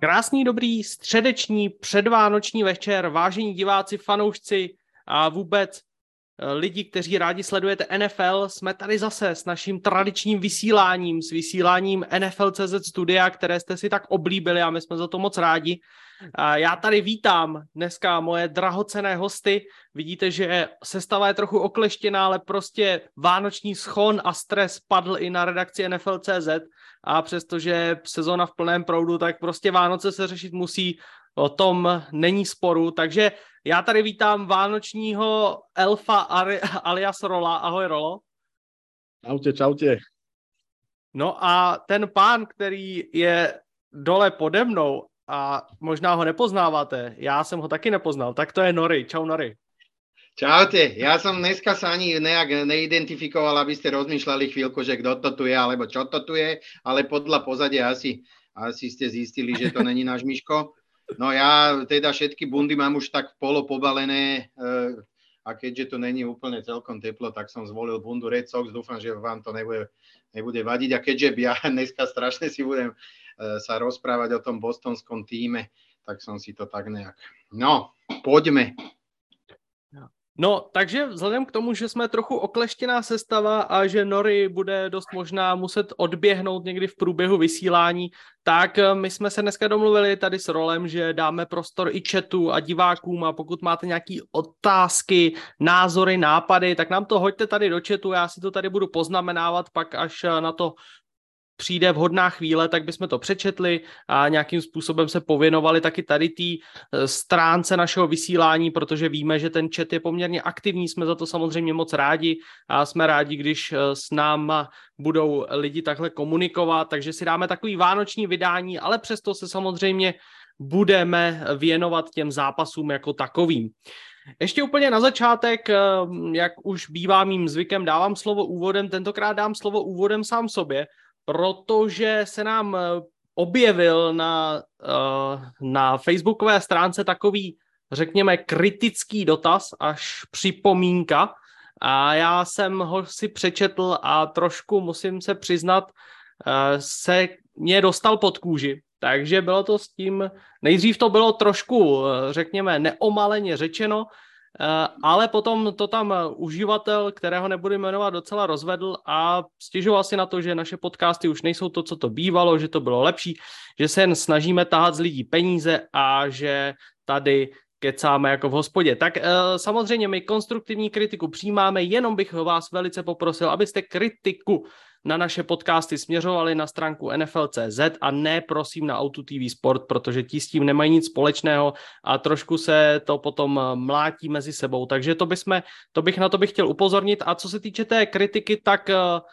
Krásný, dobrý, středeční, předvánoční večer, vážení diváci, fanoušci a vůbec lidi, kteří rádi sledujete NFL. Jsme tady zase s naším tradičním vysíláním, s vysíláním NFL.cz studia, které jste si tak oblíbili a my jsme za to moc rádi. Já tady vítám dneska moje drahocenné hosty. Vidíte, že sestava je trochu okleštěná, ale prostě vánoční schon a stres padl i na redakci NFL.cz a přestože sezóna v plném proudu, tak prostě Vánoce se řešit musí, o tom není sporu. Takže já tady vítám vánočního elfa alias Rola. Ahoj, Rolo. Čaute, čaute. No a ten pán, který je dole pode mnou a možná ho nepoznáváte, já jsem ho taky nepoznal, tak to je Nori. Čau, Nori. Čaute, ja som dneska sa ani nejak neidentifikoval, aby ste rozmýšľali chvíľku, že kto to tu je, alebo čo to tu je, ale podľa pozadia asi ste zistili, že to není náš Miško. No ja teda všetky bundy mám už tak polopobalené a keďže to není úplne celkom teplo, tak som zvolil bundu Red Sox, dúfam, že vám to nebude vadiť a keďže ja dneska strašne si budem sa rozprávať o tom bostonskom týme, tak som si to tak nejak... No, poďme. No, takže vzhledem k tomu, že jsme trochu okleštěná sestava a že Nori bude dost možná muset odběhnout někdy v průběhu vysílání, tak my jsme se dneska domluvili tady s Rolem, že dáme prostor i chatu a divákům a pokud máte nějaké otázky, názory, nápady, tak nám to hoďte tady do chatu, já si to tady budu poznamenávat, pak až na to přijde vhodná chvíle, tak bychom to přečetli a nějakým způsobem se pověnovali taky tady té stránce našeho vysílání, protože víme, že ten chat je poměrně aktivní, jsme za to samozřejmě moc rádi a jsme rádi, když s náma budou lidi takhle komunikovat, takže si dáme takový vánoční vydání, ale přesto se samozřejmě budeme věnovat těm zápasům jako takovým. Ještě úplně na začátek, jak už bývá mým zvykem, dávám slovo úvodem, tentokrát dám slovo úvodem sám sobě, protože se nám objevil na facebookové stránce takový, řekněme, kritický dotaz, až připomínka. A já jsem ho si přečetl a trošku, musím se přiznat, se mě dostal pod kůži. Takže bylo to s tím, nejdřív to bylo trošku, řekněme, neomaleně řečeno, ale potom to tam uživatel, kterého nebudu jmenovat, docela rozvedl a stěžoval si na to, že naše podcasty už nejsou to, co to bývalo, že to bylo lepší, že se jen snažíme tahat z lidí peníze a že tady kecáme jako v hospodě. Tak samozřejmě my konstruktivní kritiku přijímáme, jenom bych vás velice poprosil, abyste kritiku na naše podcasty směřovali na stránku NFL.cz a ne prosím na Auto TV Sport, protože ti s tím nemají nic společného a trošku se to potom mlátí mezi sebou. Takže na to bych chtěl upozornit. A co se týče té kritiky, tak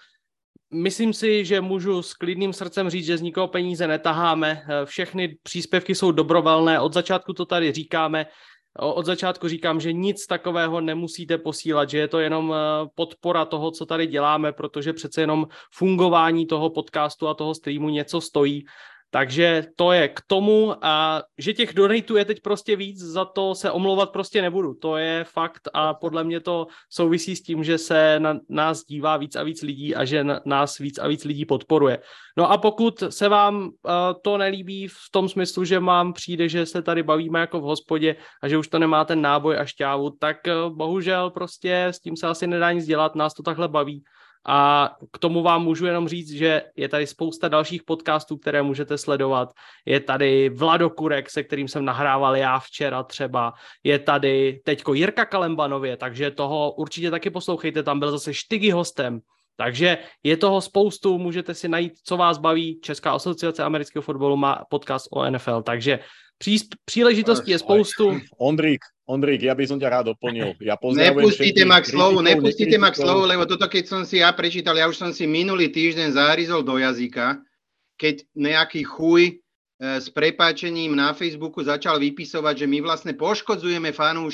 myslím si, že můžu s klidným srdcem říct, že z nikoho peníze netaháme. Všechny příspěvky jsou dobrovolné, od začátku to tady říkáme. Od začátku říkám, že nic takového nemusíte posílat, že je to jenom podpora toho, co tady děláme, protože přece jenom fungování toho podcastu a toho streamu něco stojí. Takže to je k tomu a že těch donatů je teď prostě víc, za to se omlouvat prostě nebudu. To je fakt a podle mě to souvisí s tím, že se na nás dívá víc a víc lidí a že nás víc a víc lidí podporuje. No a pokud se vám to nelíbí v tom smyslu, že vám přijde, že se tady bavíme jako v hospodě a že už to nemá ten náboj a šťávu, tak bohužel prostě s tím se asi nedá nic dělat, nás to takhle baví. A k tomu vám můžu jenom říct, že je tady spousta dalších podcastů, které můžete sledovat. Je tady Vlado Kurek, se kterým jsem nahrával já včera třeba. Je tady teďko Jirka Kalembanově, takže toho určitě taky poslouchejte, tam byl zase Štygy hostem. Takže je toho spoustu, můžete si najít, co vás baví. Česká asociace amerického fotbalu má podcast o NFL, takže příležitostí je spoustu. Ondrík, ja by som ťa rád doplnil. Ja nepustíte ma k slovu, lebo toto keď som si ja prečítal, ja už som si minulý týždeň zaryzol do jazyka, keď nejaký chuj s prepáčením na Facebooku začal vypisovať, že my vlastne poškodzujeme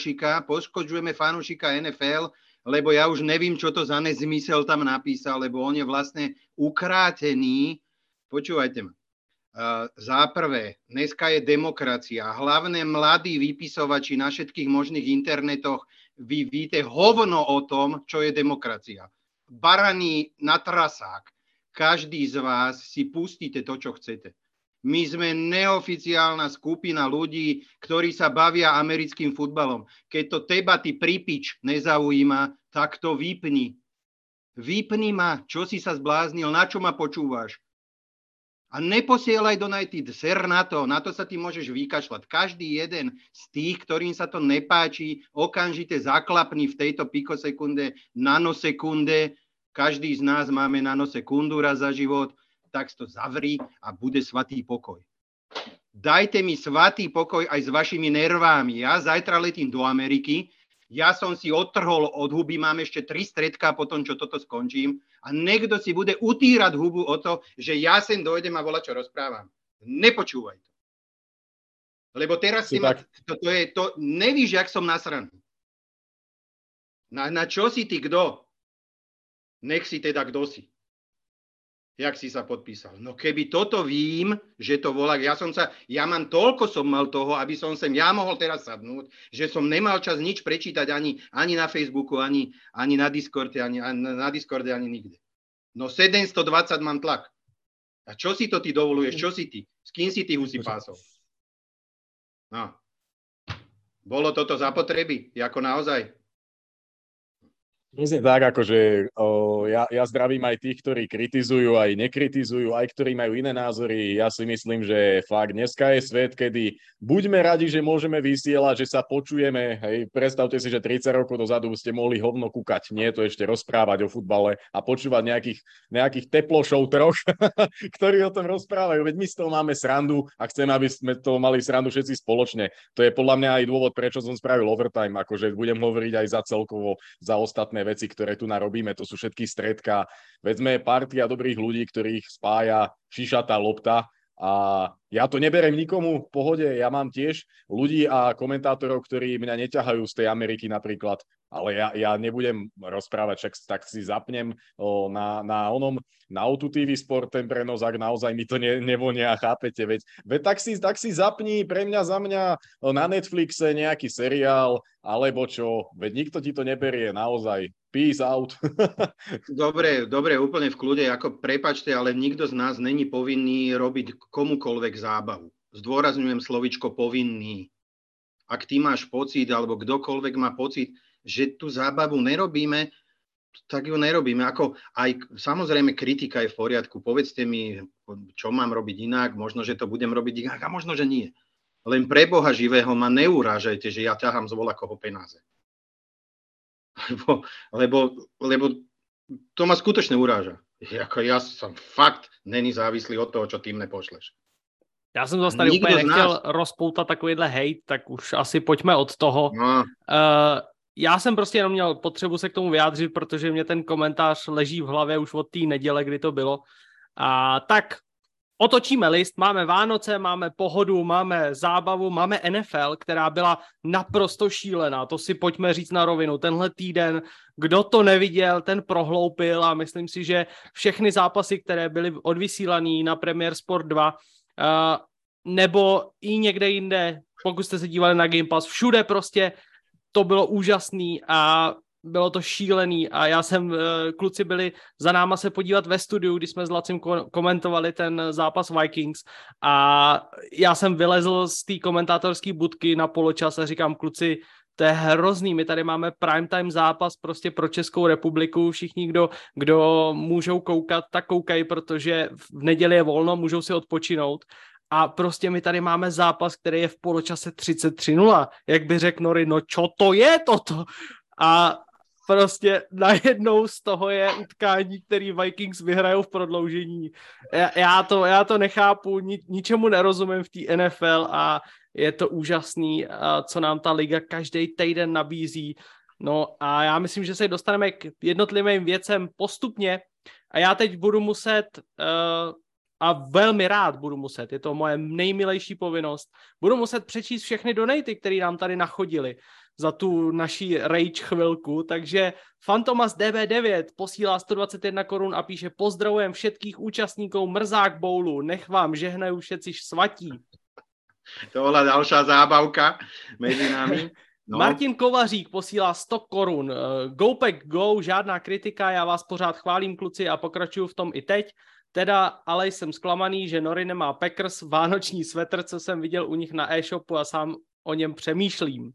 fanúšika NFL, lebo ja už nevím, čo to za nezmysel tam napísal, lebo on je vlastne ukrátený. Počúvajte ma. Za prvé, dneska je demokracia. Hlavne mladí vypisovači na všetkých možných internetoch, vy víte hovno o tom, čo je demokracia. Baraní na trasák. Každý z vás si pustíte to, čo chcete. My sme neoficiálna skupina ľudí, ktorí sa bavia americkým futbalom. Keď to teba, ty prípič, nezaujíma, tak to vypni. Vypni ma, čo si sa zbláznil, na čo ma počúvaš. A neposielaj do United, ser na to sa ty môžeš vykašľať. Každý jeden z tých, ktorým sa to nepáči, okamžite zaklapni v tejto pikosekunde, nanosekunde. Každý z nás máme nanosekundu raz za život, tak to zavri a bude svatý pokoj. Dajte mi svatý pokoj aj s vašimi nervami. Ja zajtra letím do Ameriky, ja som si odtrhol od huby, mám ešte 3 stredká po tom, čo toto skončím a niekto si bude utírať hubu o to, že ja sem dojdem a čo rozprávam. Nepočúvaj to. Lebo teraz nevíš, jak som nasraný. Na čo si ty kto? Nech si teda kto si. Jak si sa podpísal. No keby toto vím, že to volá, ja mám toľko som mal toho, aby som ja mohol teraz sadnúť, že som nemal čas nič prečítať ani na Facebooku, ani na Discorde, ani nikde. No 720 mám tlak. A čo si to ty dovoluješ? Čo si ty? S kým si ty husí pásol? No. Bolo toto zapotreby? Jako naozaj? Tak, akože ja zdravím aj tých, ktorí kritizujú, aj nekritizujú, aj ktorí majú iné názory. Ja si myslím, že fakt dneska je svet, kedy buďme radi, že môžeme vysielať, že sa počujeme. Hej, predstavte si, že 30 rokov dozadu ste mohli hovno kúkať, nie to ešte rozprávať o futbale a počúvať nejakých teplošov troch, ktorí o tom rozprávajú. Veď my z toho máme srandu a chceme, aby sme to mali srandu všetci spoločne. To je podľa mňa aj dôvod, prečo som spravil overtime, akože budem hovoriť aj za celkovo, za ostatné veci, ktoré tu narobíme, to sú všetky stredka. Veď sme partia dobrých ľudí, ktorých spája šišatá lopta a ja to neberem nikomu v pohode. Ja mám tiež ľudí a komentátorov, ktorí mňa neťahajú z tej Ameriky napríklad, ale ja nebudem rozprávať, však tak si zapnem na O2 TV Sport ten prenos, ak naozaj mi to nevonia, chápete, veď tak si zapni pre mňa za mňa na Netflixe nejaký seriál, alebo čo, veď nikto ti to neberie, naozaj. Peace out. Dobre, úplne v kľude, ako prepáčte, ale nikto z nás není povinný robiť komukoľvek zábavu. Zdôrazňujem slovičko povinný. Ak ty máš pocit, alebo kdokoľvek má pocit, že tú zábavu nerobíme, tak ju nerobíme. Ako aj samozrejme kritika je v poriadku. Povedzte mi, čo mám robiť inak, možno, že to budem robiť inak a možno, že nie. Len pre Boha živého ma neurážajte, že ja ťahám z volakoho peniaze. Lebo to ma skutočne uráža. Ja som fakt není závislý od toho, čo ty mne pošleš. Já jsem zase tady úplně nechtěl rozpoutat takovýhle hejt, tak už asi pojďme od toho. No. Já jsem prostě jenom měl potřebu se k tomu vyjádřit, protože mě ten komentář leží v hlavě už od té neděle, kdy to bylo. A tak otočíme list, máme Vánoce, máme pohodu, máme zábavu, máme NFL, která byla naprosto šílená, to si pojďme říct na rovinu. Tenhle týden, kdo to neviděl, ten prohloupil a myslím si, že všechny zápasy, které byly odvysílané na Premier Sport 2, nebo i někde jinde, pokud jste se dívali na Game Pass, všude prostě to bylo úžasný a bylo to šílený a kluci byli za náma se podívat ve studiu, když jsme s Lacim komentovali ten zápas Vikings a já jsem vylezl z té komentátorské budky na poločas a říkám, kluci, to je hrozný, my tady máme primetime zápas prostě pro Českou republiku, všichni, kdo můžou koukat, tak koukají, protože v neděli je volno, můžou si odpočinout. A prostě my tady máme zápas, který je v poločase 33-0. Jak by řekl Nori, no čo to je toto? A prostě najednou z toho je utkání, který Vikings vyhrajou v prodloužení. Já to nechápu, ničemu nerozumím v té NFL a je to úžasný, co nám ta liga každý týden nabízí. No a já myslím, že se dostaneme k jednotlivým věcem postupně a já teď budu muset... a velmi rád budu muset, je to moje nejmilejší povinnost, budu muset přečíst všechny donaty, které nám tady nachodili za tu naší rage chvilku, takže Fantomas DB9 posílá 121 korun a píše pozdravujem všetkých účastníkov Mrzák Bowlu, nech vám žehnajú všetci svatí. To bola ďalšia zábavka mezi námi. No. Martin Kovařík posílá 100 korun. Go Pack Go, žádná kritika, já vás pořád chválím, kluci, a pokračuju v tom i teď. Teda ale jsem zklamaný, že Nori nemá Packers, vánoční svetr, co jsem viděl u nich na e-shopu a sám o něm přemýšlím.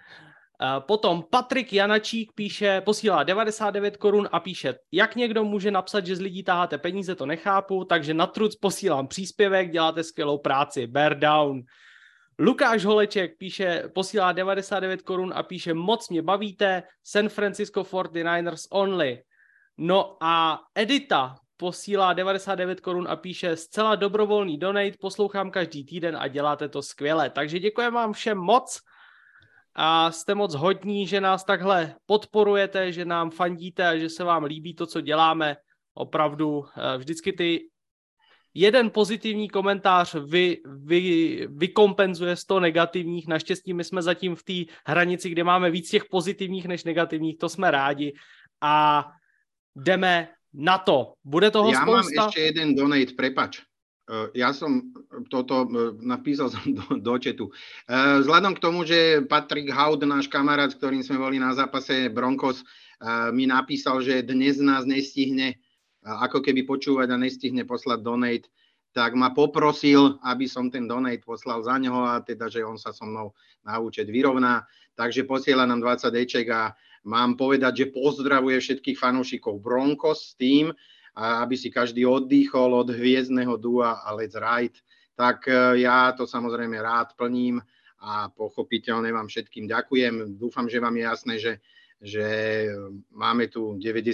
Potom Patrik Janačík posílá 99 korun a píše, jak někdo může napsat, že z lidí taháte peníze, to nechápu, takže na truc posílám příspěvek, děláte skvělou práci, bear down. Lukáš Holeček posílá 99 korun a píše, moc mě bavíte, San Francisco 49ers only. No a Edita posílá 99 korun a píše, zcela dobrovolný donate, poslouchám každý týden a děláte to skvěle. Takže děkujeme vám všem moc a jste moc hodní, že nás takhle podporujete, že nám fandíte a že se vám líbí to, co děláme. Opravdu vždycky jeden pozitivní komentář vykompenzuje 100 negativních. Naštěstí my jsme zatím v té hranici, kde máme víc těch pozitivních než negativních, to jsme rádi. A jdeme na to. Bude toho spousta? Mám ešte jeden donate, prepač. Ja som toto napísal do chatu. Vzhľadom k tomu, že Patrick Haud, náš kamarát, s ktorým sme boli na zápase Broncos, mi napísal, že dnes nás nestihne ako keby počúvať a nestihne poslať donate, tak ma poprosil, aby som ten donate poslal za neho a teda, že on sa so mnou na účet vyrovná. Takže posiela nám 20 eček a mám povedať, že pozdravuje všetkých fanúšikov Broncos s tým, aby si každý oddychol od hviezdneho dua a Let's Ride. Tak ja to samozrejme rád plním a pochopiteľne vám všetkým ďakujem. Dúfam, že vám je jasné, že máme tu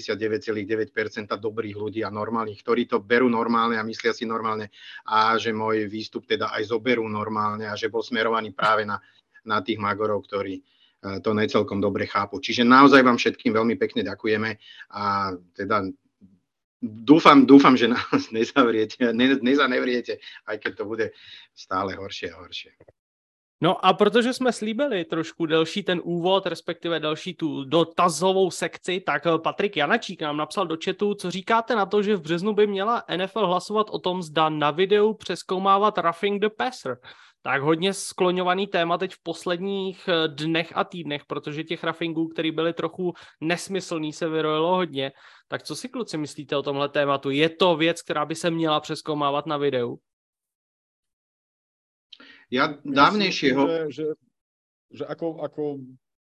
99,9% dobrých ľudí a normálnych, ktorí to berú normálne a myslia si normálne a že môj výstup teda aj zoberú normálne a že bol smerovaný práve na tých magorov, ktorí to necelkom dobre chápu. Čiže naozaj vám všetkým veľmi pekne ďakujeme a teda dúfam, že nás nezanevriete, aj keď to bude stále horšie a horšie. No a protože jsme slíbili trošku delší ten úvod, respektive delší tu dotazovou sekci, tak Patrik Janačík nám napsal do chatu, co říkáte na to, že v březnu by měla NFL hlasovat o tom, zda na videu přezkoumávat roughing the passer. Tak hodně skloňovaný téma teď v posledních dnech a týdnech, protože těch rougingů, které byly trochu nesmyslný, se vyrojilo hodně. Tak co si kluci myslíte o tomhle tématu? Je to věc, která by se měla přezkoumávat na videu? Ja dávnejšieho... Že ako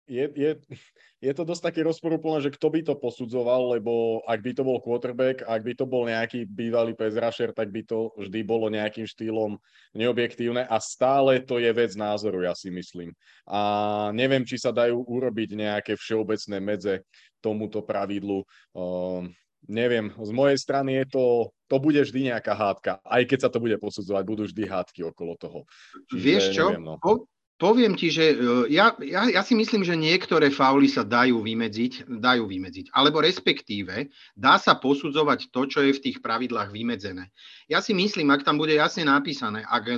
je to dosť také rozporúplné, že kto by to posudzoval, lebo ak by to bol quarterback, ak by to bol nejaký bývalý pass rusher, tak by to vždy bolo nejakým štýlom neobjektívne a stále to je vec názoru, ja si myslím. A neviem, či sa dajú urobiť nejaké všeobecné medze tomuto pravidlu. Neviem, z mojej strany to bude vždy nejaká hádka. Aj keď sa to bude posudzovať, budú vždy hádky okolo toho. Čiže, vieš čo? Neviem, no. Poviem ti, že ja si myslím, že niektoré fauly sa dajú vymedziť. Alebo respektíve dá sa posudzovať to, čo je v tých pravidlách vymedzené. Ja si myslím, ak tam bude jasne napísané, ak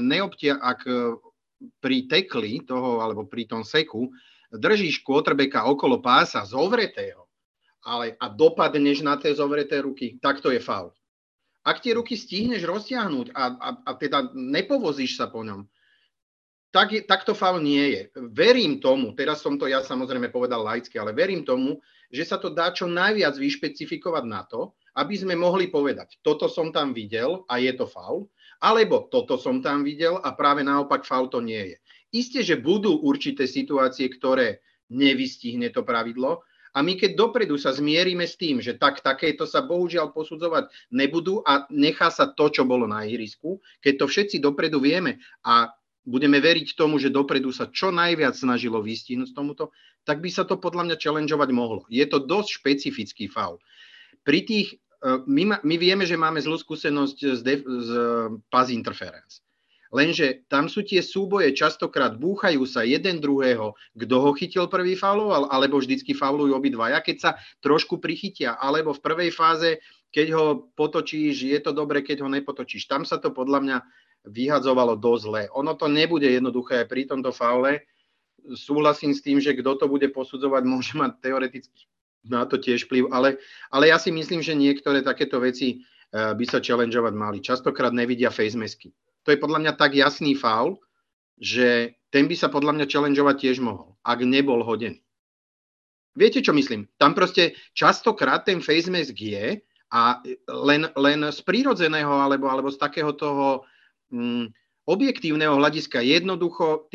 pri tekli toho, alebo pri tom seku držíš quarterbacka okolo pása zovretého, a dopadneš na tie zovreté ruky, tak to je faul. Ak tie ruky stihneš roztiahnuť a teda nepovozíš sa po ňom, tak to faul nie je. Verím tomu, teraz som to ja samozrejme povedal laicky, ale verím tomu, že sa to dá čo najviac vyšpecifikovať na to, aby sme mohli povedať, toto som tam videl a je to faul, alebo toto som tam videl a práve naopak faul to nie je. Isté, že budú určité situácie, ktoré nevystihne to pravidlo, a my keď dopredu sa zmierime s tým, že takéto sa bohužiaľ posudzovať nebudú a nechá sa to, čo bolo na ihrisku, keď to všetci dopredu vieme a budeme veriť tomu, že dopredu sa čo najviac snažilo vystihnúť tomuto, tak by sa to podľa mňa challengeovať mohlo. Je to dosť špecifický faul. Pri tých, my vieme, že máme zlú skúsenosť z pass interference. Lenže tam sú tie súboje, častokrát búchajú sa jeden druhého, kto ho chytil prvý fauloval, alebo vždycky faulujú obidvaja, keď sa trošku prichytia, alebo v prvej fáze, keď ho potočíš, je to dobre, keď ho nepotočíš. Tam sa to podľa mňa vyhadzovalo dosť zle. Ono to nebude jednoduché aj pri tomto faule. Súhlasím s tým, že kto to bude posudzovať, môže mať teoreticky na to tiež vplyv, ale ja si myslím, že niektoré takéto veci by sa challengeovať mali. Častokrát nevidia face masky. To je podľa mňa tak jasný faul, že ten by sa podľa mňa challengeovať tiež mohol, ak nebol hodený. Viete, čo myslím? Tam proste častokrát ten face mask je A len z prírodzeného alebo z takého toho objektívneho hľadiska jednoducho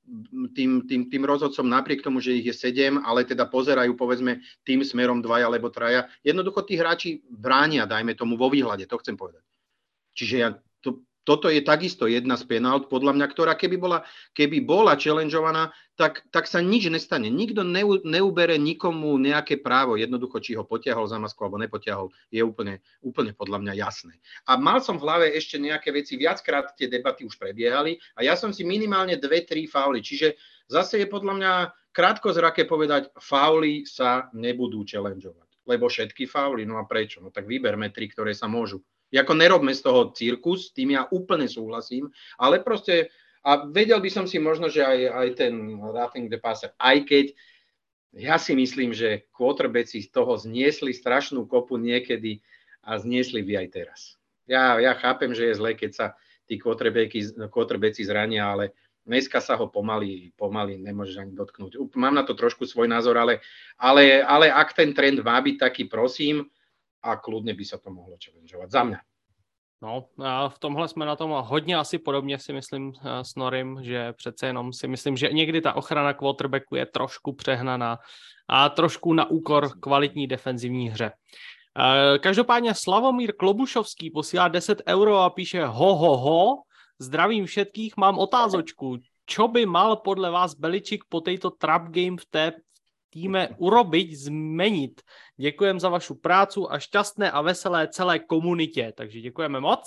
tým rozhodcom napriek tomu, že ich je 7, ale teda pozerajú povedzme tým smerom 2 alebo 3, jednoducho tí hráči bránia, dajme tomu vo výhľade, to chcem povedať. Čiže toto je takisto jedna z penalt, podľa mňa, ktorá keby bola challengeovaná, tak sa nič nestane. Nikto neubere nikomu nejaké právo, jednoducho, či ho potiahol za masku alebo nepotiahol, je úplne podľa mňa jasné. A mal som v hlave ešte nejaké veci, viackrát tie debaty už prebiehali a ja som si minimálne 2-3 fauly, čiže zase je podľa mňa krátkozraké povedať, fauly sa nebudú challengeovať, lebo všetky fauly, no a prečo? No tak vyberme 3, ktoré sa môžu. Jako nerobme z toho cirkus, tým ja úplne súhlasím, ale proste, a vedel by som si možno, že aj ten roughing the passer, aj keď ja si myslím, že quarterbacki z toho zniesli strašnú kopu niekedy a zniesli by aj teraz. Ja chápem, že je zle, keď sa tí quarterbacki zrania, ale dneska sa ho pomaly nemôžeš ani dotknúť. Mám na to trošku svoj názor, ale ak ten trend má byť taký, prosím, a kľudne by sa to mohlo challengeovať za mňa. No, a v tomhle jsme na tom hodně asi podobně, si myslím, s Norim, že přece jenom si myslím, že někdy ta ochrana quarterbacku je trošku přehnaná a trošku na úkor kvalitní defenzivní hře. Každopádně Slavomír Klobušovský posílá 10 € a píše ho, zdravím všetkých, mám otázočku. Čo by mal podle vás Beličík po tejto trap game v té týme urobiť, zmeniť. Děkujem za vašu prácu a šťastné a veselé celé komunitě. Takže děkujeme moc.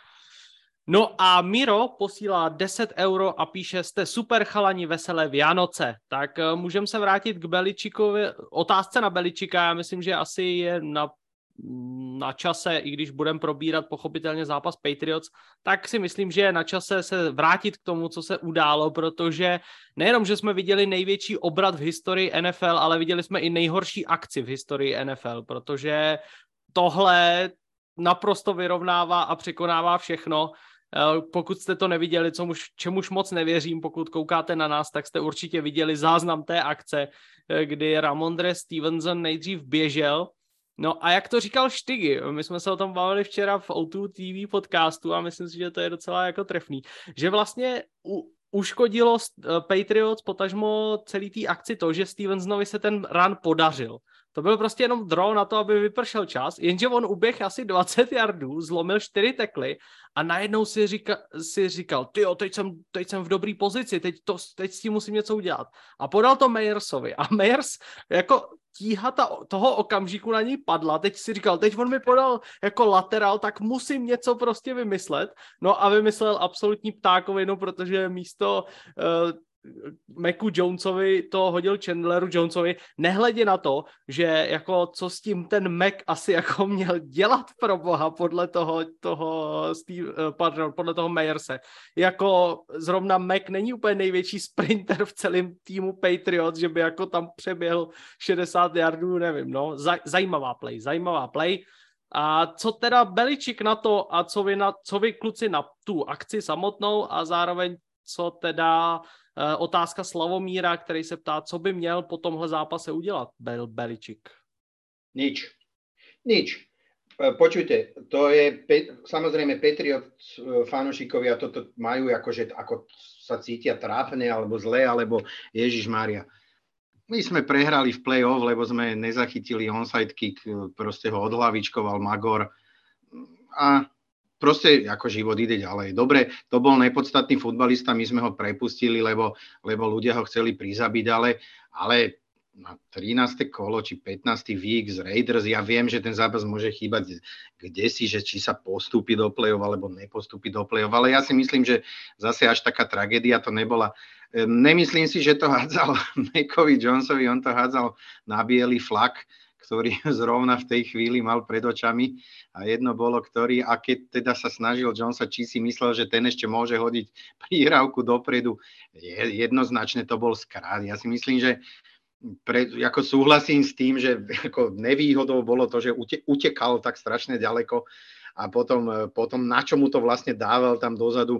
No a Miro posílá 10 € a píše, jste super chalani, veselé Vianoce. Tak můžeme se vrátit k Beličíkovi. Otázce na Beličíka, já myslím, že asi je na čase, i když budeme probírat pochopitelně zápas Patriots, tak si myslím, že je na čase se vrátit k tomu, co se událo, protože nejenom, že jsme viděli největší obrat v historii NFL, ale viděli jsme i nejhorší akci v historii NFL, protože tohle naprosto vyrovnává a překonává všechno. Pokud jste to neviděli, čemuž moc nevěřím, pokud koukáte na nás, tak jste určitě viděli záznam té akce, kdy Ramondre Stevenson nejdřív běžel. No a jak to říkal Štygy, my jsme se o tom bavili včera v O2 TV podcastu a myslím si, že to je docela jako trefný, že vlastně uškodilo Patriots potažmo celý té akci to, že Stevensonovi se ten run podařil. To byl prostě jenom draw na to, aby vypršel čas, jenže on uběh asi 20 yardů, zlomil 4 tekly a najednou si říkal, tyjo, teď jsem v dobrý pozici, teď s tím musím něco udělat. A podal to Meyersovi a Meyers jako tíha toho okamžiku na něj padla, teď si říkal, teď on mi podal jako lateral, tak musím něco prostě vymyslet. No a vymyslel absolutní ptákovinu, protože místo Macu Jonesovi to hodil Chandleru Jonesovi, nehledě na to, že jako co s tím ten Mac asi jako měl dělat pro boha podle toho Meyerse. Jako zrovna Mac není úplně největší sprinter v celém týmu Patriots, že by jako tam přeběhl 60 yardů, nevím, no. Zajímavá play. A co teda Beličík na to a co vy kluci na tu akci samotnou a zároveň co teda otázka Slavomíra, který se ptá, co by měl po tomhle zápase udělat Beličík? Nič. Počujte, to je, samozrejme Patriots fanúšikovia toto majú akože, ako sa cítia trápne, alebo zle, alebo Ježišmária. My sme prehrali v play-off, lebo sme nezachytili onside kick, proste ho odhlavičkoval Magor a proste ako život ide ďalej. Dobre, to bol nepodstatný futbalista, my sme ho prepustili, lebo ľudia ho chceli prizabiť, ale na 13. kolo či 15. week z Raiders, ja viem, že ten zápas môže chýbať kdesi, že či sa postúpi do play-off alebo nepostúpi do play-off, ale ja si myslím, že zase až taká tragédia to nebola. Nemyslím si, že to hádzal Macovi Jonesovi, on to hádzal na biely flak, ktorý zrovna v tej chvíli mal pred očami a jedno bolo, ktorý, a keď teda sa snažil Jonesa, či si myslel, že ten ešte môže hodiť prihrávku dopredu, jednoznačne to bol skrát. Ja si myslím, že ako súhlasím s tým, že ako nevýhodou bolo to, že utekal tak strašne ďaleko a potom na čo mu to vlastne dával tam dozadu,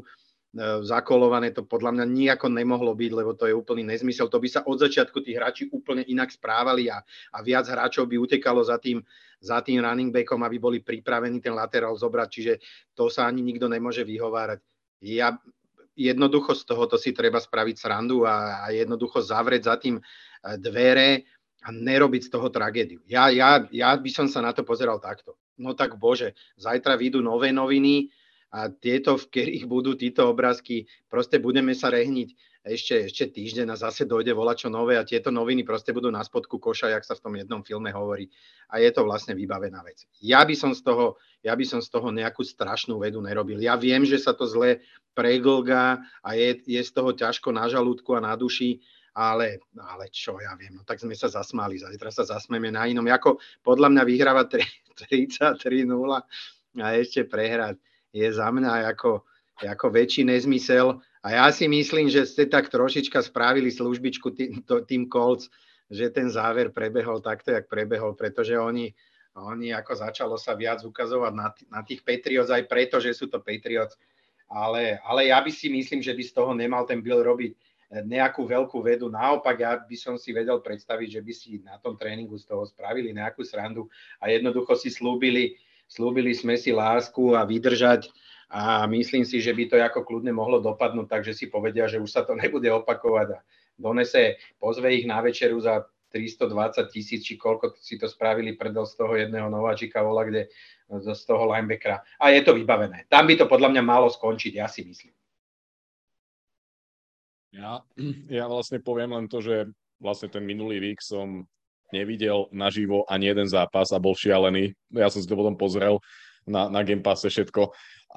zakolované, to podľa mňa nijako nemohlo byť, lebo to je úplný nezmysel. To by sa od začiatku tí hráči úplne inak správali a viac hráčov by utekalo za tým running backom, aby boli pripravení ten laterál zobrať, čiže to sa ani nikto nemôže vyhovárať. Jednoducho z tohoto si treba spraviť srandu a jednoducho zavrieť za tým dvere a nerobiť z toho tragédiu. Ja by som sa na to pozeral takto. No tak bože, zajtra vyjdú nové noviny a tieto, v ktorých budú títo obrázky, proste budeme sa rehniť ešte týždeň a zase dojde volačo nové a tieto noviny proste budú na spodku koša, jak sa v tom jednom filme hovorí. A je to vlastne vybavená vec. Ja by som z toho nejakú strašnú vedu nerobil. Ja viem, že sa to zle preglgá a je z toho ťažko na žalúdku a na duši, ale čo ja viem, no tak sme sa zasmáli, zajtra sa zasmeme na inom, ako podľa mňa vyhráva 33-0 a ešte prehrať je za mňa ako väčší nezmysel a ja si myslím, že ste tak trošička spravili službičku tým Colts, že ten záver prebehol takto, jak prebehol, pretože oni ako začalo sa viac ukazovať na tých Patriots aj preto, že sú to Patriots, ale ja by si myslím, že by z toho nemal ten Bill robiť nejakú veľkú vedu. Naopak, ja by som si vedel predstaviť, že by si na tom tréningu z toho spravili nejakú srandu a jednoducho si slúbili sme si lásku a vydržať a myslím si, že by to ako kľudne mohlo dopadnúť, takže si povedia, že už sa to nebude opakovať a pozve ich na večeru za 320 000, či koľko si to spravili predel z toho jedného nováčika vola, kde z toho linebackera. A je to vybavené. Tam by to podľa mňa malo skončiť, ja si myslím. Ja vlastne poviem len to, že vlastne ten minulý vík som nevidel naživo ani jeden zápas a bol šialený. Ja som si to potom pozrel na Game Passe všetko,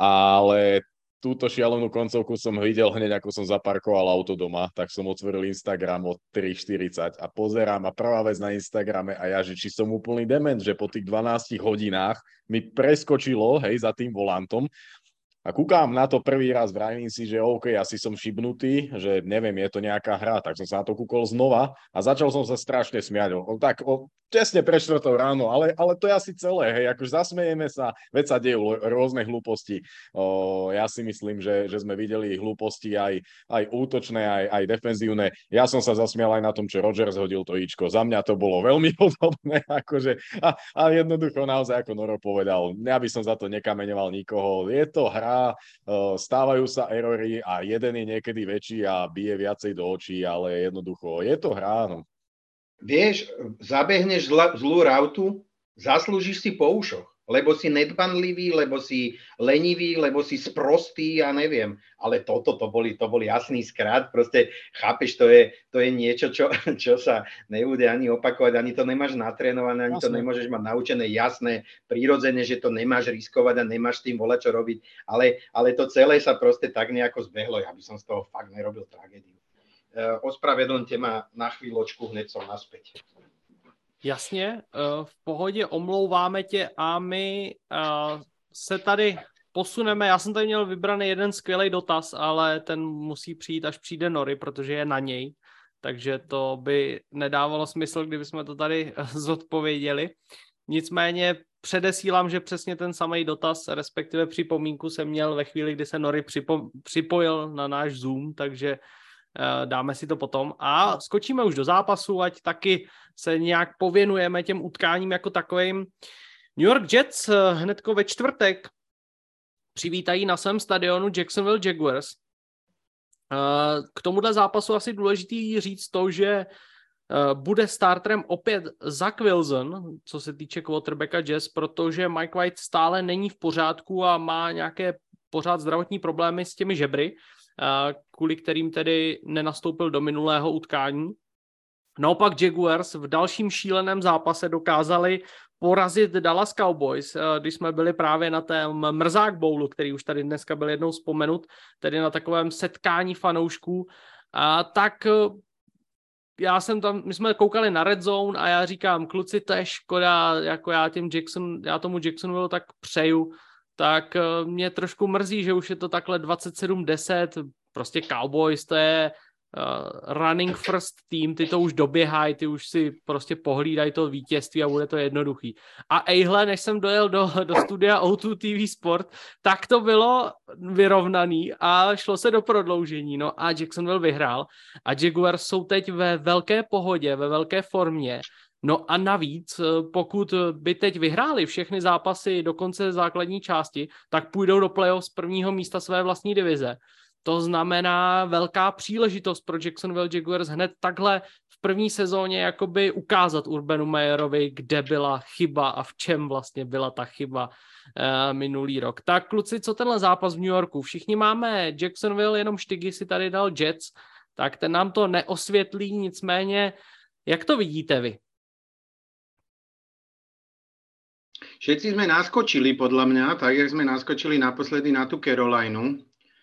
ale túto šialenú koncovku som videl hneď, ako som zaparkoval auto doma, tak som otvoril Instagram o 3:40 a pozerám a prvá vec na Instagrame a ja, že či som úplný dement, že po tých 12 hodinách mi preskočilo, za tým volantom. A kúkam na to prvý raz, vravím si, že OK, asi som šibnutý, že neviem, je to nejaká hra, tak som sa na to kúkol znova a začal som sa strašne smiať. Tesne pre 4 ráno, ale to je asi celé, akože zasmejeme sa, veď sa dejú rôzne hlúposti. Ja si myslím, že sme videli hlúposti aj útočné, aj defenzívne. Ja som sa zasmial aj na tom, čo Rodgers hodil to ičko. Za mňa to bolo veľmi podobné, akože, a jednoducho naozaj, ako Noro povedal, ja by som za to nekameňoval nikoho. Je to hra, stávajú sa erory a jeden je niekedy väčší a bije viacej do očí, ale jednoducho je to hra. No. Vieš, zabehneš zlú rautu, zaslúžiš si po ušoch, lebo si nedbanlivý, lebo si lenivý, lebo si sprostý, ja neviem. Ale to bol jasný skrát, proste chápeš, to je niečo, čo sa nebude ani opakovať, ani to nemáš natrénované, ani to nemôžeš mať naučené, jasné, prirodzene, že to nemáš riskovať a nemáš s tým volať, čo robiť, ale to celé sa proste tak nejako zbehlo, ja by som z toho fakt nerobil tragédiu. Ospravedlňte ma na chvíľočku, hned som naspäť. Jasně, v pohodě, omlouváme tě a my se tady posuneme. Já jsem tady měl vybraný jeden skvělý dotaz, ale ten musí přijít, až přijde Nori, protože je na něj. Takže to by nedávalo smysl, kdybychom to tady zodpověděli. Nicméně předesílám, že přesně ten samý dotaz, respektive připomínku jsem měl ve chvíli, kdy se Nori připojil na náš Zoom, takže dáme si to potom a skočíme už do zápasu, ať taky se nějak pověnujeme těm utkáním jako takovým. New York Jets hnedko ve čtvrtek přivítají na svém stadionu Jacksonville Jaguars. K tomuhle zápasu asi důležitý říct to, že bude starterem opět Zach Wilson, co se týče quarterbacka Jets, protože Mike White stále není v pořádku a má nějaké pořád zdravotní problémy s těmi žebry, kvůli kterým tedy nenastoupil do minulého utkání. Naopak Jaguars v dalším šíleném zápase dokázali porazit Dallas Cowboys, když jsme byli právě na tém Mrzák Bowlu, který už tady dneska byl jednou vzpomenut, tedy na takovém setkání fanoušků. Tak my jsme koukali na Red Zone a já říkám, kluci, to je škoda, jako já tomu Jacksonville tak přeju, tak mě trošku mrzí, že už je to takhle 27-10, prostě Cowboys, to je running first team, ty to už doběhají, ty už si prostě pohlídají to vítězství a bude to jednoduchý. A ejhle, než jsem dojel do studia O2 TV Sport, tak to bylo vyrovnaný a šlo se do prodloužení, no a Jacksonville vyhrál a Jaguars jsou teď ve velké pohodě, ve velké formě. No a navíc, pokud by teď vyhráli všechny zápasy do konce základní části, tak půjdou do playoff z prvního místa své vlastní divize. To znamená velká příležitost pro Jacksonville Jaguars hned takhle v první sezóně jakoby ukázat Urbanu Meyerovi, kde byla chyba a v čem vlastně byla ta chyba minulý rok. Tak kluci, co tenhle zápas v New Yorku? Všichni máme Jacksonville, jenom Štygy si tady dal Jets, tak ten nám to neosvětlí, nicméně jak to vidíte vy? Všetci sme naskočili, podľa mňa, tak jak sme naskočili naposledy na tú Carolinu.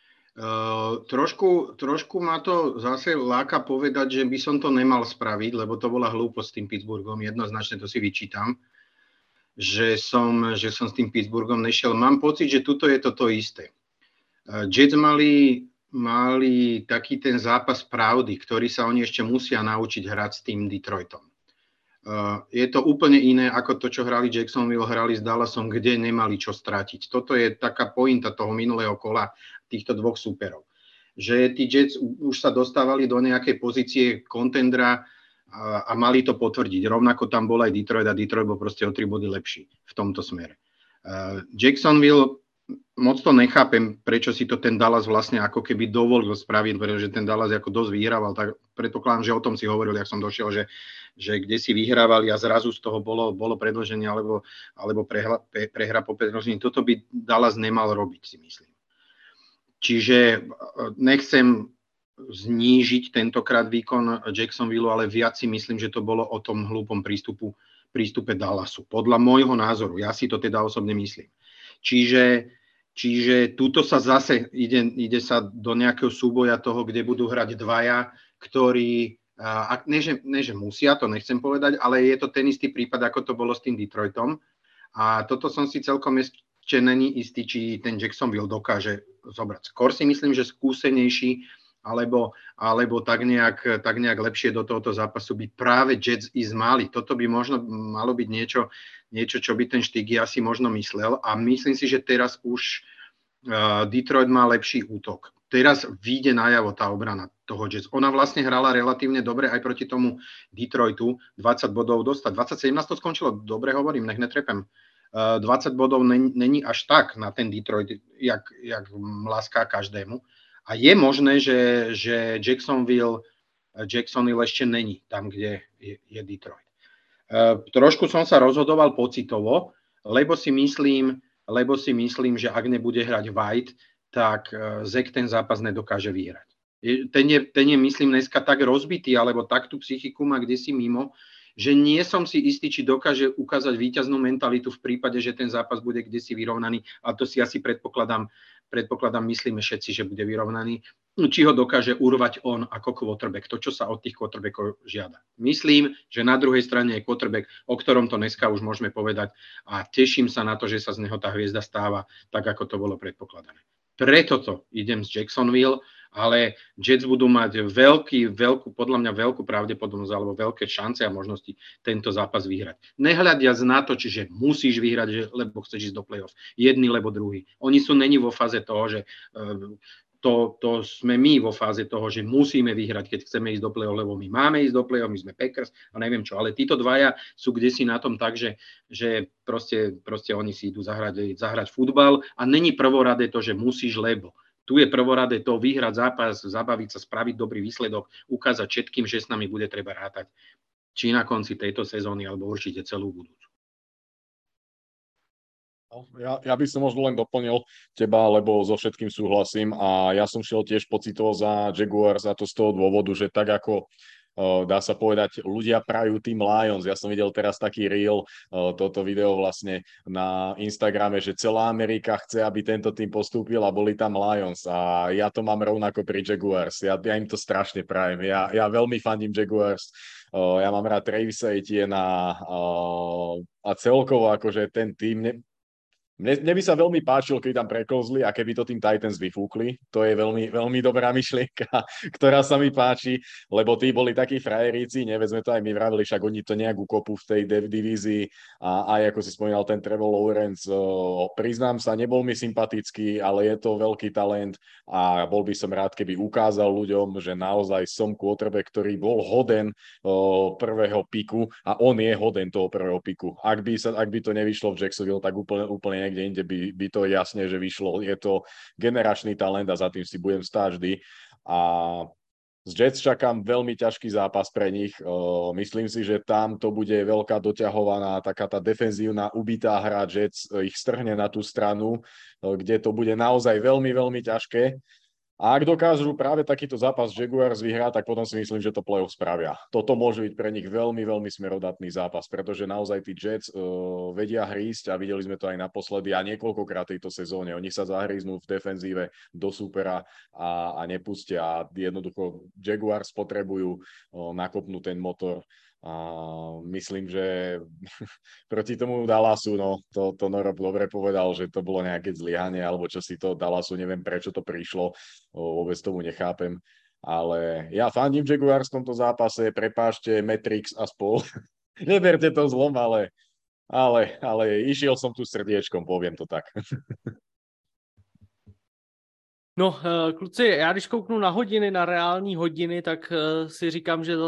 Trošku ma to zase láka povedať, že by som to nemal spraviť, lebo to bola hlúposť s tým Pittsburghom. Jednoznačne to si vyčítam, že som s tým Pittsburghom nešiel. Mám pocit, že tuto je to isté. Jets mali taký ten zápas pravdy, ktorý sa oni ešte musia naučiť hrať s tým Detroitom. Je to úplne iné ako to, čo hrali Jacksonville, hrali s Dallasom, kde nemali čo strátiť. Toto je taká pointa toho minulého kola týchto dvoch súperov. Že tí Jets už sa dostávali do nejakej pozície kontendra a mali to potvrdiť. Rovnako tam bol aj Detroit a Detroit bol proste o 3 body lepší v tomto smere. Jacksonville, moc to nechápem, prečo si to ten Dallas vlastne ako keby dovolil spraviť, pretože ten Dallas ako dosť vyhrával, tak predpokladám, že o tom si hovoril, jak som došiel, že kde si vyhrávali a zrazu z toho bolo predĺženie alebo prehra po predĺžení. Toto by Dallas nemal robiť, si myslím. Čiže nechcem znížiť tentokrát výkon Jacksonville, ale viac si myslím, že to bolo o tom hlúpom prístupe Dallasu. Podľa môjho názoru, ja si to teda osobne myslím. Čiže túto sa zase ide sa do nejakého súboja toho, kde budú hrať dvaja, ktorí, ne že musia, to nechcem povedať, ale je to ten istý prípad, ako to bolo s tým Detroitom. A toto som si celkom ešte není istý, či ten Jacksonville dokáže zobrať. Skôr si myslím, že skúsenejší alebo tak nejak lepšie do tohoto zápasu by práve Jets ísť mali. Toto by možno malo byť niečo, čo by ten Štygy asi možno myslel. A myslím si, že teraz už Detroit má lepší útok. Teraz vyjde najavo tá obrana toho Jets. Ona vlastne hrala relatívne dobre aj proti tomu Detroitu. 20 bodov dostať. 27 to skončilo. Dobre hovorím, nech netrepem. 20 bodov není až tak na ten Detroit, jak láská každému. A je možné, že Jacksonville ešte není tam, kde je Detroit. Trošku som sa rozhodoval pocitovo, lebo si myslím, že ak nebude hrať White, tak Zach ten zápas nedokáže vyhrať. Ten je, myslím, dneska tak rozbitý, alebo tak tú psychiku má kdesi mimo, že nie som si istý, či dokáže ukázať víťaznú mentalitu v prípade, že ten zápas bude kdesi vyrovnaný, a to si asi predpokladám, myslíme všetci, že bude vyrovnaný, či ho dokáže urvať on ako quarterback, to, čo sa od tých quarterbackov žiada. Myslím, že na druhej strane je quarterback, o ktorom to dneska už môžeme povedať, a teším sa na to, že sa z neho tá hviezda stáva tak, ako to bolo predpokladané. Preto to idem z Jacksonville, ale Jets budú mať podľa mňa veľkú pravdepodobnosť alebo veľké šance a možnosti tento zápas vyhrať. Nehľadiac na to, čiže musíš vyhrať, lebo chceš ísť do play-off. Jedni, lebo druhý. Oni není vo fáze toho, že to sme my vo fáze toho, že musíme vyhrať, keď chceme ísť do play-off, lebo my máme ísť do play-off, my sme Packers a neviem čo. Ale títo dvaja sú kdesi na tom tak, že proste oni si idú zahrať futbal a není prvoradé to, že musíš, lebo. Tu je prvoradé to vyhrať zápas, zabaviť sa, spraviť dobrý výsledok, ukázať všetkým, že s nami bude treba rátať. Či na konci tejto sezóny, alebo určite celú budúcu. Ja by som možno len doplnil teba, lebo so všetkým súhlasím, a ja som šiel tiež pocitovo za Jaguars, a to z toho dôvodu, že tak ako dá sa povedať, ľudia prajú tým Lions. Ja som videl teraz taký reel, toto video vlastne na Instagrame, že celá Amerika chce, aby tento tým postúpil, a boli tam Lions, a ja to mám rovnako pri Jaguars. Ja im to strašne prajem. Ja veľmi fandím Jaguars. Ja mám rád Travisa Etienne a celkovo akože ten tým Mne by sa veľmi páčilo, keď tam preklzli a keby to tým Titans vyfúkli. To je veľmi, veľmi dobrá myšlienka, ktorá sa mi páči, lebo tí boli takí frajeríci, sme to aj my vravili, však oni to nejak ukopú v tej divízii a aj ako si spomínal ten Trevor Lawrence, priznám sa, nebol mi sympatický, ale je to veľký talent a bol by som rád, keby ukázal ľuďom, že naozaj som quarterback, ktorý bol hoden prvého piku a on je hoden toho prvého piku. Ak by to nevyšlo v Jacksonville, tak úplne niekde inde by to jasne, že vyšlo. Je to generačný talent a za tým si budem stáť vždy. A z Jets čakám veľmi ťažký zápas pre nich. Myslím si, že tam to bude veľká doťahovaná, taká tá defenzívna ubitá hra Jets ich strhne na tú stranu, kde to bude naozaj veľmi, veľmi ťažké. A ak dokážu práve takýto zápas Jaguars vyhrať, tak potom si myslím, že to playoff spravia. Toto môže byť pre nich veľmi, veľmi smerodatný zápas, pretože naozaj tí Jets vedia hrísť a videli sme to aj naposledy a niekoľkokrát tejto sezóne. Oni sa zahríznú v defenzíve do supera a nepustia. A jednoducho Jaguars potrebujú nakopnúť ten motor. A myslím, že proti tomu Dallasu, to Noro dobre povedal, že to bolo nejaké zlyhanie, alebo čo si to Dallasu, neviem prečo to prišlo, vôbec tomu nechápem, ale ja fandím Jaguars v tomto zápase, prepáčte, Matrix a spol, neberte to zlom, ale išiel som tu srdiečkom, poviem to tak. No, kluci, já když kouknu na hodiny, na reální hodiny, tak si říkám, že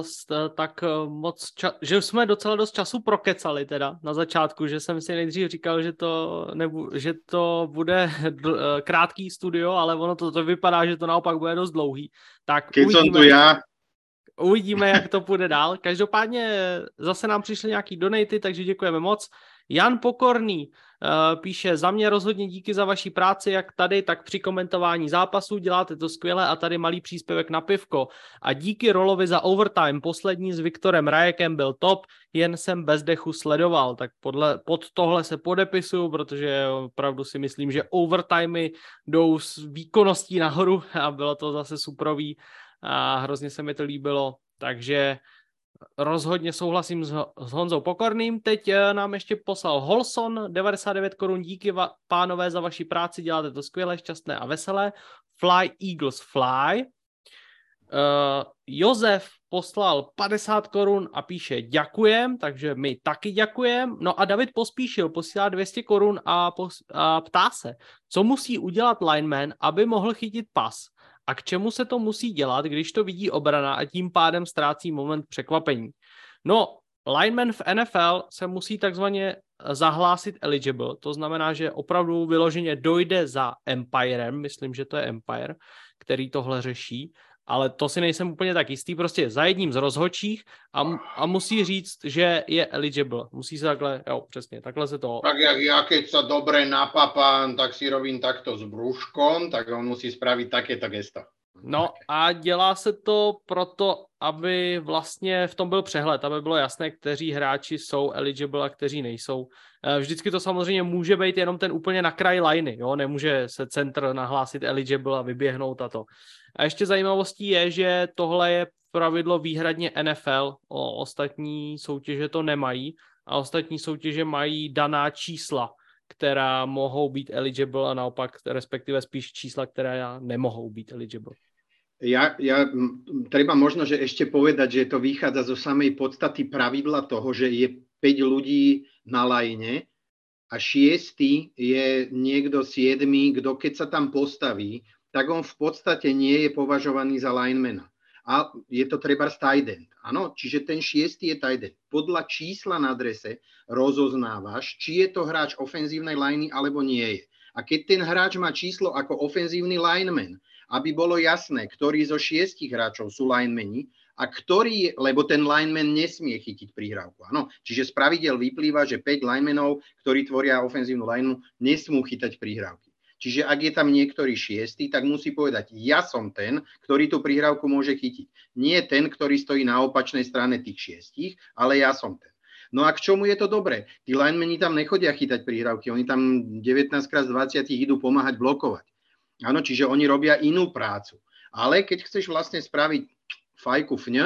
že jsme docela dost času prokecali teda na začátku, že jsem si nejdřív říkal, že to bude krátký studio, ale ono to vypadá, že to naopak bude dost dlouhý. Tak uvidíme, jak to půjde dál. Každopádně zase nám přišly nějaký donaty, takže děkujeme moc. Jan Pokorný píše, za mě rozhodně díky za vaší práci, jak tady, tak při komentování zápasů, děláte to skvěle a tady malý příspěvek na pivko. A díky Rolovi za overtime, poslední s Viktorem Rajekem byl top, jen jsem bez dechu sledoval, tak pod tohle se podepisuju, protože opravdu si myslím, že overtimey jdou s výkonností nahoru a bylo to zase suprový a hrozně se mi to líbilo, takže rozhodně souhlasím s Honzou Pokorným. Teď nám ještě poslal Holson, 99 korun, díky pánové za vaši práci, děláte to skvěle, šťastné a veselé. Fly Eagles Fly. Josef poslal 50 korun a píše děkujem, takže my taky děkujem. No a David Pospíšil posílá 200 korun a ptá se, co musí udělat lineman, aby mohl chytit pas. A k čemu se to musí dělat, když to vidí obrana a tím pádem ztrácí moment překvapení? No, lineman v NFL se musí takzvaně zahlásit eligible, to znamená, že opravdu vyloženě dojde za Empirem, myslím, že to je Empire, který tohle řeší, ale to si nejsem úplně tak jistý, prostě za jedním z rozhodčích a musí říct, že je eligible. Musí se takhle, jo, přesně, takhle se to... Tak jak ja, keď sa dobre napapám, tak si robím takto s brúškom, tak on musí spraviť takéto gesto. No a dělá se to proto, aby vlastně v tom byl přehled, aby bylo jasné, kteří hráči jsou eligible a kteří nejsou. Vždycky to samozřejmě může být jenom ten úplně na kraji liney, jo? Nemůže se centr nahlásit eligible a vyběhnout a to. A ještě zajímavostí je, že tohle je pravidlo výhradně NFL, ostatní soutěže to nemají a ostatní soutěže mají daná čísla, která mohou být eligible a naopak respektive spíš čísla, která nemohou být eligible. Treba možno, že ešte povedať, že to vychádza zo samej podstaty pravidla toho, že je 5 ľudí na lajne a 6. je niekto 7, kto keď sa tam postaví, tak on v podstate nie je považovaný za linemana. A je to trebárs tight end. Áno, čiže ten 6. je tight end. Podľa čísla na drese rozoznávaš, či je to hráč ofenzívnej liney alebo nie je. A keď ten hráč má číslo ako ofenzívny lineman, aby bolo jasné, ktorí zo 6 hráčov sú linemeni a ktorý, lebo ten lineman nesmie chytiť prihrávku. Áno, čiže z pravidel vyplýva, že 5 linemenov, ktorí tvoria ofenzívnu lineu, nesmú chytať prihrávky. Čiže ak je tam niektorý 6, tak musí povedať, ja som ten, ktorý tú prihrávku môže chytiť. Nie ten, ktorý stojí na opačnej strane tých 6, ale ja som ten. No a k čomu je to dobré? Tí linemeni tam nechodia chytať prihrávky, oni tam 19 krát z 20 idú pomáhať blokovať. Áno, čiže oni robia inú prácu. Ale keď chceš vlastne spraviť fajku fňa,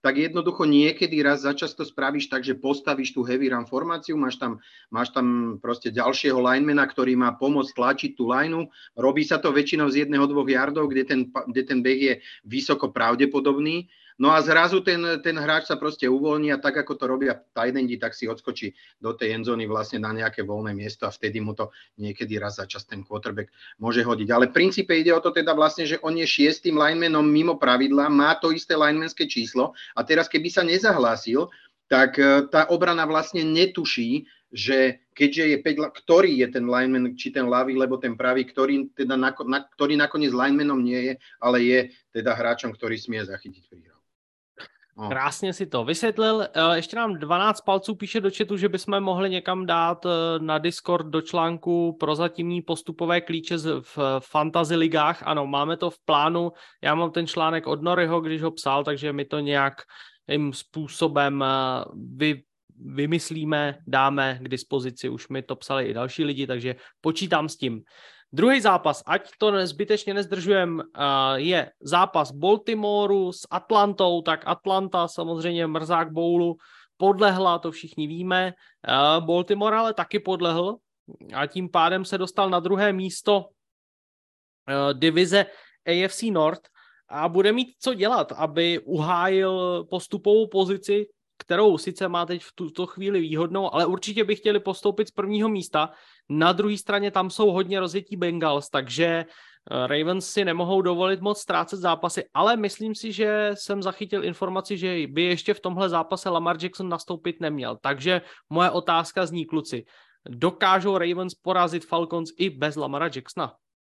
tak jednoducho niekedy raz za čas to spravíš tak, že postavíš tú heavy run formáciu, máš tam proste ďalšieho linemana, ktorý má pomôcť tlačiť tú lineu. Robí sa to väčšinou z 1-2 yardov, kde ten beh je vysoko pravdepodobný. No a zrazu ten hráč sa proste uvoľní a tak, ako to robia tight endi, tak si odskočí do tej endzóny vlastne na nejaké voľné miesto a vtedy mu to niekedy raz za čas ten quarterback môže hodiť. Ale v princípe ide o to teda vlastne, že on je 6. linemanom mimo pravidla, má to isté linemanské číslo a teraz keby sa nezahlásil, tak tá obrana vlastne netuší, že keďže je 5, ktorý je ten lineman, či ten ľavý, lebo ten pravý, ktorý nakoniec linemanom nie je, ale je teda hráčom, ktorý smie zachytiť príhru. No. Krásně si to vysvětlil. Ještě nám 12 palců píše do chatu, že bychom mohli někam dát na Discord do článku prozatímní postupové klíče v fantasy ligách. Ano, máme to v plánu. Já mám ten článek od Noryho, když ho psal, takže my to nějakým způsobem vymyslíme, dáme k dispozici. Už mi to psali i další lidi, takže počítám s tím. Druhý zápas, ať to zbytečně nezdržujeme, je zápas Baltimoreu s Atlantou, tak Atlanta samozřejmě mrzák bowlu podlehla, to všichni víme. Baltimore ale taky podlehl a tím pádem se dostal na druhé místo divize AFC North a bude mít co dělat, aby uhájil postupovou pozici, kterou sice má teď v tuto chvíli výhodnou, ale určitě by chtěli postoupit z prvního místa. Na druhé straně tam jsou hodně rozjetí Bengals, takže Ravens si nemohou dovolit moc ztrácet zápasy, ale myslím si, že jsem zachytil informaci, že by ještě v tomhle zápase Lamar Jackson nastoupit neměl. Takže moje otázka zní, kluci, dokážou Ravens porazit Falcons i bez Lamara Jacksona?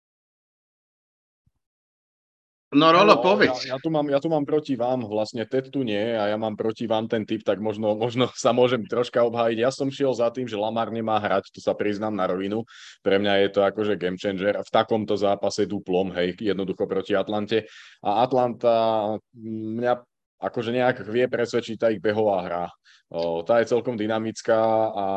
No Rolo, povedz. Ja tu mám proti vám, vlastne Ted tu nie a ja mám proti vám ten typ, tak možno sa môžem troška obhájiť. Ja som šiel za tým, že Lamar nemá hrať, tu sa priznám na rovinu. Pre mňa je to akože game changer v takomto zápase duplom, hej, jednoducho proti Atlante. A Atlanta mňa akože nejak vie presvedčiť tá ich behová hra. Tá je celkom dynamická a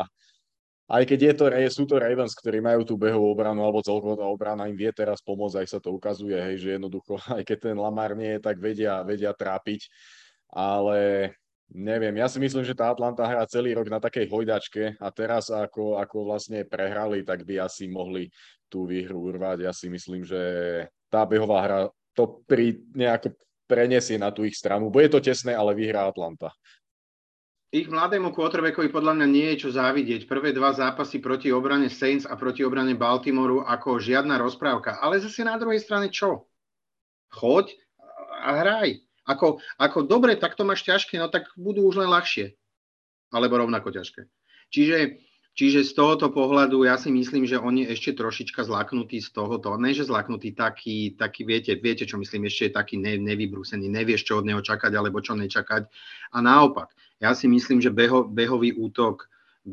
aj keď sú to Ravens, ktorí majú tú behovú obranu, alebo celkovo tá obrana im vie teraz pomôcť, aj sa to ukazuje, hej, že jednoducho, aj keď ten Lamar nie je, tak vedia trápiť, ale neviem, ja si myslím, že tá Atlanta hrá celý rok na takej hojdačke a teraz ako vlastne prehrali, tak by asi mohli tú výhru urvať. Ja si myslím, že tá behová hra to nejako preniesie na tú ich stranu. Bude to tesné, ale vyhrá Atlanta. Ich mladému quarterbackovi podľa mňa nie je čo závidieť. Prvé 2 zápasy proti obrane Saints a proti obrane Baltimoreu ako žiadna rozprávka. Ale zase na druhej strane čo? Choď a hraj. Ako dobre, tak to máš ťažké, no tak budú už len ľahšie. Alebo rovnako ťažké. Čiže z tohoto pohľadu ja si myslím, že on je ešte trošička zlaknutý z tohoto. Ne, že zlaknutý, taký viete, čo myslím, ešte je taký nevybrúsený. Nevieš, čo od neho čakať, alebo čo nečakať. A naopak, ja si myslím, že behový útok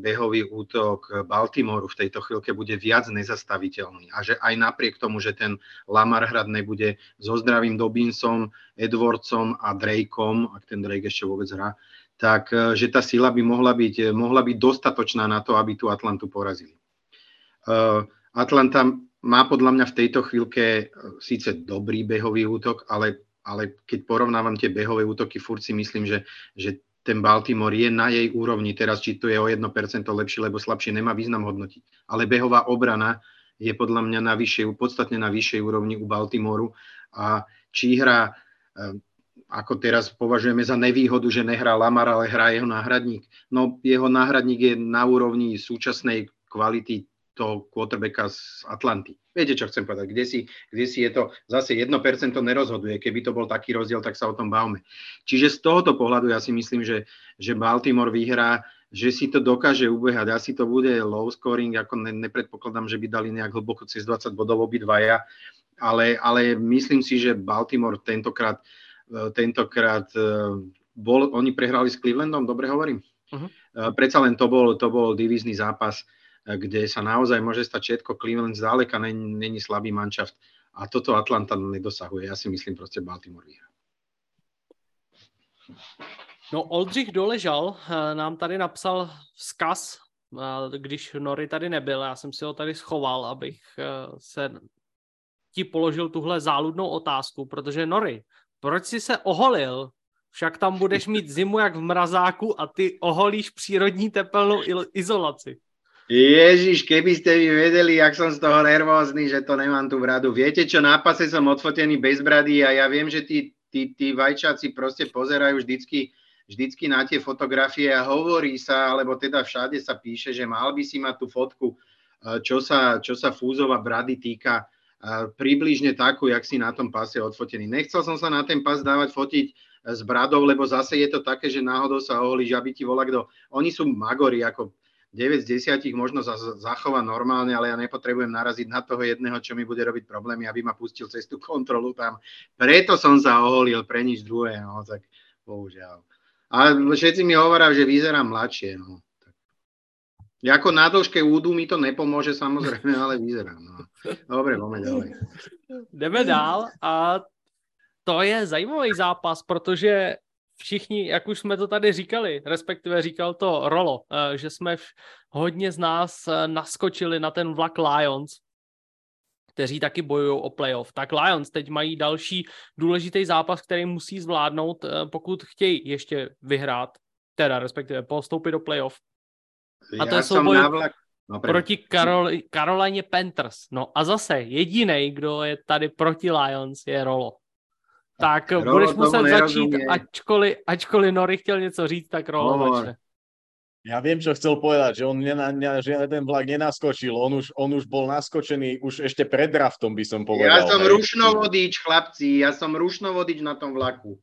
Baltimoreu v tejto chvíľke bude viac nezastaviteľný. A že aj napriek tomu, že ten Lamar hrať nebude so zdravým Dobbinsom, Edwardsom a Drakeom, ak ten Drake ešte vôbec hrá, tak že tá sila by mohla byť dostatočná na to, aby tú Atlantu porazili. Atlanta má podľa mňa v tejto chvíľke síce dobrý behový útok, ale keď porovnávam tie behové útoky, furt si myslím, že ten Baltimore je na jej úrovni. Teraz, či to je o 1% lepšie, lebo slabšie, nemá význam hodnotiť. Ale behová obrana je podľa mňa podstatne na vyššej úrovni u Baltimoreu. A či hrá, ako teraz považujeme za nevýhodu, že nehrá Lamar, ale hrá jeho náhradník. No, jeho náhradník je na úrovni súčasnej kvality toho quarterbacka z Atlanty. Viete, čo chcem povedať? Kde si je to zase 1% nerozhoduje. Keby to bol taký rozdiel, tak sa o tom bavme. Čiže z tohoto pohľadu ja si myslím, že Baltimore vyhrá, že si to dokáže ubehať. Asi to bude low scoring, ako nepredpokladám, že by dali nejak hlboko cez 20 bodov obidvaja, ale myslím si, že Baltimore tentokrát oni prehrali s Clevelandom, dobre hovorím? Uh-huh. Predsa len to bol divízny zápas, kde sa naozaj môže stať všetko. Cleveland zďaleka není slabý manšaft a toto Atlanta nedosahuje. Ja si myslím proste Baltimore vyhrá. No, Oldřich Doležal nám tady napsal vzkaz, když Nory tady nebyl. Já jsem si ho tady schoval, abych se ti položil tuhle záludnou otázku, protože Nory, proč jsi se oholil Však tam budeš mít zimu jak v mrazáku a ty oholíš přírodní tepelnou izolaci. Ježiš, keby ste vy vedeli, jak som z toho nervózny, že to nemám tú bradu. Viete čo, na pase som odfotený bez brady a ja viem, že tí vajčáci proste pozerajú vždycky na tie fotografie a hovorí sa, alebo teda všade sa píše, že mal by si mať tú fotku, čo sa fúzova brady týka, približne takú, jak si na tom pase odfotený. Nechcel som sa na ten pas dávať fotiť s bradou, lebo zase je to také, že náhodou sa oholíš, aby ti volakto. Oni sú magori, ako 9 z 10 možno zachová normálne, ale ja nepotrebujem naraziť na toho jedného, čo mi bude robiť problémy, aby ma pustil cez tú kontrolu tam. Preto som sa oholil, pre nič druhé, no, tak bohužiaľ. A všetci mi hovoria, že vyzerám mladšie, no. Jako na dĺžke údu mi to nepomôže samozrejme, ale vyzerám, no. Dobre, poďme ďalej. Jdeme dál a to je zajímavý zápas, protože všichni, jak už jsme to tady říkali, respektive říkal to Rolo, že jsme hodně z nás naskočili na ten vlak Lions, kteří taky bojují o playoff. Tak Lions teď mají další důležitý zápas, který musí zvládnout, pokud chtějí ještě vyhrát, teda respektive postoupit do playoff. A to je souboj proti Carolině Panthers. No a zase jedinej, kdo je tady proti Lions, je Rolo. Tak Rolo, budeš muset začít, ačkoliv Nori chtěl něco říct, tak Rolo začne. Ja viem, čo chcel povedať, že on ten vlak nenaskočil, on už bol naskočený už ešte pred draftom, by som povedal. Ja som rušnovodič, chlapci, ja som rušnovodič na tom vlaku.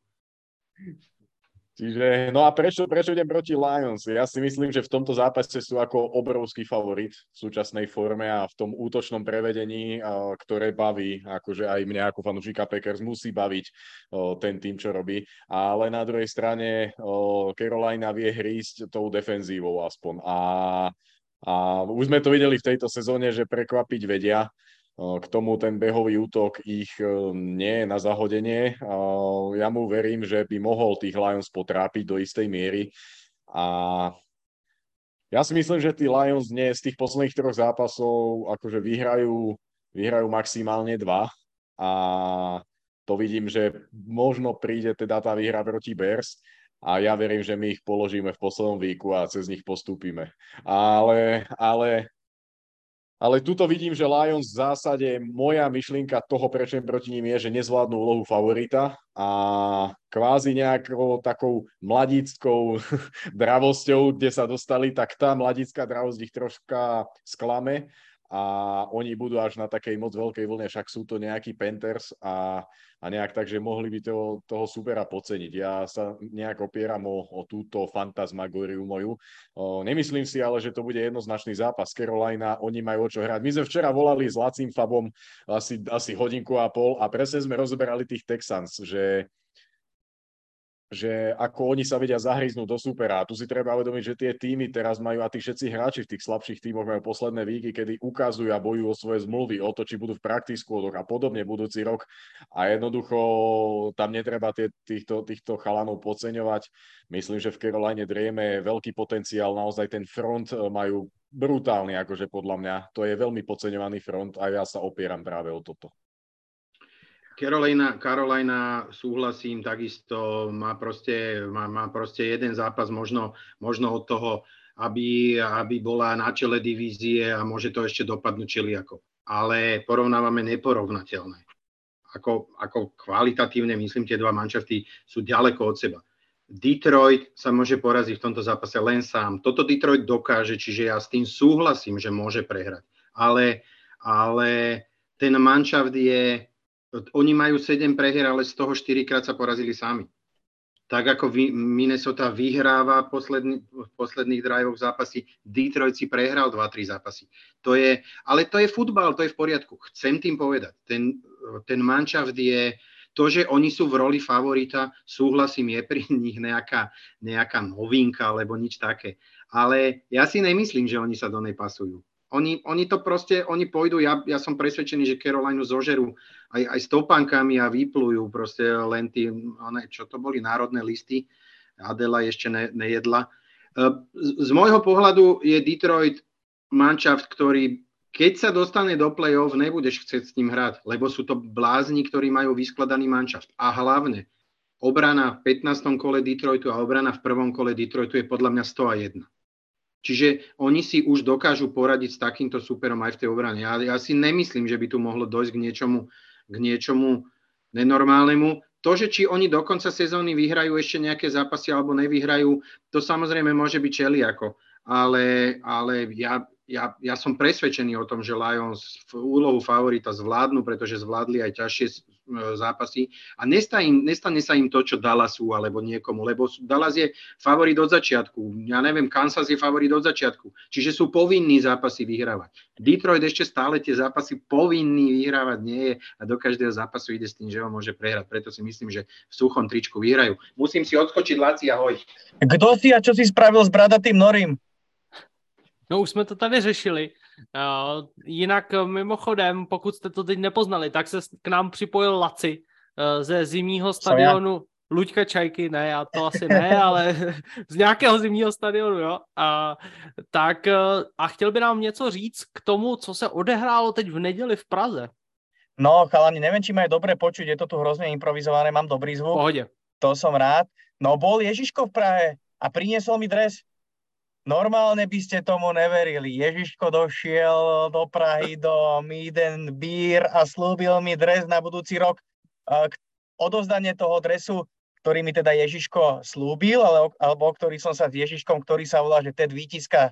Čiže, no a prečo idem proti Lions? Ja si myslím, že v tomto zápase sú ako obrovský favorit v súčasnej forme a v tom útočnom prevedení, ktoré baví, akože aj mňa ako fanúšika Packers musí baviť ten tým, čo robí. Ale na druhej strane Carolina vie hrísť tou defenzívou aspoň. A už sme to videli v tejto sezóne, že prekvapiť vedia. K tomu ten behový útok ich nie je na zahodenie. Ja mu verím, že by mohol tých Lions potrápiť do istej miery. A ja si myslím, že tí Lions dnes z tých posledných 3 zápasov akože vyhrajú maximálne 2. A to vidím, že možno príde teda tá výhra proti Bears. A ja verím, že my ich položíme v poslednom víku a cez nich postúpime. Ale tuto vidím, že Lions v zásade, moja myšlienka toho, prečo proti ním je, že nezvládnu úlohu favorita a kvázi nejakou takou mladíckou dravosťou, kde sa dostali, tak tá mladícká dravosť ich troška sklame a oni budú až na takej moc veľkej vlne, však sú to nejakí Panthers a nejak tak, že mohli by toho supera podceniť. Ja sa nejak opieram o túto fantasmagóriu moju. Nemyslím si ale, že to bude jednoznačný zápas. Carolina, oni majú o čo hrať. My sme včera volali s Lacím Fabom asi hodinku a pol a presne sme rozoberali tých Texans, že ako oni sa vedia zahryznúť do supera. A tu si treba uvedomiť, že tie týmy teraz majú, a tí všetci hráči v tých slabších týmoch majú posledné víky, kedy ukazujú a bojujú o svoje zmluvy, o to, či budú v practice squadoch a podobne budúci rok. A jednoducho tam netreba týchto chalanov podceňovať. Myslím, že v Caroline drieme veľký potenciál, naozaj ten front majú brutálny, akože podľa mňa. To je veľmi podceňovaný front a ja sa opieram práve o toto. Carolina, súhlasím, takisto má proste jeden zápas možno od toho, aby bola na čele divízie a môže to ešte dopadnúť čeliako. Ale porovnávame neporovnateľné. Ako kvalitatívne, myslím, tie dva manšafty sú ďaleko od seba. Detroit sa môže poraziť v tomto zápase len sám. Toto Detroit dokáže, čiže ja s tým súhlasím, že môže prehrať. Ale ten manšaft je... Oni majú 7 prehier, ale z toho 4-krát sa porazili sami. Tak ako Minnesota vyhráva v posledných drivoch zápasy, Detroit si prehral 2-3 zápasy. Ale to je futbal, to je v poriadku. Chcem tým povedať, ten manšaft je... To, že oni sú v roli favorita, súhlasím, je pri nich nejaká novinka alebo nič také. Ale ja si nemyslím, že oni sa do nej pasujú. Oni to proste, oni pôjdu, ja som presvedčený, že Carolinu zožerú aj s topánkami a vyplujú proste len čo to boli, národné listy. Adela ešte nejedla. Z môjho pohľadu je Detroit manšaft, ktorý, keď sa dostane do play-off, nebudeš chcieť s ním hrať, lebo sú to blázni, ktorí majú vyskladaný manšaft. A hlavne, Obrana v 15. kole Detroitu a obrana v prvom kole Detroitu je podľa mňa 101. Čiže oni si už dokážu poradiť s takýmto superom aj v tej obrane. Ja si nemyslím, že by tu mohlo dojsť k niečomu nenormálnemu. To, že či oni do konca sezóny vyhrajú ešte nejaké zápasy alebo nevyhrajú, to samozrejme môže byť čeliako. Ale ja som presvedčený o tom, že Lions v úlohu favorita zvládnu, pretože zvládli aj ťažšie zápasy a nestane sa im to, čo Dallasu alebo niekomu, lebo Dallas je favorit od začiatku. Ja neviem, Kansas je favorit od začiatku. Čiže sú povinní zápasy vyhrávať. Detroit ešte stále tie zápasy povinný vyhrávať nie je a do každého zápasu ide s tým, že ho môže prehrať. Preto si myslím, že v suchom tričku vyhrajú. Musím si odskočiť, Laci, ahoj. Kdo si a čo si spravil s bradatým Norim? No už jsme to tady řešili. Jinak mimochodem, pokud jste to teď nepoznali, tak se k nám připojil Laci ze zimního stadionu Luďka Čajky, ne, já to asi ne, ale z nějakého zimního stadionu, jo. A chtěl by nám něco říct k tomu, co se odehrálo teď v neděli v Praze. No, chalani, neviem, či ma je dobre počuť, je to tu hrozne improvizované, mám dobrý zvuk. Pohodě. To som rád. No, bol Ježiško v Prahe a priniesol mi dres. Normálne by ste tomu neverili. Ježiško došiel do Prahy do Mead & Beer a slúbil mi dres na budúci rok. Odovzdanie toho dresu, ktorý mi teda Ježiško slúbil, alebo ktorý som sa s Ježiškom, ktorý sa volá, že Ted Vítiska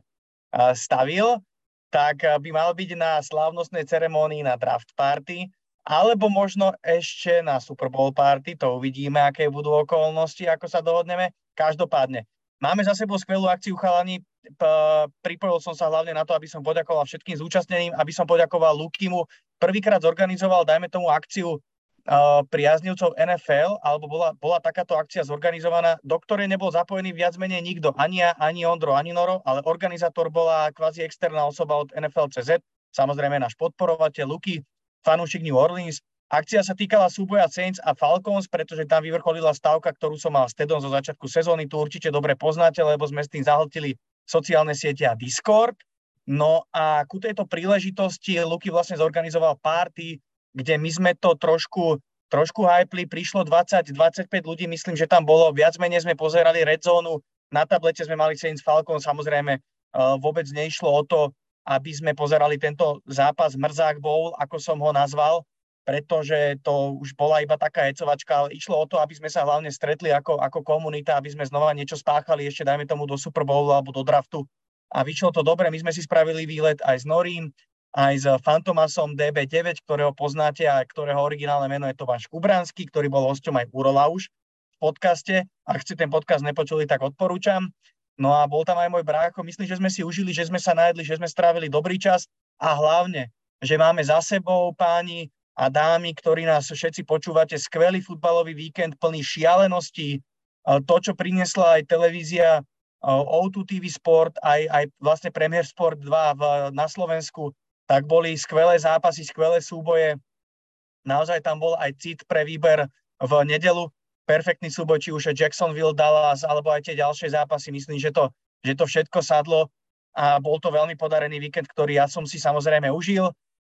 stavil, tak by mal byť na slávnostnej ceremonii na draft party, alebo možno ešte na Super Bowl party. To uvidíme, aké budú okolnosti, ako sa dohodneme. Každopádne. Máme za sebou skvelú akciu, chalani. Pripojil som sa hlavne na to, aby som poďakoval všetkým zúčastneným, aby som poďakoval Lukimu. Prvýkrát zorganizoval, dajme tomu, akciu priaznivcov NFL, alebo bola takáto akcia zorganizovaná, do ktorej nebol zapojený viac menej nikto, ani ja, ani Ondro, ani Noro, ale organizátor bola kvázi externá osoba od NFL.cz, samozrejme náš podporovateľ Luky, fanúšik New Orleans. Akcia sa týkala súboja Saints a Falcons, pretože tam vyvrcholila stavka, ktorú som mal s Tedom zo začiatku sezóny. Tu určite dobre poznáte, lebo sme s tým zahltili sociálne siete a Discord. No a ku tejto príležitosti Luky vlastne zorganizoval party, kde my sme to trošku hypli. Prišlo 20-25 ľudí, myslím, že tam bolo. Viac menej sme pozerali Red Zone. Na tablete sme mali Saints Falcons. Samozrejme vôbec neišlo o to, aby sme pozerali tento zápas Mrzák Bowl, ako som ho nazval, pretože to už bola iba taká hecovačka, ale išlo o to, aby sme sa hlavne stretli ako komunita, aby sme znova niečo spáchali, ešte dajme tomu do Super Bowlu alebo do draftu. A vyšlo to dobre, my sme si spravili výlet aj s Norim, aj s Fantomasom DB9, ktorého poznáte a ktorého originálne meno je Tomáš Kubranský, ktorý bol hosťom aj Urola už v podcaste. Ak ste ten podcast nepočuli, tak odporúčam. No a bol tam aj môj brácho. Myslím, že sme si užili, že sme sa najedli, že sme strávili dobrý čas a hlavne, že máme za sebou, páni a dámy, ktorí nás všetci počúvate, skvelý futbalový víkend plný šialeností. To, čo priniesla aj televízia O2 TV Sport, aj vlastne Premier Sport 2 na Slovensku, tak boli skvelé zápasy, skvelé súboje. Naozaj tam bol aj cit pre výber v nedeľu. Perfektný súboj, či už Jacksonville, Dallas, alebo aj tie ďalšie zápasy. Myslím, že to všetko sadlo a bol to veľmi podarený víkend, ktorý ja som si samozrejme užil.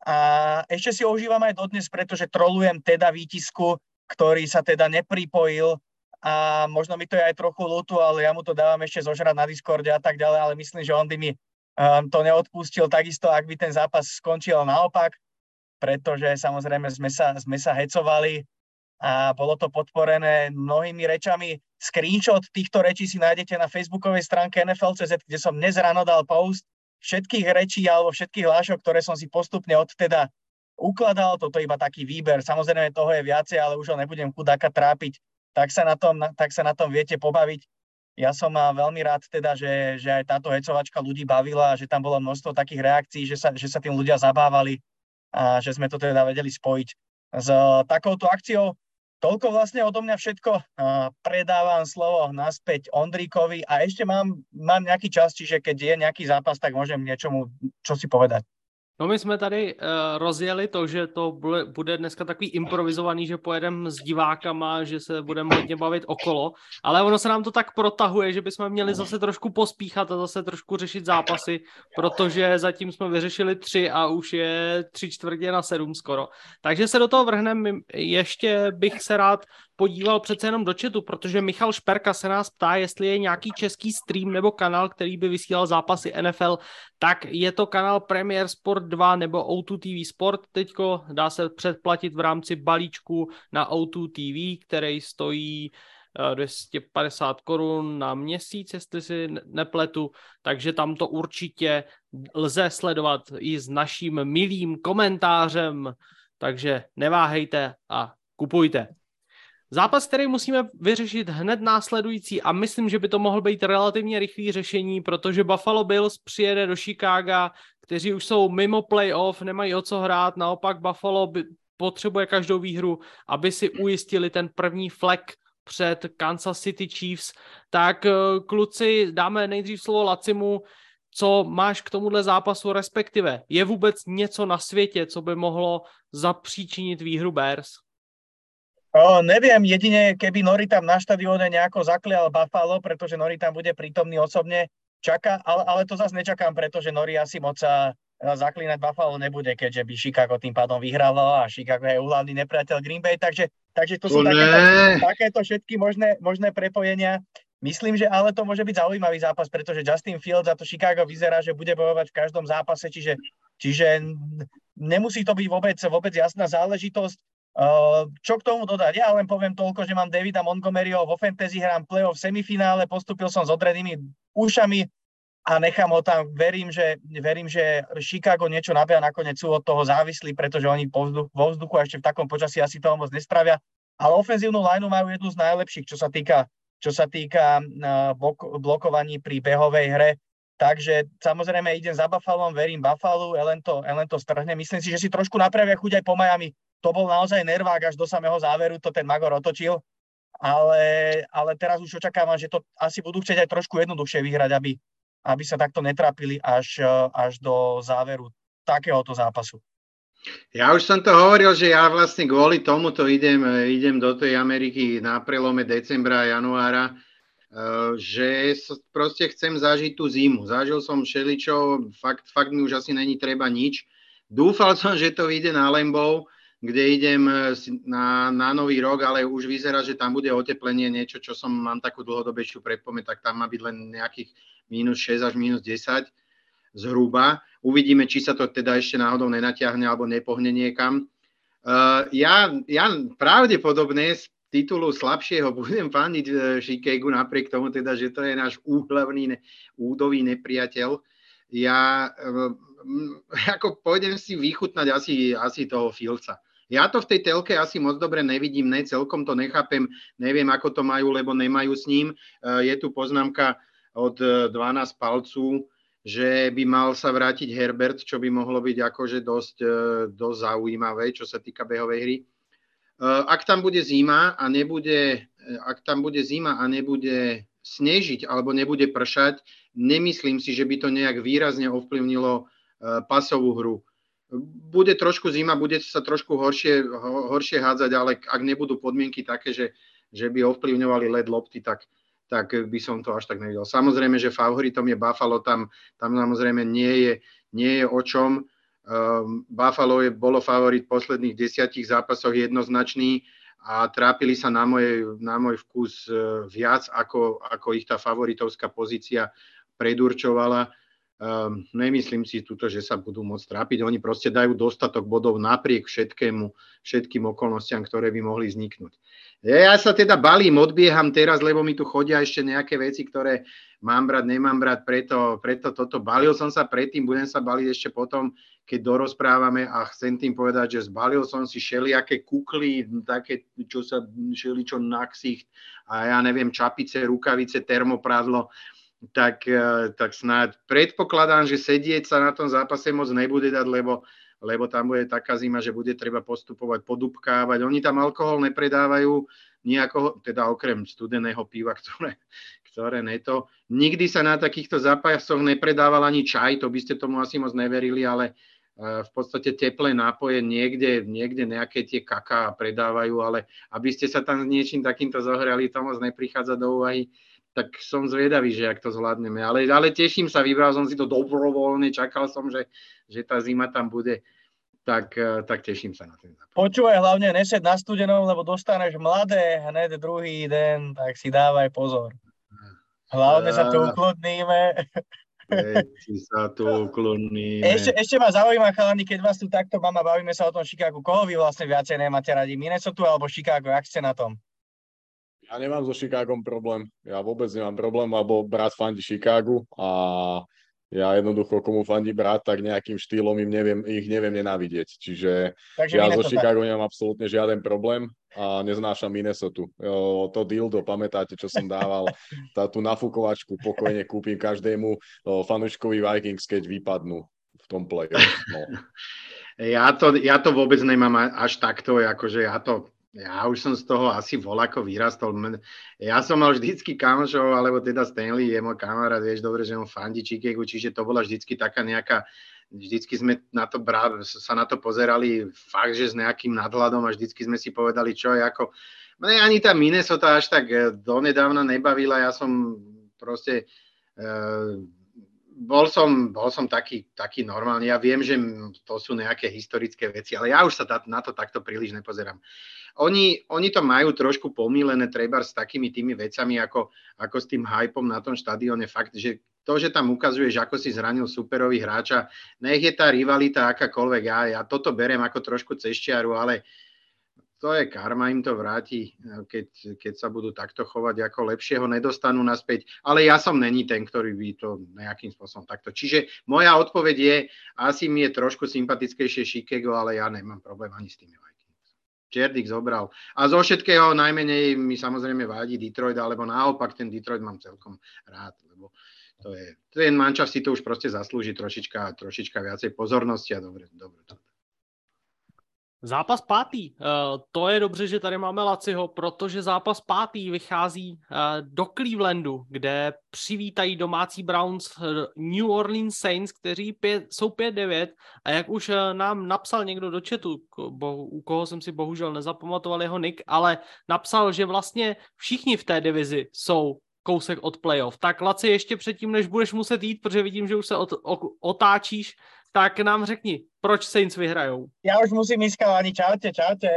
A ešte si ho užívam aj dodnes, pretože trolujem Teda Vítisku, ktorý sa teda nepripojil a možno mi to je aj trochu ľúto, ale ja mu to dávam ešte zožrať na Discorde a tak ďalej, ale myslím, že on by mi to neodpustil takisto, ak by ten zápas skončil naopak, pretože samozrejme sme sa hecovali a bolo to podporené mnohými rečami. Screenshot týchto rečí si nájdete na facebookovej stránke NFL.cz, kde som dnes ráno dal post všetkých rečí alebo všetkých hlášok, ktoré som si postupne odteda ukladal. Toto je iba taký výber. Samozrejme toho je viacej, ale už ho nebudem chudáka trápiť. Tak sa na tom viete pobaviť. Ja som veľmi rád teda, že aj táto hecovačka ľudí bavila, že tam bolo množstvo takých reakcií, že sa tým ľudia zabávali a že sme to teda vedeli spojiť s takouto akciou. Toľko vlastne odo mňa všetko. Predávam slovo naspäť Ondríkovi a ešte mám nejaký čas, čiže keď je nejaký zápas, tak môžem niečomu čo si povedať. No my jsme tady rozjeli to, že to bude dneska takový improvizovaný, že pojedeme s divákama, že se budeme hodně bavit okolo, ale ono se nám to tak protahuje, že bychom měli zase trošku pospíchat a zase trošku řešit zápasy, protože zatím jsme vyřešili 3 a už je 6:45 skoro. Takže se do toho vrhneme. Ještě bych se rád podíval přece jenom do chatu, protože Michal Šperka se nás ptá, jestli je nějaký český stream nebo kanál, který by vysílal zápasy NFL, tak je to kanál Premier Sport 2 nebo O2 TV Sport. Teďko dá se předplatit v rámci balíčku na O2 TV, který stojí 250 korun na měsíc, jestli si nepletu, takže tam to určitě lze sledovat i s naším milým komentářem, takže neváhejte a kupujte. Zápas, který musíme vyřešit hned následující a myslím, že by to mohl být relativně rychlý řešení, protože Buffalo Bills přijede do Chicaga, kteří už jsou mimo playoff, nemají o co hrát, naopak Buffalo potřebuje každou výhru, aby si ujistili ten první flek před Kansas City Chiefs. Tak kluci, dáme nejdřív slovo Lacimu, co máš k tomuhle zápasu, respektive je vůbec něco na světě, co by mohlo zapříčinit výhru Bears? Neviem, jedine keby Nori tam na štadióne nejako zaklial Buffalo, pretože Nori tam bude prítomný osobne, ale to zase nečakám, pretože Nori asi moc sa zaklínať Buffalo nebude, keďže by Chicago tým pádom vyhralo a Chicago je úhlavný nepriateľ Green Bay, takže to sú takéto všetky možné prepojenia. Myslím, že ale to môže byť zaujímavý zápas, pretože Justin Fields a to Chicago vyzerá, že bude bojovať v každom zápase, čiže nemusí to byť vôbec jasná záležitosť. Čo k tomu dodať? Ja len poviem toľko, že mám Davida Montgomeryho vo fantasy, hrám playoff v semifinále, postúpil som s odrenými ušami a nechám ho tam. Verím, že Chicago niečo nabia, nakoniec sú od toho závislí, pretože oni vo vzduchu a ešte v takom počasí asi toho moc nespravia. Ale ofenzívnu lineu majú jednu z najlepších, čo sa týka blokovaní pri behovej hre. Takže samozrejme idem za Buffalom, verím Buffalo, len to strhne. Myslím si, že si trošku napravia chuť aj po Miami. To bol naozaj nervák až do samého záveru, to ten Magor otočil, ale teraz už očakávam, že to asi budú chcieť aj trošku jednoduchšie vyhrať, aby sa takto netrápili až do záveru takéhoto zápasu. Ja už som to hovoril, že ja vlastne kvôli tomuto idem do tej Ameriky na prelome decembra a januára, že proste chcem zažiť tú zimu. Zažil som všeličo, fakt mi už asi není treba nič. Dúfal som, že to vyjde na Lambeau, kde idem na nový rok, ale už vyzerá, že tam bude oteplenie, niečo, čo mám takú dlhodobejšiu predpoveď, tak tam má byť len nejakých -6 až -10 zhruba. Uvidíme, či sa to teda ešte náhodou nenatiahne alebo nepohne niekam. Ja pravdepodobne z titulu slabšieho budem fandiť Chicagu, napriek tomu teda, že to je náš údový nepriateľ. Ja ako pôjdem si vychutnať asi toho Fieldsa. Ja to v tej telke asi moc dobre nevidím, celkom to nechápem, neviem, ako to majú, lebo nemajú s ním. Je tu poznámka od 12 palců, že by mal sa vrátiť Herbert, čo by mohlo byť akože dosť zaujímavé, čo sa týka behovej hry. Ak tam bude zima a nebude snežiť alebo nebude pršať, nemyslím si, že by to nejak výrazne ovplyvnilo pasovú hru. Bude trošku zima, bude sa trošku horšie hádzať, ale ak nebudú podmienky také, že by ovplyvňovali led lopty, tak by som to až tak nevidel. Samozrejme, že favoritom je Buffalo, tam samozrejme nie je o čom. Buffalo bolo favorit v posledných 10 zápasoch jednoznačný a trápili sa na môj vkus viac, ako ich tá favoritovská pozícia predurčovala. Nemyslím si tuto, že sa budú môcť trápiť. Oni proste dajú dostatok bodov napriek všetkým okolnostiam, ktoré by mohli vzniknúť. Ja sa teda balím, odbieham teraz, lebo mi tu chodia ešte nejaké veci, ktoré mám brať, nemám brať, preto toto. Balil som sa predtým, budem sa baliť ešte potom, keď dorozprávame a chcem tým povedať, že zbalil som si všelijaké kukly, také, čo sa všeličo na ksicht a ja neviem, čapice, rukavice, termoprádlo. Tak snáď predpokladám, že sedieť sa na tom zápase moc nebude dať, lebo tam bude taká zima, že bude treba postupovať, podupkávať. Oni tam alkohol nepredávajú nejako, teda okrem studeného piva, ktoré neto. Nikdy sa na takýchto zápasoch nepredával ani čaj, to by ste tomu asi moc neverili, ale v podstate teplé nápoje niekde nejaké tie kaká predávajú, ale aby ste sa tam s niečím takýmto zohrali, to moc neprichádza do úvahy, tak som zvedavý, že ak to zvládneme. Ale teším sa, vybral som si to dobrovoľne, čakal som, že tá zima tam bude, tak teším sa na ten zápas. Počúvaj, hlavne nesed na studenom, lebo dostaneš mladé hneď druhý den, tak si dávaj pozor. Hlavne sa tu ukludníme. Sa tu ukloníme. Ešte ma zaujíma, chalani, keď vás tu takto mám a bavíme sa o tom Chicagu, koho vy vlastne viacej nemáte radi? Minnesota alebo Chicago? Jak ste na tom? Ja nemám so Chicagom problém. Ja vôbec nemám problém, lebo brat fandí Chicagu a ja jednoducho, komu fandí brat, tak nejakým štýlom ich neviem nenávidieť. Čiže ja so Chicago nemám absolútne žiaden problém a neznášam Minnesota. To dildo, pamätáte, čo som dával, tú nafúkovačku pokojne kúpim každému fanúškovi Vikings, keď vypadnú v tom play-off. No. Ja to vôbec nemám až takto, akože ja už som z toho asi voľako vyrastol. Ja som mal vždycky kamošov, alebo teda Stanley je môj kamarát, vieš dobre, že on fandí Chicagu, čiže to bola vždycky taká nejaká, vždycky sme sa na to pozerali fakt, že s nejakým nadhľadom a vždycky sme si povedali, čo je ako. Mne ani tá Minnesota až tak donedávna nebavila, ja som proste bol som taký normálny. Ja viem, že to sú nejaké historické veci, ale ja už sa na to takto príliš nepozerám. Oni to majú trošku pomílené treba s takými tými vecami, ako s tým hypom na tom štadióne. Fakt, že to, že tam ukazuješ, ako si zranil superový hráča, nech je tá rivalita akákoľvek. Ja toto beriem ako trošku cez čiaru, ale to je karma, im to vráti, keď sa budú takto chovať, ako lepšieho nedostanú naspäť. Ale ja som není ten, ktorý by to nejakým spôsobom takto. Čiže moja odpoveď je, asi mi je trošku sympatickejšie Chicago, ale ja nemám problém ani s tými Vikings. Čerdik zobral. A zo všetkého najmenej mi samozrejme vadí Detroit, alebo naopak ten Detroit mám celkom rád, lebo ten mančaft si to už proste zaslúži trošička viacej pozornosti a dobre. Zápas 5. To je dobře, že tady máme Laciho, protože zápas 5. vychází do Clevelandu, kde přivítají domácí Browns New Orleans Saints, kteří jsou 5-9 a jak už nám napsal někdo do chatu, u koho jsem si bohužel nezapamatoval jeho nick, ale napsal, že vlastně všichni v té divizi jsou kousek od playoff. Tak Laci, ještě předtím, než budeš muset jít, protože vidím, že už se otáčíš, tak nám řekni, proč Saints vyhrajou. Ja už musím ísť, ani čaute.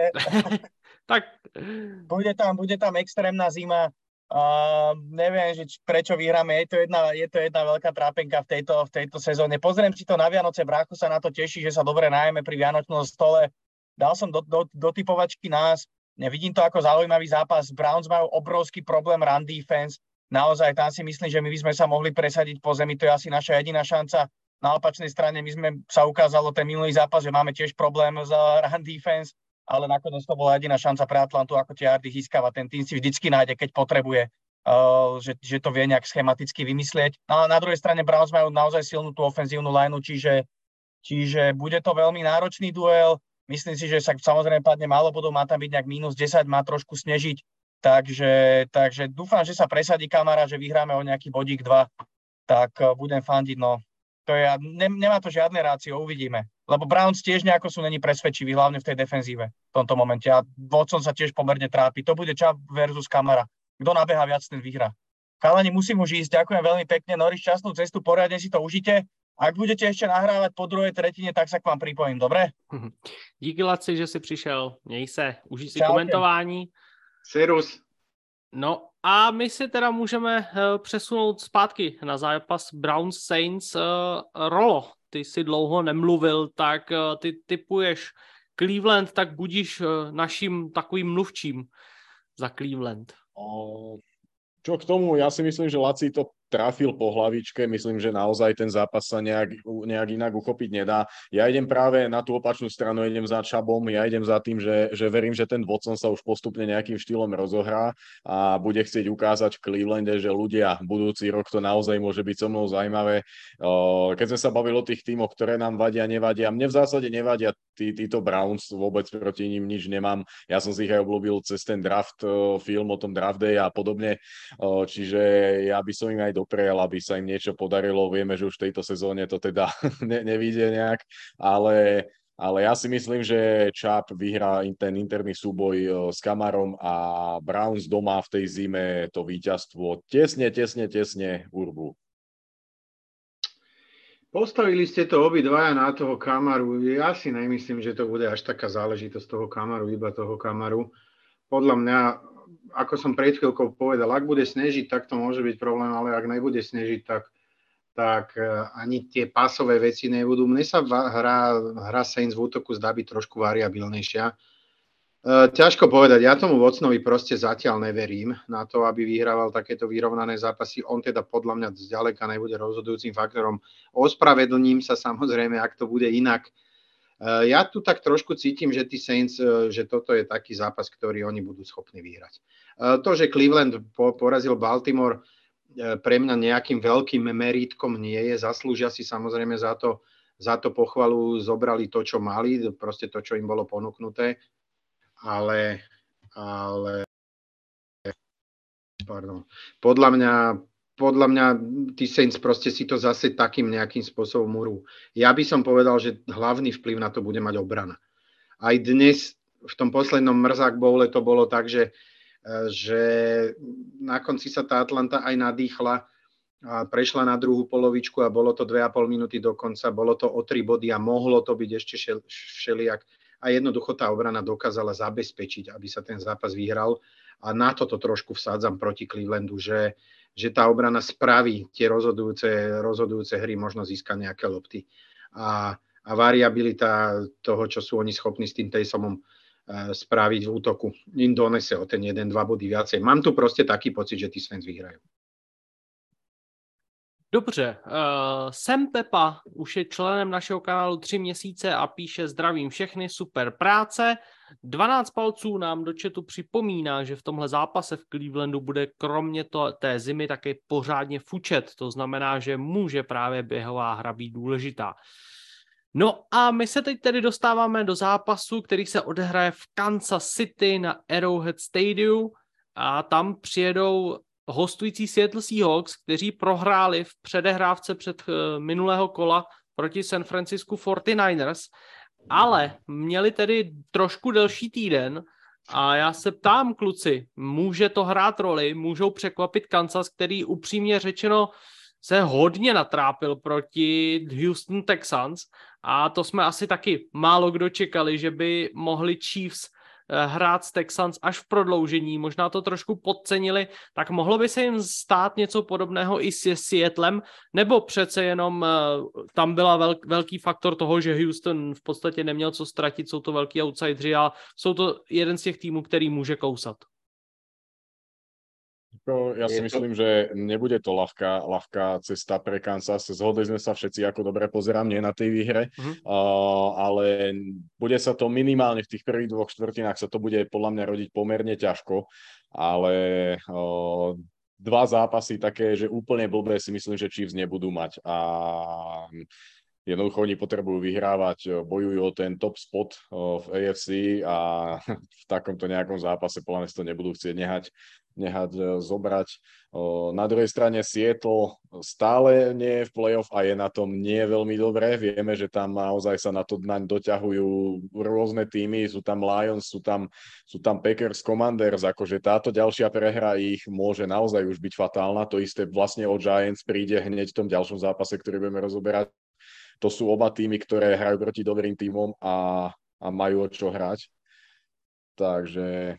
Tak. Bude tam extrémna zima. Neviem, že prečo vyhráme. Je to jedna veľká trápenka v tejto sezóne. Pozriem si to na Vianoce, brácho sa na to teší, že sa dobre nájeme pri vianočnom stole. Dal som do typovačky nás. Nevidím to ako zaujímavý zápas. Browns majú obrovský problém run defense. Naozaj, tam si myslím, že my by sme sa mohli presadiť po zemi. To je asi naša jediná šanca. Na opačnej strane sa ukázalo ten minulý zápas, že máme tiež problém s run defense, ale nakoniec to bola jediná šanca pre Atlantu, ako tie yardy získava. Ten tým si vždycky nájde, keď potrebuje, že to vie nejak schematicky vymyslieť. No a na druhej strane Browns majú naozaj silnú tú ofenzívnu lineu, čiže bude to veľmi náročný duel. Myslím si, že sa samozrejme padne málo bodov, má tam byť nejak -10, má trošku snežiť, takže dúfam, že sa presadí kamara, že vyhráme o nejaký bodík 2, tak budem fandiť, no. To je, nemá to žiadne rácio, uvidíme. Lebo Browns tiež nejako sú není presvedčiví, hlavne v tej defenzíve v tomto momente. A Watson sa tiež pomerne trápi. To bude Chubb versus Kamara. Kto nabeha viac, ten vyhrá. Chalani, musím už ísť. Ďakujem veľmi pekne. Norris, šťastnú cestu, poriadne si to užite. Ak budete ešte nahrávať po druhej tretine, tak sa k vám pripojím, dobre? Díky, Laci, že si přišel. Měj se. Užij si komentování. Serus. No a my si teda můžeme přesunout zpátky na zápas Browns Saints. Rolo, ty si dlouho nemluvil, tak ty tipuješ Cleveland, tak budíš naším takovým mluvčím za Cleveland. Čo k tomu, ja si myslím, že Laci to trafil po hlavičke, myslím, že naozaj ten zápas sa nejak inak uchopiť nedá. Ja idem práve na tú opačnú stranu, idem za Chubbom, ja idem za tým, že verím, že ten Watson sa už postupne nejakým štýlom rozohrá a bude chcieť ukázať v Clevelande, že ľudia, budúci rok to naozaj môže byť so mnou zaujímavé. Keď sme sa bavili o tých tímoch, ktoré nám vadia, nevadia, mne v zásade nevadia títo Browns, vôbec proti ním nič nemám. Ja som si ich aj obľúbil cez ten draft, film o tom draft day a podobne, čiže ja by som im aj doprial, aby sa im niečo podarilo. Vieme, že už v tejto sezóne to teda nevíde nejak, ale ja si myslím, že Čáp vyhrá ten interný súboj s Kamarom a Browns doma v tej zime to víťazstvo tesne urbu. Postavili ste to obidvaja na toho Kamaru. Ja si nemyslím, že to bude až taká záležitosť toho Kamaru, iba toho Kamaru. Podľa mňa, ako som pred chvíľkou povedal, ak bude snežiť, tak to môže byť problém, ale ak nebude snežiť, tak ani tie pásové veci nebudú. Mne sa hra Saints v útoku zdá byť trošku variabilnejšia. Ťažko povedať, ja tomu Watsonovi proste zatiaľ neverím na to, aby vyhrával takéto vyrovnané zápasy. On teda podľa mňa zďaleka nebude rozhodujúcim faktorom. Ospravedlním sa samozrejme, ak to bude inak. Ja tu tak trošku cítim, že tí Saints, že toto je taký zápas, ktorý oni budú schopní vyhrať. To, že Cleveland porazil Baltimore, pre mňa nejakým veľkým merítkom nie je. Zaslúžia si samozrejme za to pochvalu, zobrali to, čo mali, proste to, čo im bolo ponúknuté. Ale podľa mňa tí Saints proste si to zase takým nejakým spôsobom urú. Ja by som povedal, že hlavný vplyv na to bude mať obrana. Aj dnes v tom poslednom Mrzák Bowle to bolo tak, že na konci sa tá Atlanta aj nadýchla a prešla na druhú polovičku a bolo to 2,5 minúty do konca, bolo to o 3 body a mohlo to byť ešte všelijak. A jednoducho tá obrana dokázala zabezpečiť, aby sa ten zápas vyhral. A na toto trošku vsádzam proti Clevelandu, že tá obrana spraví tie rozhodujúce hry, možno získa nejaké lopty. A variabilita toho, čo sú oni schopní s tým Taysomom spraviť v útoku, im donese o ten 1-2 body viacej. Mám tu proste taký pocit, že tí Saints vyhrajú. Dobře, Sam Pepa už je členem našeho kanálu 3 měsíce a píše: zdravím všechny, super práce. 12 palců nám do chatu připomíná, že v tomhle zápase v Clevelandu bude kromě té zimy také pořádně fučet. To znamená, že může právě běhová hra být důležitá. No a my se teď tedy dostáváme do zápasu, který se odehraje v Kansas City na Arrowhead Stadium a tam přijedou hostující Seattle Seahawks, kteří prohráli v předehrávce před minulého kola proti San Francisco 49ers, ale měli tedy trošku delší týden a já se ptám, kluci, může to hrát roli, můžou překvapit Kansas, který upřímně řečeno se hodně natrápil proti Houston Texans a to jsme asi taky málo kdo čekali, že by mohli Chiefs hrát s Texans až v prodloužení, možná to trošku podcenili, tak mohlo by se jim stát něco podobného i s Seattlem, nebo přece jenom tam byla velký faktor toho, že Houston v podstatě neměl co ztratit, jsou to velký outsideri a jsou to jeden z těch týmů, který může kousat. Ja si myslím, že nebude to ľahká cesta pre Kansas. Zhodli sme sa všetci, ako dobre pozerám, nie na tej výhre, ale bude sa to minimálne v tých prvých 2 štvrtinách sa to bude podľa mňa rodiť pomerne ťažko, ale 2 zápasy také, že úplne blbé si myslím, že Chiefs nebudú mať a jednoducho oni potrebujú vyhrávať, bojujú o ten top spot v AFC a v takomto nejakom zápase podľa mňa to nebudú chcieť nehať zobrať. Na druhej strane Seattle stále nie je v playoff a je na tom nie veľmi dobré. Vieme, že tam naozaj sa na to naň doťahujú rôzne týmy. Sú tam Lions, sú tam Packers, Commanders. Akože táto ďalšia prehra ich môže naozaj už byť fatálna. To isté vlastne od Giants príde hneď v tom ďalšom zápase, ktorý budeme rozoberať. To sú oba týmy, ktoré hrajú proti dobrým týmom a majú o čo hrať. Takže...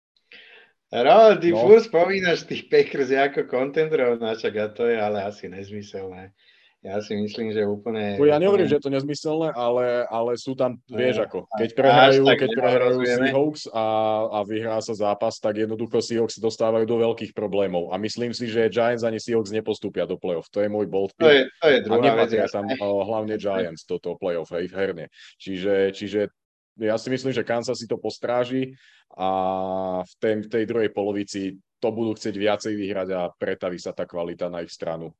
Ty furt spomínaš tých Packers ako kontendrov, načak a to je ale asi nezmyselné. Ja si myslím, že úplne... Ja nehovorím, že je to nezmyselné, ale sú tam, vieš ako, keď prehrajú Seahawks a vyhrá sa zápas, tak jednoducho Seahawks dostávajú do veľkých problémov. A myslím si, že Giants ani Seahawks nepostúpia do playoff. To je môj bold pick. To je druhá vec. A nepatria tam hlavne Giants do toho playoff, hej, herne. Čiže ja si myslím, že Kansas si to postráži a v tej druhej polovici to budú chcieť viacej vyhrať a pretaví sa tá kvalita na ich stranu.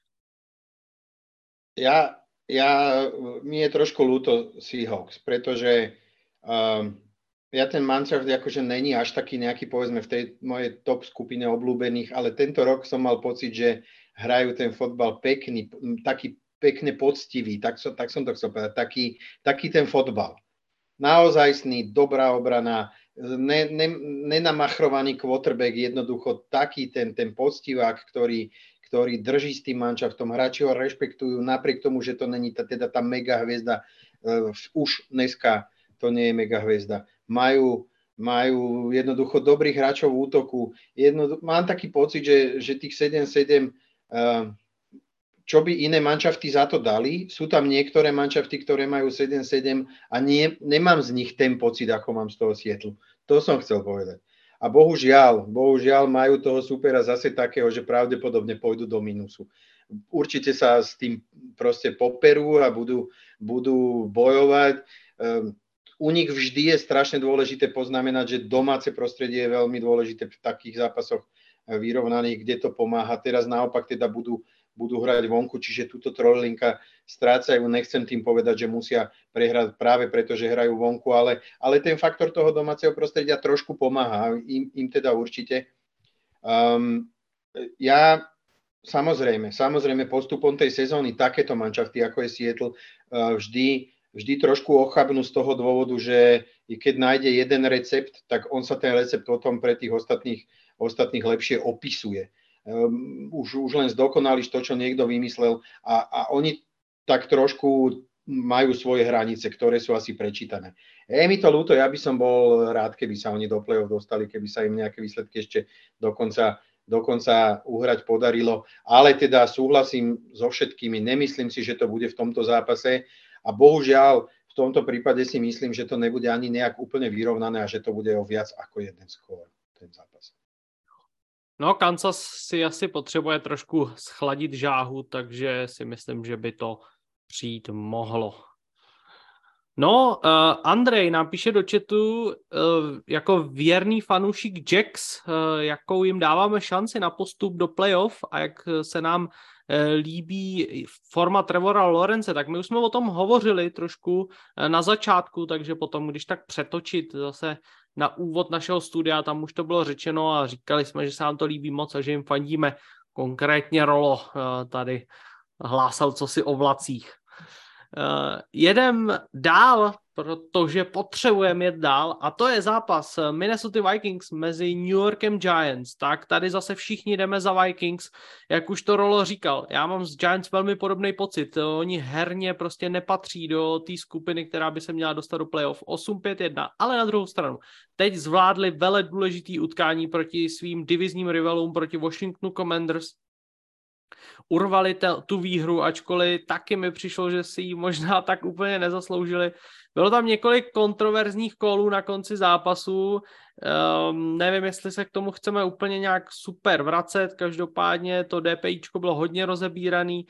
Mi je trošku ľúto Seahawks, pretože ja ten Mannschaft akože není až taký nejaký, povedzme, v tej mojej top skupine obľúbených, ale tento rok som mal pocit, že hrajú ten fotbal pekný, taký pekne poctivý, tak som to chcel povedať, taký ten fotbal. Naozajstný, dobrá obrana, nenamachrovaný quarterback, jednoducho taký ten poctivák, ktorý drží s tým manšaftom, hráči ho rešpektujú, napriek tomu, že to není teda tá mega hviezda, už dneska to nie je mega hviezda. Majú jednoducho dobrých hráčov v útoku. Mám taký pocit, že tých 7-7, čo by iné manšafty za to dali, sú tam niektoré manšafty, ktoré majú 7-7 a nemám z nich ten pocit, ako mám z toho Seattle. To som chcel povedať. A bohužiaľ majú toho supera zase takého, že pravdepodobne pôjdu do minusu. Určite sa s tým proste poperú a budú bojovať. U nich vždy je strašne dôležité poznamenať, že domáce prostredie je veľmi dôležité v takých zápasoch vyrovnaných, kde to pomáha. Teraz naopak teda budú hrať vonku, čiže túto trojlinka strácajú. Nechcem tým povedať, že musia prehrať práve preto, že hrajú vonku, ale ten faktor toho domáceho prostredia trošku pomáha. Im teda určite. Ja samozrejme postupom tej sezóny takéto manšafty, ako je Seattle, vždy trošku ochabnú z toho dôvodu, že keď nájde jeden recept, tak on sa ten recept potom pre tých ostatných lepšie opisuje. Už len zdokonališ to, čo niekto vymyslel a oni tak trošku majú svoje hranice, ktoré sú asi prečítané. Je mi to ľúto, ja by som bol rád, keby sa oni do play-off dostali, keby sa im nejaké výsledky ešte dokonca uhrať podarilo, ale teda súhlasím so všetkými, nemyslím si, že to bude v tomto zápase a bohužiaľ v tomto prípade si myslím, že to nebude ani nejak úplne vyrovnané a že to bude o viac ako jeden skór ten zápas. No, Kansas si asi potřebuje trošku schladit žáhu, takže si myslím, že by to přijít mohlo. No, Andrej nám píše do chatu jako věrný fanoušik Jacks, jakou jim dáváme šanci na postup do playoff a jak se nám líbí forma Trevora Lawrence, tak my už jsme o tom hovořili trošku na začátku, takže potom, když tak přetočit zase na úvod našeho studia, tam už to bylo řečeno a říkali jsme, že se nám to líbí moc a že jim fandíme. Konkrétně Rolo tady hlásal cosi o vlacích. Jedem dál, protože potřebujeme jet dál a to je zápas Minnesota Vikings mezi New Yorkem Giants. Tak tady zase všichni jdeme za Vikings, jak už to Rolo říkal. Já mám z Giants velmi podobný pocit. Oni herně prostě nepatří do té skupiny, která by se měla dostat do playoff 8-5-1, ale na druhou stranu. Teď zvládli vele důležitý utkání proti svým divizním rivalům, proti Washingtonu Commanders. Urvali tu výhru, ačkoliv taky mi přišlo, že si ji možná tak úplně nezasloužili. Bylo tam několik kontroverzních kolů na konci zápasu, nevím, jestli se k tomu chceme úplně nějak super vracet, každopádně to DPIčko bylo hodně rozebíraný.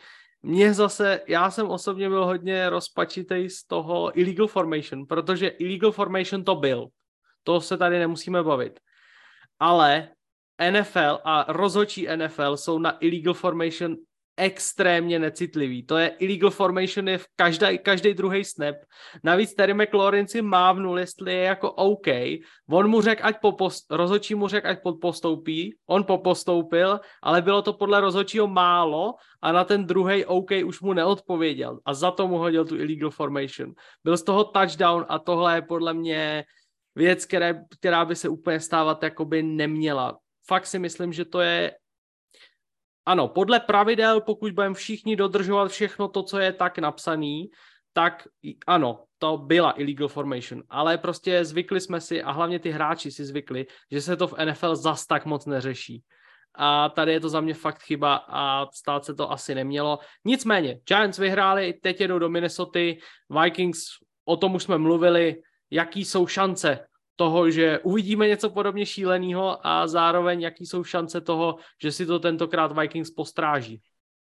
Já jsem osobně byl hodně rozpačitej z toho illegal formation, protože illegal formation to byl. To se tady nemusíme bavit. Ale NFL a rozhodčí NFL jsou na illegal formation extrémně necitliví. To je illegal formation je v každý druhý snap. Navíc Terry McLaurin si mávnul, jestli je jako OK. On mu řekl, rozhodčí mu řekl, ať postoupí. On postoupil, ale bylo to podle rozhodčího málo a na ten druhý OK už mu neodpověděl. A za to mu hodil tu illegal formation. Byl z toho touchdown a tohle je podle mě věc, která by se úplně stávat jakoby neměla. Fakt si myslím, že to je ano, podle pravidel, pokud budeme všichni dodržovat všechno to, co je tak napsaný, tak ano, to byla illegal formation, ale prostě zvykli jsme si a hlavně ty hráči si zvykli, že se to v NFL zas tak moc neřeší. A tady je to za mě fakt chyba a stát se to asi nemělo. Nicméně, Giants vyhráli, teď jedou do Minnesoty, Vikings, o tom už jsme mluvili, jaký jsou šance toho, že uvidíme něco podobně šíleného a zároveň jaký jsou šance toho, že si to tentokrát Vikings postráží.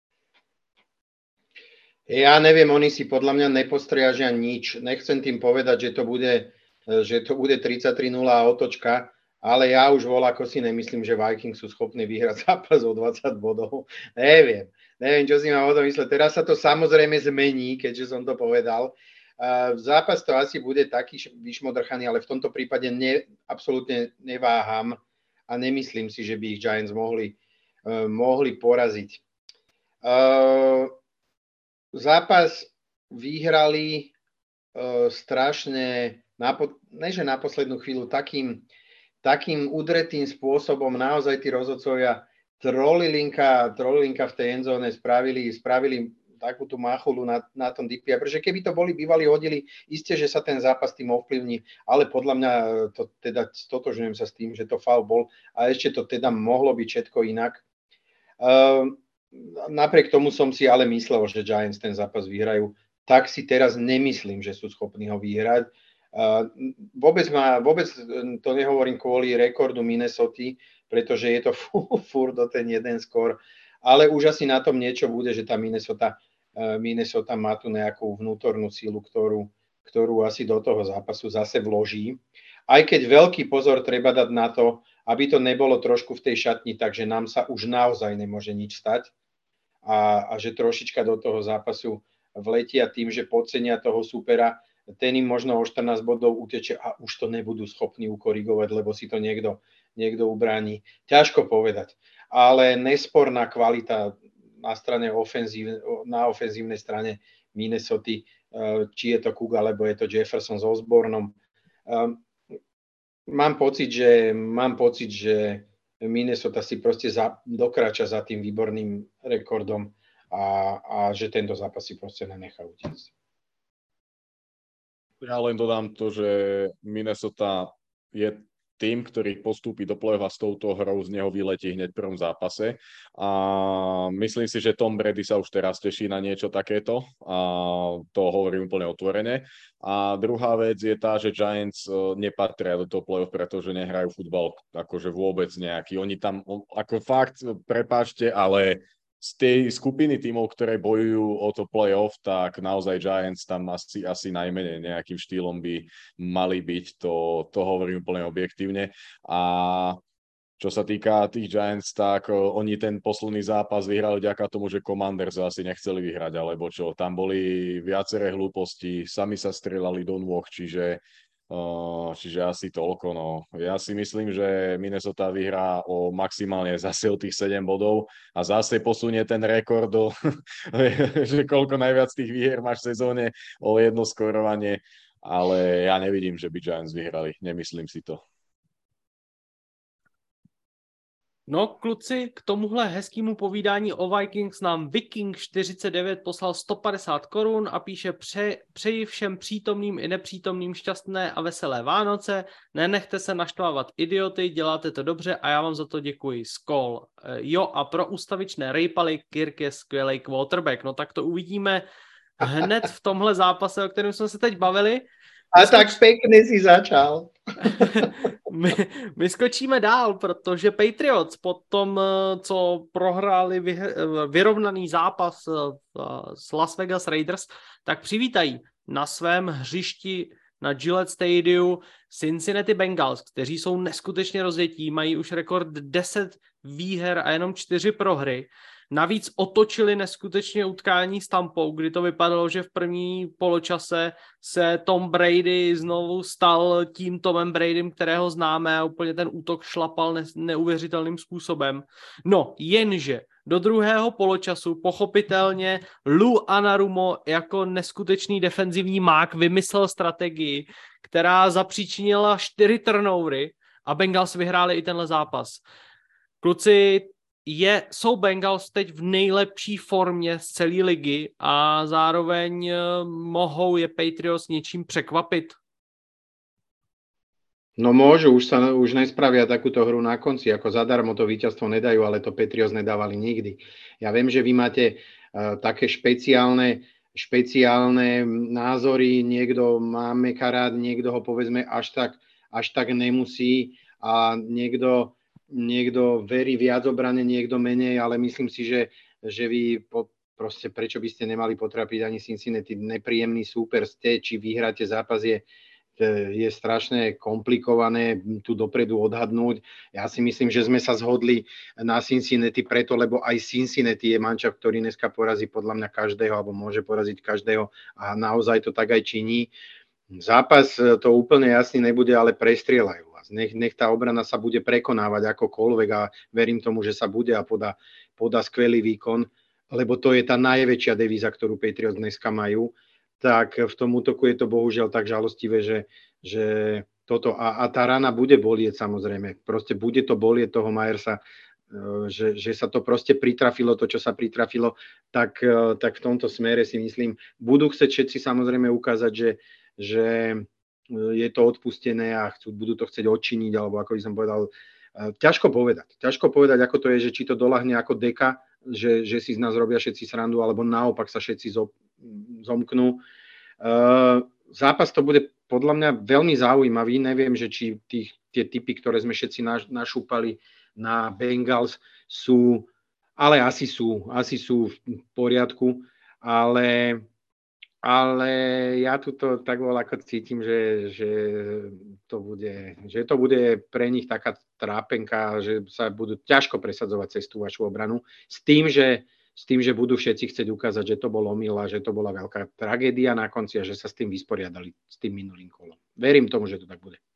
Ja neviem, oni si podľa mňa nepostrážia nič. Nechcem tým povedať, že to bude 33-0 a otočka, ale ja už voľako si nemyslím, že Vikings sú schopní vyhrať zápas o 20 bodov. Neviem, čo si mám o tom mysleť. Teraz sa to samozrejme zmení, keďže som to povedal. Zápas to asi bude taký vyšmodrchaný, ale v tomto prípade absolútne neváham a nemyslím si, že by ich Giants mohli poraziť. Zápas vyhrali strašne, neže na poslednú chvíľu, takým udretým spôsobom naozaj tí rozhodcovia trolilinka v tej endzóne spravili takú tú machulu na tom DPI, pretože keby to boli bývali hodili, isté, že sa ten zápas tým ovplyvní, ale podľa mňa to teda stotožňujem sa s tým, že to faul bol a ešte to teda mohlo byť všetko inak. Napriek tomu som si ale myslel, že Giants ten zápas vyhrajú, tak si teraz nemyslím, že sú schopní ho vyhrať. Vôbec to nehovorím kvôli rekordu Minnesoty, pretože je to furt do ten jeden skór, ale už asi na tom niečo bude, že tá Minnesota má tu nejakú vnútornú sílu, ktorú asi do toho zápasu zase vloží. Aj keď veľký pozor treba dať na to, aby to nebolo trošku v tej šatni, takže nám sa už naozaj nemôže nič stať a že trošička do toho zápasu vletia tým, že podcenia toho supera, ten im možno o 14 bodov uteče a už to nebudú schopní ukorigovať, lebo si to niekto ubráni. Ťažko povedať. Ale nesporná kvalita na ofenzívnej strane Minnesoty, či je to Cook, alebo je to Jefferson s Osbornom. Mám pocit, že Minnesota si proste dokráča za tým výborným rekordom a že tento zápas si proste nenechá utiecť. Ja len dodám to, že Minnesota je tým, ktorý postúpi do play-off a s touto hrou z neho vyletí hneď v prvom zápase. A myslím si, že Tom Brady sa už teraz teší na niečo takéto. A to hovorím úplne otvorene. A druhá vec je tá, že Giants nepatria do toho play-off, pretože nehrajú futbal akože vôbec nejaký. Oni tam, ako fakt, prepáčte, ale z tej skupiny tímov, ktoré bojujú o to play-off, tak naozaj Giants tam asi najmenej nejakým štýlom by mali byť, to hovorím úplne objektívne. A čo sa týka tých Giants, tak oni ten posledný zápas vyhrali vďaka tomu, že Commanders asi nechceli vyhrať, alebo čo, tam boli viaceré hlúposti, sami sa strieľali do nôh, čiže asi toľko. No. Ja si myslím, že Minnesota vyhrá maximálne zase o tých 7 bodov a zase posunie ten rekord že koľko najviac tých výher máš v sezóne o jedno skórovanie, ale ja nevidím, že by Giants vyhrali. Nemyslím si to. No, kluci, k tomuhle hezkému povídání o Vikings nám Viking49 poslal 150 korun a píše: přeji všem přítomným i nepřítomným šťastné a veselé Vánoce, nenechte se naštvávat idioty, děláte to dobře a já vám za to děkuji. Skol. Jo, a pro ústavičné rejpaly Kirk je skvělej quarterback. No tak to uvidíme hned v tomhle zápase, o kterém jsme se teď bavili. A tak pěkně si začal. My skočíme dál, protože Patriots po tom, co prohráli vyrovnaný zápas s Las Vegas Raiders, tak přivítají na svém hřišti na Gillette Stadium Cincinnati Bengals, kteří jsou neskutečně rozjetí, mají už rekord 10 výher a jenom 4 prohry. Navíc otočili neskutečně utkání s Tampou, kdy to vypadalo, že v první poločase se Tom Brady znovu stal tím Tomem Bradym, kterého známe, a úplně ten útok šlapal neuvěřitelným způsobem. No, jenže do druhého poločasu pochopitelně Lou Anarumo jako neskutečný defenzivní mák vymyslel strategii, která zapříčinila 4 turnovery a Bengals vyhráli i tenhle zápas. Kluci, jsou Bengals teď v nejlepší formě z celé ligy a zároveň mohou je Patriots něčím překvapit? No môžu, už nespravia takúto hru na konci, ako zadarmo to víťazstvo nedajú, ale to Patriots nedávali nikdy. Ja viem, že vy máte také špeciálne názory, niekto má Meka rád, niekto ho povedzme až tak nemusí a niekto verí viac obrane, niekto menej, ale myslím si, že vy proste prečo by ste nemali potrapiť ani Cincinnati, nepríjemný súper ste, či vyhráte zápas je strašne komplikované tu dopredu odhadnúť. Ja si myslím, že sme sa zhodli na Cincinnati preto, lebo aj Cincinnati je mančaft, ktorý dneska porazí podľa mňa každého, alebo môže poraziť každého a naozaj to tak aj činí. Zápas to úplne jasný nebude, ale prestrieľajú. Nech tá obrana sa bude prekonávať akokoľvek a verím tomu, že sa bude a podá skvelý výkon. lebo to je tá najväčšia devíza, ktorú Patriots dneska majú, tak v tom útoku je to bohužiaľ tak žalostivé, že toto a tá rana bude bolieť samozrejme. Proste bude to bolieť toho Myersa, že sa to proste pritrafilo, to, čo sa pritrafilo, tak v tomto smere si myslím, budú chcieť všetci samozrejme ukázať, že je to odpustené a budú to chcieť odčiniť, alebo ako by som povedal, ťažko povedať, ako to je, že či to doľahne ako deka, že si z nás robia všetci srandu, alebo naopak sa všetci zomknú. Zápas to bude podľa mňa veľmi zaujímavý, neviem, že či tie typy, ktoré sme všetci našúpali na Bengals sú, ale asi sú v poriadku, ale ja tuto tak ako cítim, že to bude pre nich taká trápenka, že sa budú ťažko presadzovať cez tú vašu obranu, s tým, že budú všetci chcieť ukázať, že to bol omyl a že to bola veľká tragédia na konci a že sa s tým vysporiadali s tým minulým kolom. Verím tomu, že to tak bude.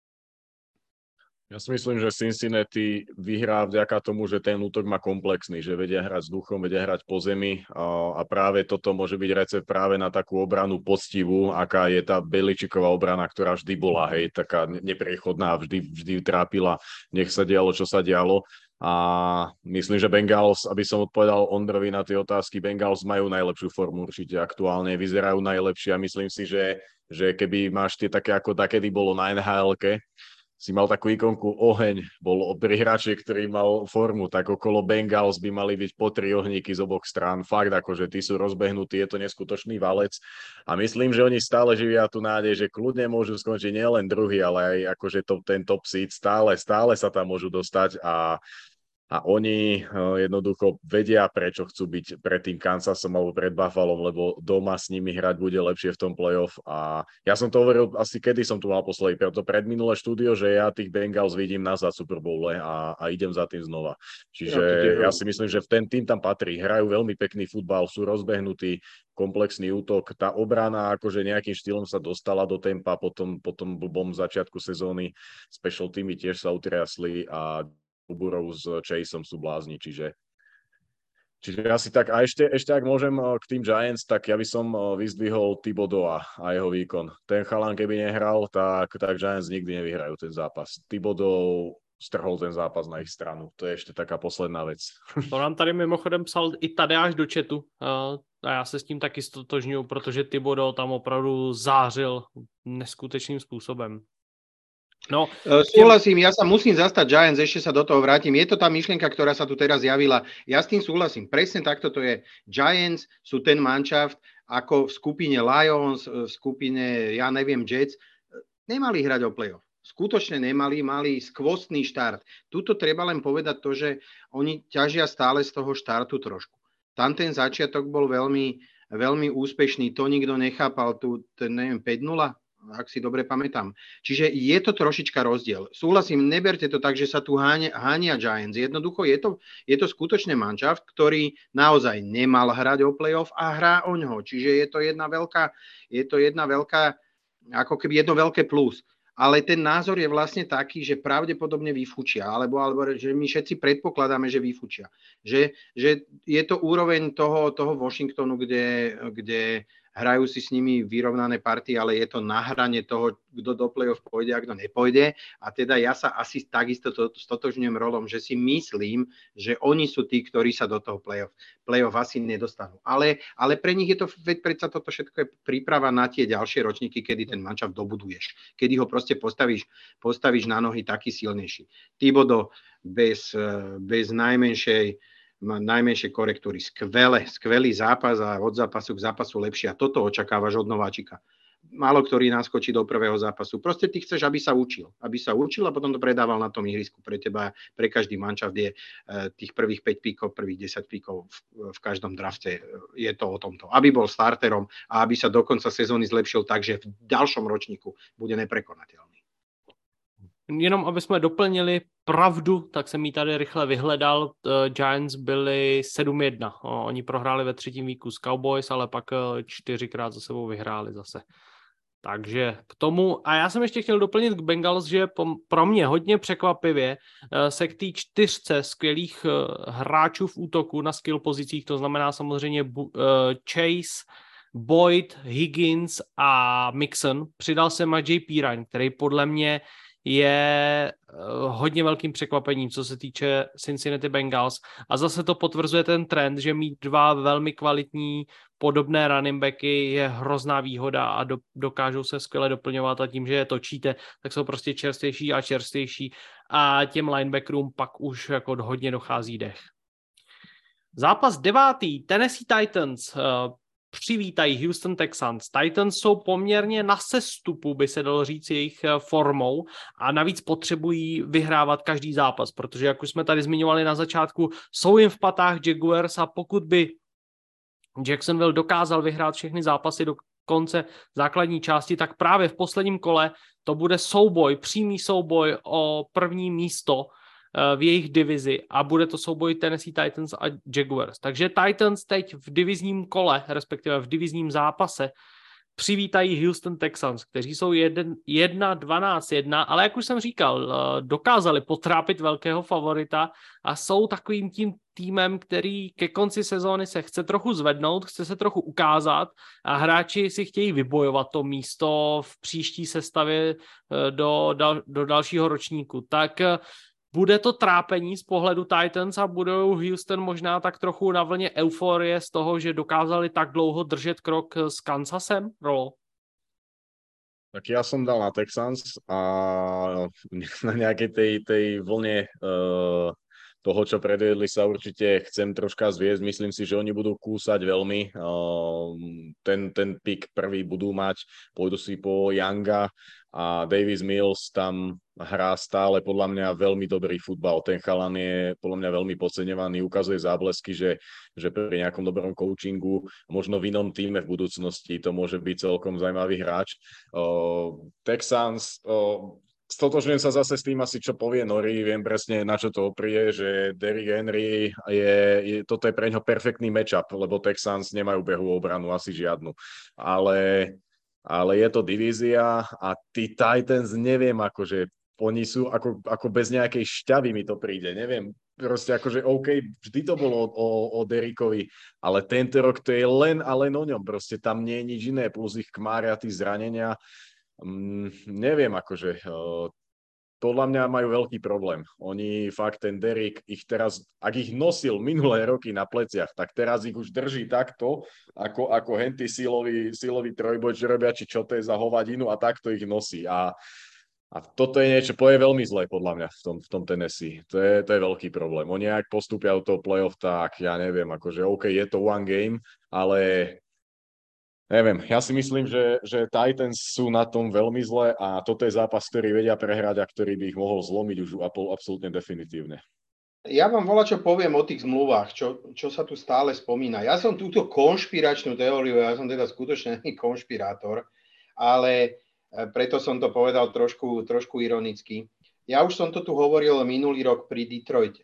Ja si myslím, že Cincinnati vyhrá vďaka tomu, že ten útok má komplexný, že vedia hrať s duchom, vedia hrať po zemi a práve toto môže byť recept práve na takú obranu poctivú, aká je tá Beličíková obrana, ktorá vždy bola, hej, taká nepriechodná, vždy trápila, nech sa dialo, čo sa dialo. A myslím, že Bengals, aby som odpovedal Ondrovi na tie otázky, Bengals majú najlepšiu formu určite aktuálne, vyzerajú najlepšie a myslím si, že keby máš tie také, ako takedy bolo na NHL-ke, si mal takú ikonku oheň, bol pri hráči, ktorý mal formu, tak okolo Bengals by mali byť po 3 ohníky z oboch strán. Fakt, akože tí sú rozbehnutí, je to neskutočný valec. A myslím, že oni stále živia tú nádej, že kľudne môžu skončiť nielen druhý, ale aj akože ten top seed stále sa tam môžu dostať a oni jednoducho vedia, prečo chcú byť pred tým Kansasom alebo pred Buffalom, lebo doma s nimi hrať bude lepšie v tom playoff. A ja som to hovoril asi, kedy som tu mal posledný, preto predminulé štúdio, že ja tých Bengals vidím nazad Super Bowle a idem za tým znova. Čiže ja si myslím, že ten tým tam patrí. Hrajú veľmi pekný futbal, sú rozbehnutí, komplexný útok. Tá obrana akože nejakým štýlom sa dostala do tempa po tom blbom začiatku sezóny. Special teamy tiež sa utriasli a Burrow s Chaseom sú blázni, čiže asi tak. A ešte ak môžem k tým Giants, tak ja by som vyzdvihol Thibodeau a jeho výkon. Ten chalan, keby nehral, tak Giants nikdy nevyhrajú ten zápas. Thibodeau strhol ten zápas na ich stranu. To je ešte taká posledná vec. To nám tady mimochodem psal i Tadeáš do chatu a já se s tím taky stotožňuju, protože Thibodeau tam opravdu zářil neskutečným způsobem. No, súhlasím, ja sa musím zastať Giants, ešte sa do toho vrátim. Je to tá myšlienka, ktorá sa tu teraz javila. Ja s tým súhlasím. Presne takto to je. Giants sú ten manšaft, ako v skupine Lions, v skupine, ja neviem, Jets. Nemali hrať o playoff. Skutočne nemali, mali skvostný štart. Tuto treba len povedať to, že oni ťažia stále z toho štartu trošku. Tam ten začiatok bol veľmi, veľmi úspešný. To nikto nechápal, neviem, 5-0, ak si dobre pamätám. Čiže je to trošička rozdiel. Súhlasím, neberte to tak, že sa tu hánia Giants. Jednoducho je to skutočne manšaft, ktorý naozaj nemal hrať o playoff a hrá o ňo. Čiže je to jedna veľká, ako keby jedno veľké plus. Ale ten názor je vlastne taký, že pravdepodobne vyfučia, alebo že my všetci predpokladáme, že vyfučia. Že je to úroveň toho Washingtonu, kde hrajú si s nimi vyrovnané partie, ale je to na hrane toho, kto do play-off pôjde a kto nepôjde. A teda ja sa asi takisto stotožňujem rolom, že si myslím, že oni sú tí, ktorí sa do toho play-off asi nedostanú. Ale pre nich je to, veď predsa toto všetko je príprava na tie ďalšie ročníky, kedy ten manšaft dobuduješ. Kedy ho proste postavíš na nohy taký silnejší. Thibodeau bez najmenšej korektúry. Skvelý zápas a od zápasu k zápasu lepšie. A toto očakávaš od nováčika. Málo ktorý naskočí do prvého zápasu. Proste ty chceš, aby sa učil a potom to predával na tom ihrisku. Pre teba, pre každý manšaft je tých prvých 5 píkov, prvých 10 píkov v každom drafte. Je to o tomto. Aby bol starterom a aby sa do konca sezóny zlepšil tak, že v ďalšom ročníku bude neprekonateľný. Jenom aby jsme doplnili pravdu, tak jsem ji tady rychle vyhledal. Giants byli 7-1. Oni prohráli ve třetím víku s Cowboys, ale pak 4krát za sebou vyhráli zase. Takže k tomu, a já jsem ještě chtěl doplnit k Bengals, že pro mě hodně překvapivě se k té 4 skvělých hráčů v útoku na skill pozicích, to znamená samozřejmě Chase, Boyd, Higgins a Mixon, přidal se Majay Pirine, který podle mě je hodně velkým překvapením, co se týče Cincinnati Bengals. A zase to potvrzuje ten trend, že mít 2 velmi kvalitní podobné running backy je hrozná výhoda a dokážou se skvěle doplňovat a tím, že je točíte, tak jsou prostě čerstvější a čerstvější a těm linebackerům pak už jako hodně dochází dech. Zápas 9. Tennessee Titans přivítají Houston Texans. Titans jsou poměrně na sestupu, by se dalo říct, jejich formou a navíc potřebují vyhrávat každý zápas, protože jak už jsme tady zmiňovali na začátku, jsou jim v patách Jaguars a pokud by Jacksonville dokázal vyhrát všechny zápasy do konce základní části, tak právě v posledním kole to bude souboj, přímý souboj o první místo v jejich divizi a bude to souboj Tennessee Titans a Jaguars. Takže Titans teď v divizním kole, respektive v divizním zápase, přivítají Houston Texans, kteří jsou 1-12-1, ale jak už jsem říkal, dokázali potrápit velkého favorita a jsou takovým tím týmem, který ke konci sezóny se chce trochu zvednout, chce se trochu ukázat a hráči si chtějí vybojovat to místo v příští sestavě do dalšího ročníku. Tak bude to trápení z pohledu Titans a budou Houston možná tak trochu na vlně euforie z toho, že dokázali tak dlouho držet krok s Kansasem, Rolo? Tak ja som dal na Texans a na nejakej tej vlne toho, čo predvedli, sa určite chcem troška zviesť. Myslím si, že oni budú kúsať veľmi. Ten pick prvý budú mať, pôjdu si po Younga a Davis Mills tam hrá stále podľa mňa veľmi dobrý futbal. Ten chalan je podľa mňa veľmi podceňovaný, ukazuje záblesky, že pri nejakom dobrom coachingu, možno v inom týme v budúcnosti to môže byť celkom zaujímavý hráč. Texans, stotožňujem sa zase s tým asi, čo povie Nori, viem presne, na čo to oprie, že Derrick Henry toto je pre ňo perfektný matchup, lebo Texans nemajú behovú obranu, asi žiadnu. Ale je to divízia a tí Titans, neviem, akože oni sú ako bez nejakej šťavy mi to príde, neviem, proste akože OK, vždy to bolo o Derrickovi, ale tento rok to je len a len o ňom, proste tam nie je nič iné, plus ich kmária, tí zranenia. Neviem, akože podľa mňa majú veľký problém. Oni fakt, ten Derrick ich teraz, ak ich nosil minulé roky na pleciach, tak teraz ich už drží takto, ako henty silový trojboj, čo robia, či čo to je za hovadinu a takto ich nosí. A toto je niečo, je veľmi zlé podľa mňa v tom Tennessee. To je veľký problém. Oni ak postúpia do toho playoff, tak ja neviem, akože OK, je to one game, ale neviem, ja si myslím, že Titans sú na tom veľmi zle a toto je zápas, ktorý vedia prehrať a ktorý by ich mohol zlomiť už absolútne definitívne. Ja vám čo poviem o tých zmluvách, čo sa tu stále spomína. Ja som túto konšpiračnú teóriu, ja som teda skutočne konšpirátor, ale preto som to povedal trošku ironicky. Ja už som to tu hovoril minulý rok pri Detroite.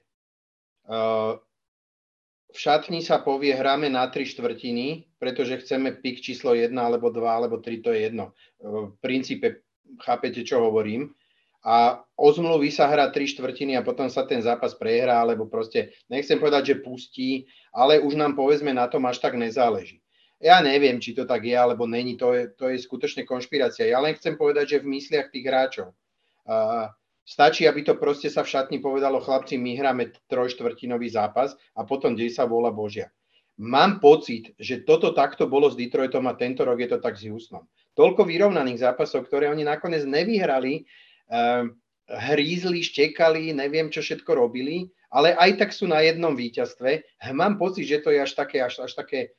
V šatni sa povie, hráme na 3/4, pretože chceme pick číslo 1, alebo 2, alebo 3, to je jedno. V princípe chápete, čo hovorím. A o zmluvy sa hrá 3/4 a potom sa ten zápas prehrá, alebo proste, nechcem povedať, že pustí, ale už nám povedzme na tom až tak nezáleží. Ja neviem, či to tak je, alebo není, to je skutočne konšpirácia. Ja len chcem povedať, že v mysliach tých hráčov stačí, aby to proste sa v šatni povedalo, chlapci, my hráme 3/4 zápas a potom dej sa vôľa Božia. Mám pocit, že toto takto bolo s Detroitom a tento rok je to tak s Houstonom. Toľko vyrovnaných zápasov, ktoré oni nakoniec nevyhrali, hrízli, štekali, neviem, čo všetko robili, ale aj tak sú na jednom víťazstve. Mám pocit, že to je až také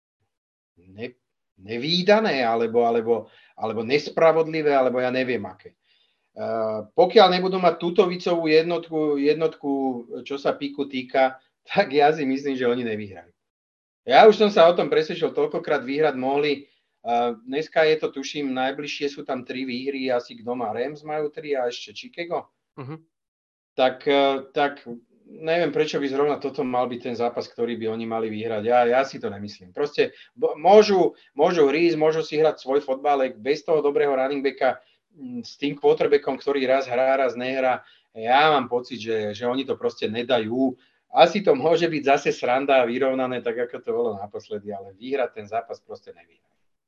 nevídané, alebo nespravodlivé, alebo ja neviem aké. Pokiaľ nebudú mať tútovicovú jednotku, čo sa píku týka, tak ja si myslím, že oni nevyhrajú. Ja už som sa o tom presvedčil, toľkokrát vyhrať mohli. Dneska je to, tuším, najbližšie sú tam 3 výhry, asi kto má Rams majú 3 a ešte Chicago. Uh-huh. Tak neviem, prečo by zrovna toto mal byť ten zápas, ktorý by oni mali vyhrať. Ja si to nemyslím. Proste môžu rísť, môžu si hrať svoj fotbalek bez toho dobrého running backa s tým quarterbackom, ktorý raz hrá, raz nehrá. Ja mám pocit, že oni to proste nedajú. Asi to môže byť zase sranda a vyrovnané, tak ako to bolo naposledy, ale vyhrať ten zápas proste nevyhrá.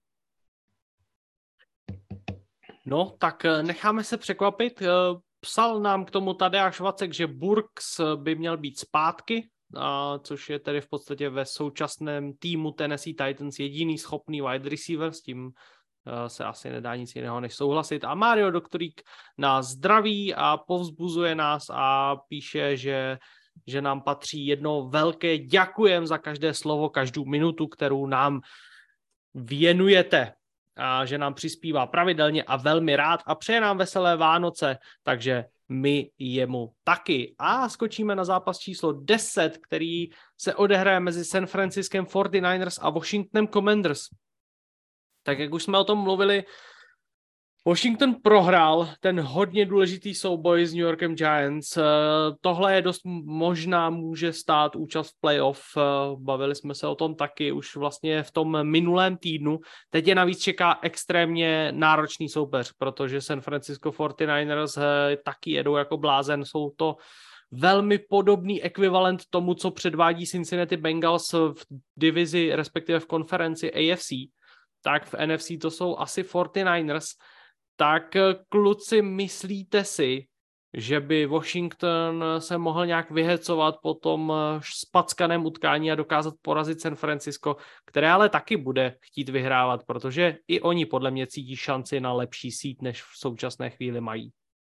No, tak necháme se překvapit. Psal nám k tomu Tadeáš Vacek, že Burks by měl být zpátky, což je tedy v podstatě ve současném týmu Tennessee Titans jediný schopný wide receiver, s tím se asi nedá nic jiného než souhlasit. A Mario Doktorík nás zdraví a povzbuzuje nás a píše, že nám patří jedno velké děkujem za každé slovo, každou minutu, kterou nám věnujete. A že nám přispívá pravidelně a velmi rád a přeje nám veselé Vánoce, takže my jemu taky. A skočíme na zápas číslo 10, který se odehraje mezi San Franciskem 49ers a Washingtonem Commanders. Tak jak už jsme o tom mluvili, Washington prohrál ten hodně důležitý souboj s New Yorkem Giants. Tohle je dost možná může stát účast v playoff. Bavili jsme se o tom taky už vlastně v tom minulém týdnu. Teď je navíc čeká extrémně náročný soupeř, protože San Francisco 49ers taky jedou jako blázen. Jsou to velmi podobný ekvivalent tomu, co předvádí Cincinnati Bengals v divizi, respektive v konferenci AFC. Tak v NFC to jsou asi 49ers. Tak kluci, myslíte si, že by Washington se mohl nějak vyhecovat po tom spackaném utkání a dokázat porazit San Francisco, které ale taky bude chtít vyhrávat, protože i oni podle mě cítí šanci na lepší seed, než v současné chvíli mají.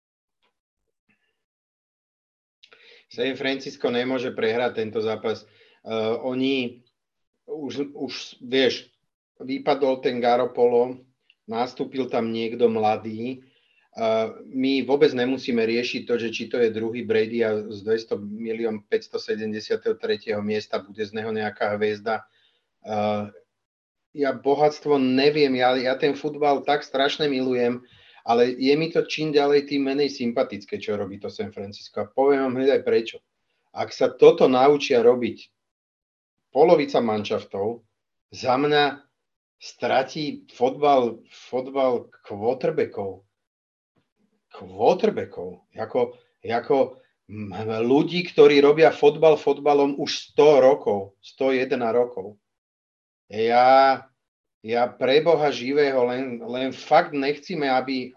San Francisco nemôže prehrať tento zápas. Oni už vieš, vypadol ten Garoppolo, nastúpil tam niekto mladý. My vôbec nemusíme riešiť to, že či to je druhý Brady a z 200 573. miesta bude z neho nejaká hviezda. Ja bohatstvo neviem, ja ten futbal tak strašne milujem, ale je mi to čím ďalej tým menej sympatické, čo robí to San Francisco. A poviem vám hneď aj prečo. Ak sa toto naučia robiť polovica manšaftov, za mňa stratí fotbal quarterbackov. Ako ľudí, ktorí robia fotbalom už 100 rokov, 101 rokov. Ja pre Boha živého len fakt nechcíme, aby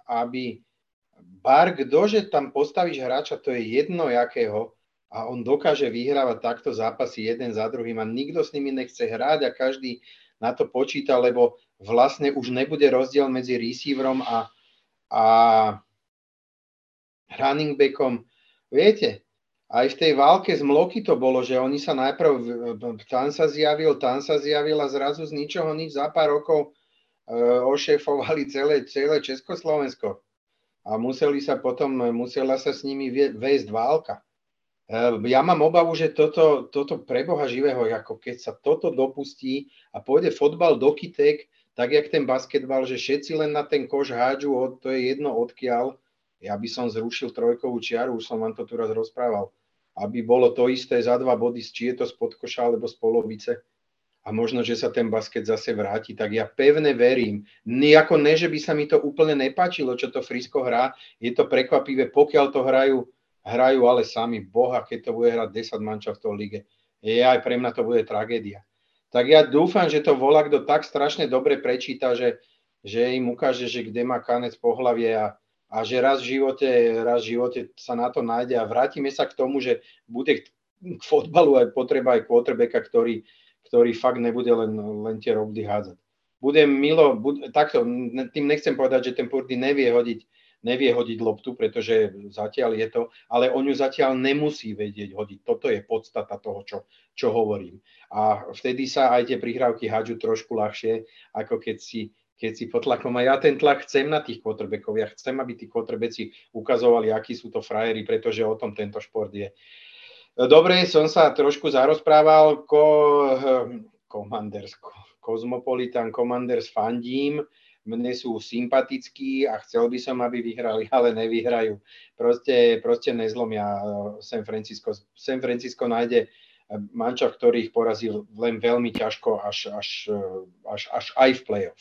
kdože tam postavíš hráča, to je jedno jakého, a on dokáže vyhrávať takto zápasy jeden za druhým a nikto s nimi nechce hrať a každý na to počíta, lebo vlastne už nebude rozdiel medzi receiverom a running backom. Viete, aj v tej válke z Mloky to bolo, že oni sa najprv, tam sa zjavil a zrazu z ničoho nič za pár rokov ošefovali celé Československo. A musela sa s nimi vejsť válka. Ja mám obavu, že toto pre Boha živého, ako keď sa toto dopustí a pôjde fotbal do kytek, tak jak ten basketbal, že všetci len na ten koš hádžu, to je jedno odkiaľ. Ja by som zrušil trojkovú čiaru, už som vám to tu raz rozprával. Aby bolo to isté za 2 body, či je to spod koša alebo z polovice. A možno, že sa ten basket zase vráti. Tak ja pevne verím. Nejako ne, že by sa mi to úplne nepáčilo, čo to Frisko hrá. Je to prekvapivé, pokiaľ to hrajú ale sami. Boha, keď to bude hrať 10 manšaftov v lige. Aj pre mňa to bude tragédia. Tak ja dúfam, že to volakto tak strašne dobre prečíta, že im ukáže, že kde má kanec po hlavie a že raz v živote sa na to nájde a vrátime sa k tomu, že bude k fotbalu aj potreba aj quarterbacka, ktorý fakt nebude len tie robdy hádzať. Takto, tým nechcem povedať, že ten Purdy nevie hodiť loptu, pretože zatiaľ je to, ale on ju zatiaľ nemusí vedieť hodiť. Toto je podstata toho, čo hovorím. A vtedy sa aj tie prihrávky hádžu trošku ľahšie, ako keď si pod tlakom. A ja ten tlak chcem na tých quarterbackov. Ja chcem, aby tí quarterbacki ukazovali, akí sú to frajeri, pretože o tom tento šport je. Dobre, som sa trošku zarozprával. Cosmopolitan Commanders fandím. mne sú sympatickí a chcel by som, aby vyhrali, ale nevyhrajú. Proste nezlomia San Francisco. San Francisco nájde mančaft, ktorý ich porazil len veľmi ťažko až aj v play-off.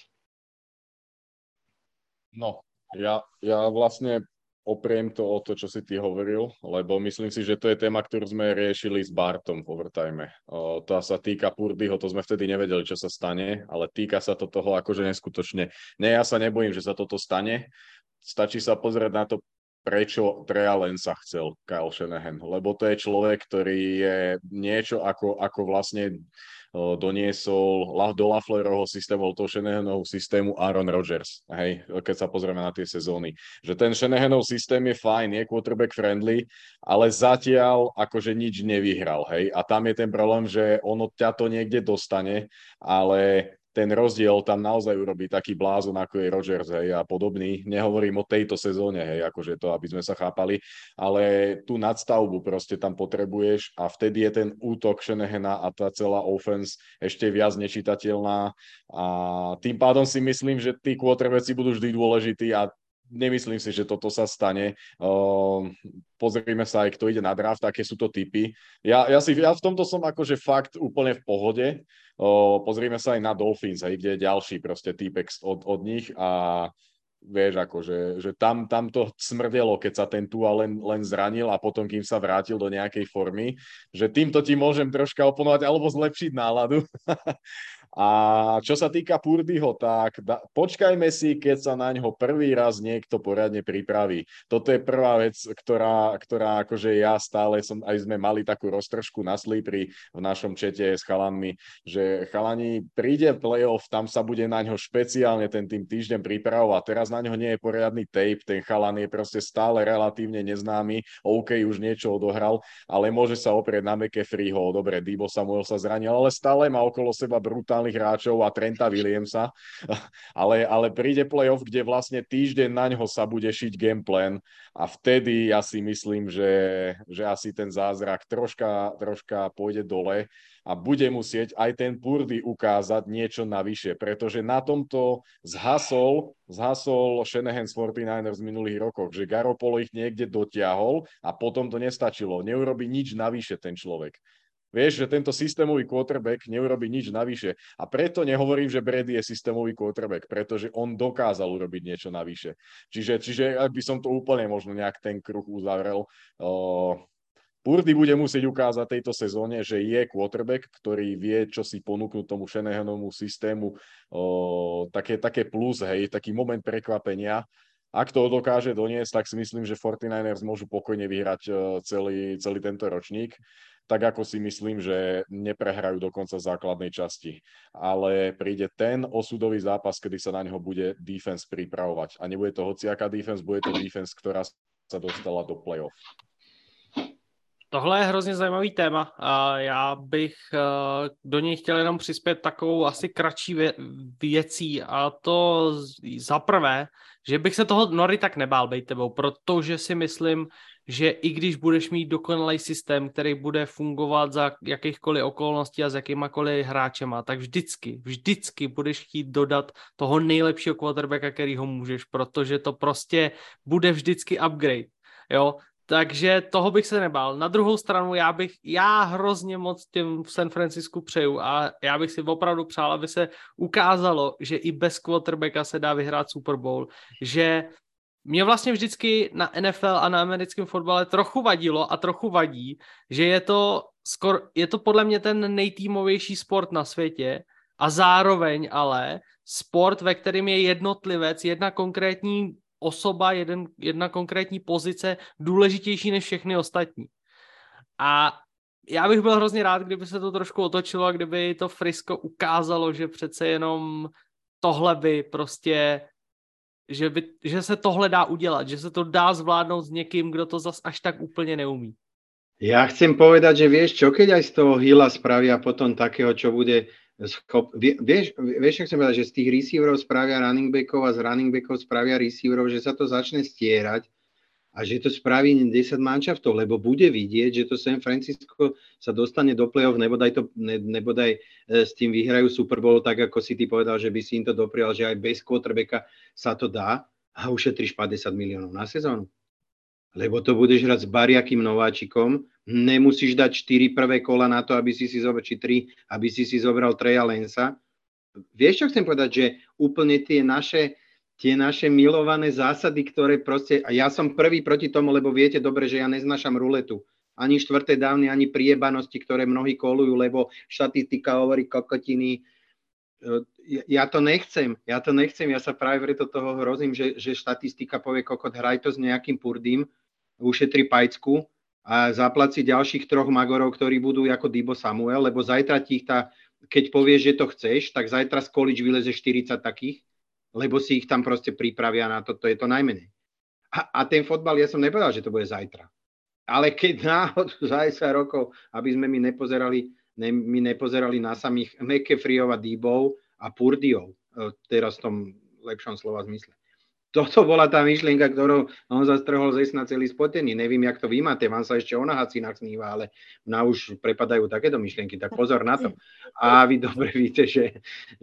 No, ja vlastne opriem to o to, čo si ty hovoril, lebo myslím si, že to je téma, ktorú sme riešili s Bartom v overtime. To sa týka Purdyho, to sme vtedy nevedeli, čo sa stane, ale týka sa to toho akože neskutočne. Ja sa nebojím, že sa toto stane. Stačí sa pozrieť na to, prečo Treya Lanca chcel Kyle Shanahan, lebo to je človek, ktorý je niečo ako vlastne doniesol do Laflerovho systému, do Shanahanovho systému Aaron Rodgers, hej, keď sa pozrieme na tie sezóny. Že ten Shanahanov systém je fajn, je quarterback friendly, ale zatiaľ akože nič nevyhral, hej. A tam je ten problém, že ono ťa to niekde dostane, ale ten rozdiel tam naozaj urobí taký blázon, ako je Rodgers, hej, a podobný. Nehovorím o tejto sezóne, hej, akože to, aby sme sa chápali, ale tú nadstavbu proste tam potrebuješ a vtedy je ten útok Shanahana a tá celá offense ešte viac nečitateľná a tým pádom si myslím, že tí quarterbacki budú vždy dôležití a nemyslím si, že toto sa stane. Pozrime sa aj, kto ide na draft, aké sú to typy. Ja v tomto som akože fakt úplne v pohode. Pozrime sa aj na Dolphins, hej, kde je ďalší proste týpek od nich a vieš, akože, že tam to smrdelo, keď sa ten Tua len zranil a potom, kým sa vrátil do nejakej formy, že týmto ti môžem troška oponovať alebo zlepšiť náladu. A čo sa týka Purdyho, tak počkajme si, keď sa na ňo prvý raz niekto poriadne pripraví. Toto je prvá vec, ktorá akože ja stále aj sme mali takú roztržku na slípri v našom čete s chalanmi, že chalani príde playoff, tam sa bude na ňo špeciálne ten tým týždeň pripravovať. Teraz na ňo nie je poriadny tape, ten chalan je proste stále relatívne neznámy, OK, už niečo odohral, ale môže sa oprieť na McCaffreyho, dobre, Deebo Samuel sa zranil, ale stále má okolo seba brutálnych hráčov a Trenta Williamsa, ale príde playoff, kde vlastne týždeň na ňo sa bude šiť gameplan a vtedy ja si myslím, že asi ten zázrak troška pôjde dole a bude musieť aj ten Purdy ukázať niečo navyše, pretože na tomto zhasol Shanahan z 49ers v minulých rokoch, že Garoppolo ich niekde dotiahol a potom to nestačilo. Neurobí nič navyše ten človek. Vieš, že tento systémový quarterback neurobí nič navyše. A preto nehovorím, že Brady je systémový quarterback, pretože on dokázal urobiť niečo navyše. Čiže ak by som to úplne možno nejak ten kruh uzavrel, Purdy bude musieť ukázať tejto sezóne, že je quarterback, ktorý vie, čo si ponúknuť tomu Shanahanovmu systému, také plus, hej, taký moment prekvapenia. Ak to dokáže doniesť, tak si myslím, že 49ers môžu pokojne vyhrať celý tento ročník. Tak ako si myslím, že neprehrajú do konca základnej časti. Ale príde ten osudový zápas, kedy sa na neho bude defense pripravovať. A nebude to hociaká defense, bude to defense, ktorá sa dostala do playoff. Tohle je hrozně zajímavý téma a já bych do něj chtěl jenom přispět takovou asi kratší věcí a to za prvé, že bych se toho Nory tak nebál bejt tebou, protože si myslím, že i když budeš mít dokonalý systém, který bude fungovat za jakýchkoliv okolností a s jakýmakoliv hráčema, tak vždycky budeš chtít dodat toho nejlepšího quarterbacka, kterýho můžeš, protože to prostě bude vždycky upgrade, jo. Takže toho bych se nebál. Na druhou stranu já hrozně moc těm v San Francisku přeju a já bych si opravdu přál, aby se ukázalo, že i bez quarterbacka se dá vyhrát Super Bowl, že mě vlastně vždycky na NFL a na americkém fotbale trochu vadilo a trochu vadí, že je to podle mě ten nejtýmovější sport na světě a zároveň ale sport, ve kterém je jednotlivec, jedna konkrétní osoba, jedna konkrétní pozice důležitější než všechny ostatní. A já bych byl hrozně rád, kdyby se to trošku otočilo a kdyby to Frisco ukázalo, že přece jenom tohle by prostě, že se tohle dá udělat, že se to dá zvládnout s někým, kdo to zas až tak úplně neumí. Ja chcem povedať, že vieš čo, keď aj z toho Hilla spravia potom takého, čo bude vieš, čo chcem povedať, že z tých receiverov spravia running backov a z running backov spravia receiverov, že sa to začne stierať a že to spraví 10 manšaftov, lebo bude vidieť, že to San Francisco sa dostane do play-off, nebodaj s tým vyhrajú Super Bowl, tak ako si ty povedal, že by si im to doprial, že aj bez quarterbacka sa to dá a ušetríš 50 miliónov na sezónu. Lebo to budeš hrať s bariakým nováčikom, nemusíš dať 4 prvé kola na to, aby si zobral, či 3, aby si zobral Treya Lancea. Vieš, čo chcem povedať, že úplne tie naše milované zásady, ktoré proste, a ja som prvý proti tomu, lebo viete dobre, že ja neznášam ruletu. Ani štvrté dávny, ani priebanosti, ktoré mnohí kolujú, lebo štatistika hovorí kokotiny. Ja to nechcem, ja sa práve preto toho hrozím, že štatistika povie kokot, hraj to s nejakým Purdym, ušetri pajcku a zaplať si ďalších 3 magorov, ktorí budú ako Deebo Samuel, lebo zajtra keď povieš, že to chceš, tak zajtra z college vyleze 40 takých, lebo si ich tam proste pripravia na to je to najmenej. A ten fotbal, ja som nepovedal, že to bude zajtra. Ale keď náhodou za 10 rokov, aby sme my nepozerali na samých McCaffreyov a Deebov a Purdyov, teraz v tom lepšom slova zmysle. Toto bola tá myšlienka, ktorou on zastrhol ze sna celý spotený. Neviem, jak to vy máte, vám sa ešte o nahacinách sníva, ale na už prepadajú takéto myšlienky, tak pozor na to. A vy dobre víte, že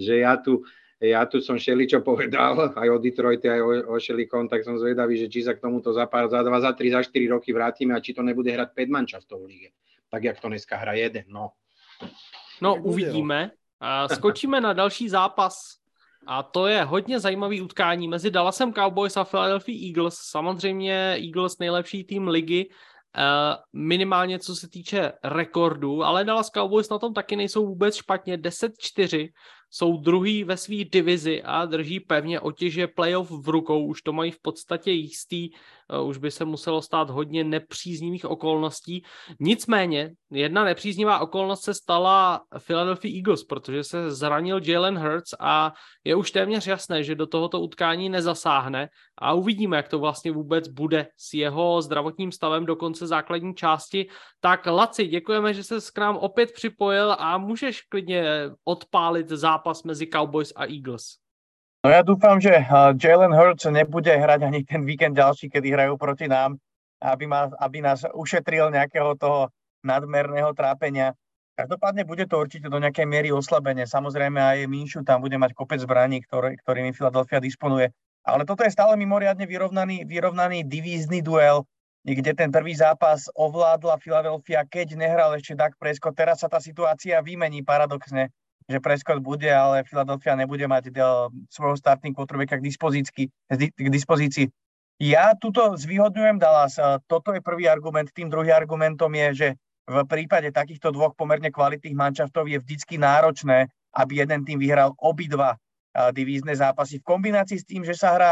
ja tu som šeličo povedal, aj o Detroite, aj o Šelikom, tak som zvedavý, že či sa k tomuto za 2, za 3, za 4 roky vrátime a či to nebude hrať 5 manšaftov v lige. Tak, jak to dneska hra jeden, no. No, uvidíme. Skočíme na další zápas. A to je hodně zajímavý utkání mezi Dallasem Cowboys a Philadelphia Eagles. Samozřejmě Eagles nejlepší tým ligy, minimálně co se týče rekordu, ale Dallas Cowboys na tom taky nejsou vůbec špatně. 10-4, jsou druhý ve své divizi a drží pevně otěže playoff v rukou. Už to mají v podstatě jistý, už by se muselo stát hodně nepříznivých okolností. Nicméně, jedna nepříznivá okolnost se stala Philadelphia Eagles, protože se zranil Jalen Hurts a je už téměř jasné, že do tohoto utkání nezasáhne a uvidíme, jak to vlastně vůbec bude s jeho zdravotním stavem do konce základní části. Tak Laci, děkujeme, že ses k nám opět připojil a můžeš klidně odpálit zápas mezi Cowboys a Eagles. No ja dúfam, že Jalen Hurts nebude hrať ani ten víkend ďalší, kedy hrajú proti nám, aby nás ušetril nejakého toho nadmerného trápenia. Každopádne bude to určite do nejakej miery oslabenie. Samozrejme aj Minshew tam bude mať kopec zbraní, ktorými Philadelphia disponuje. Ale toto je stále mimoriadne vyrovnaný divízny duel, kde ten prvý zápas ovládla Philadelphia, keď nehral ešte Dak Prescott. Teraz sa tá situácia vymení paradoxne, že Prescott bude, ale Philadelphia nebude mať svojho starting quarterbacka k dispozícii. Ja tuto zvýhodňujem Dallas. Toto je prvý argument. Tým druhým argumentom je, že v prípade takýchto dvoch pomerne kvalitných manšaftov je vždycky náročné, aby jeden tým vyhral obidva divízne zápasy. V kombinácii s tým, že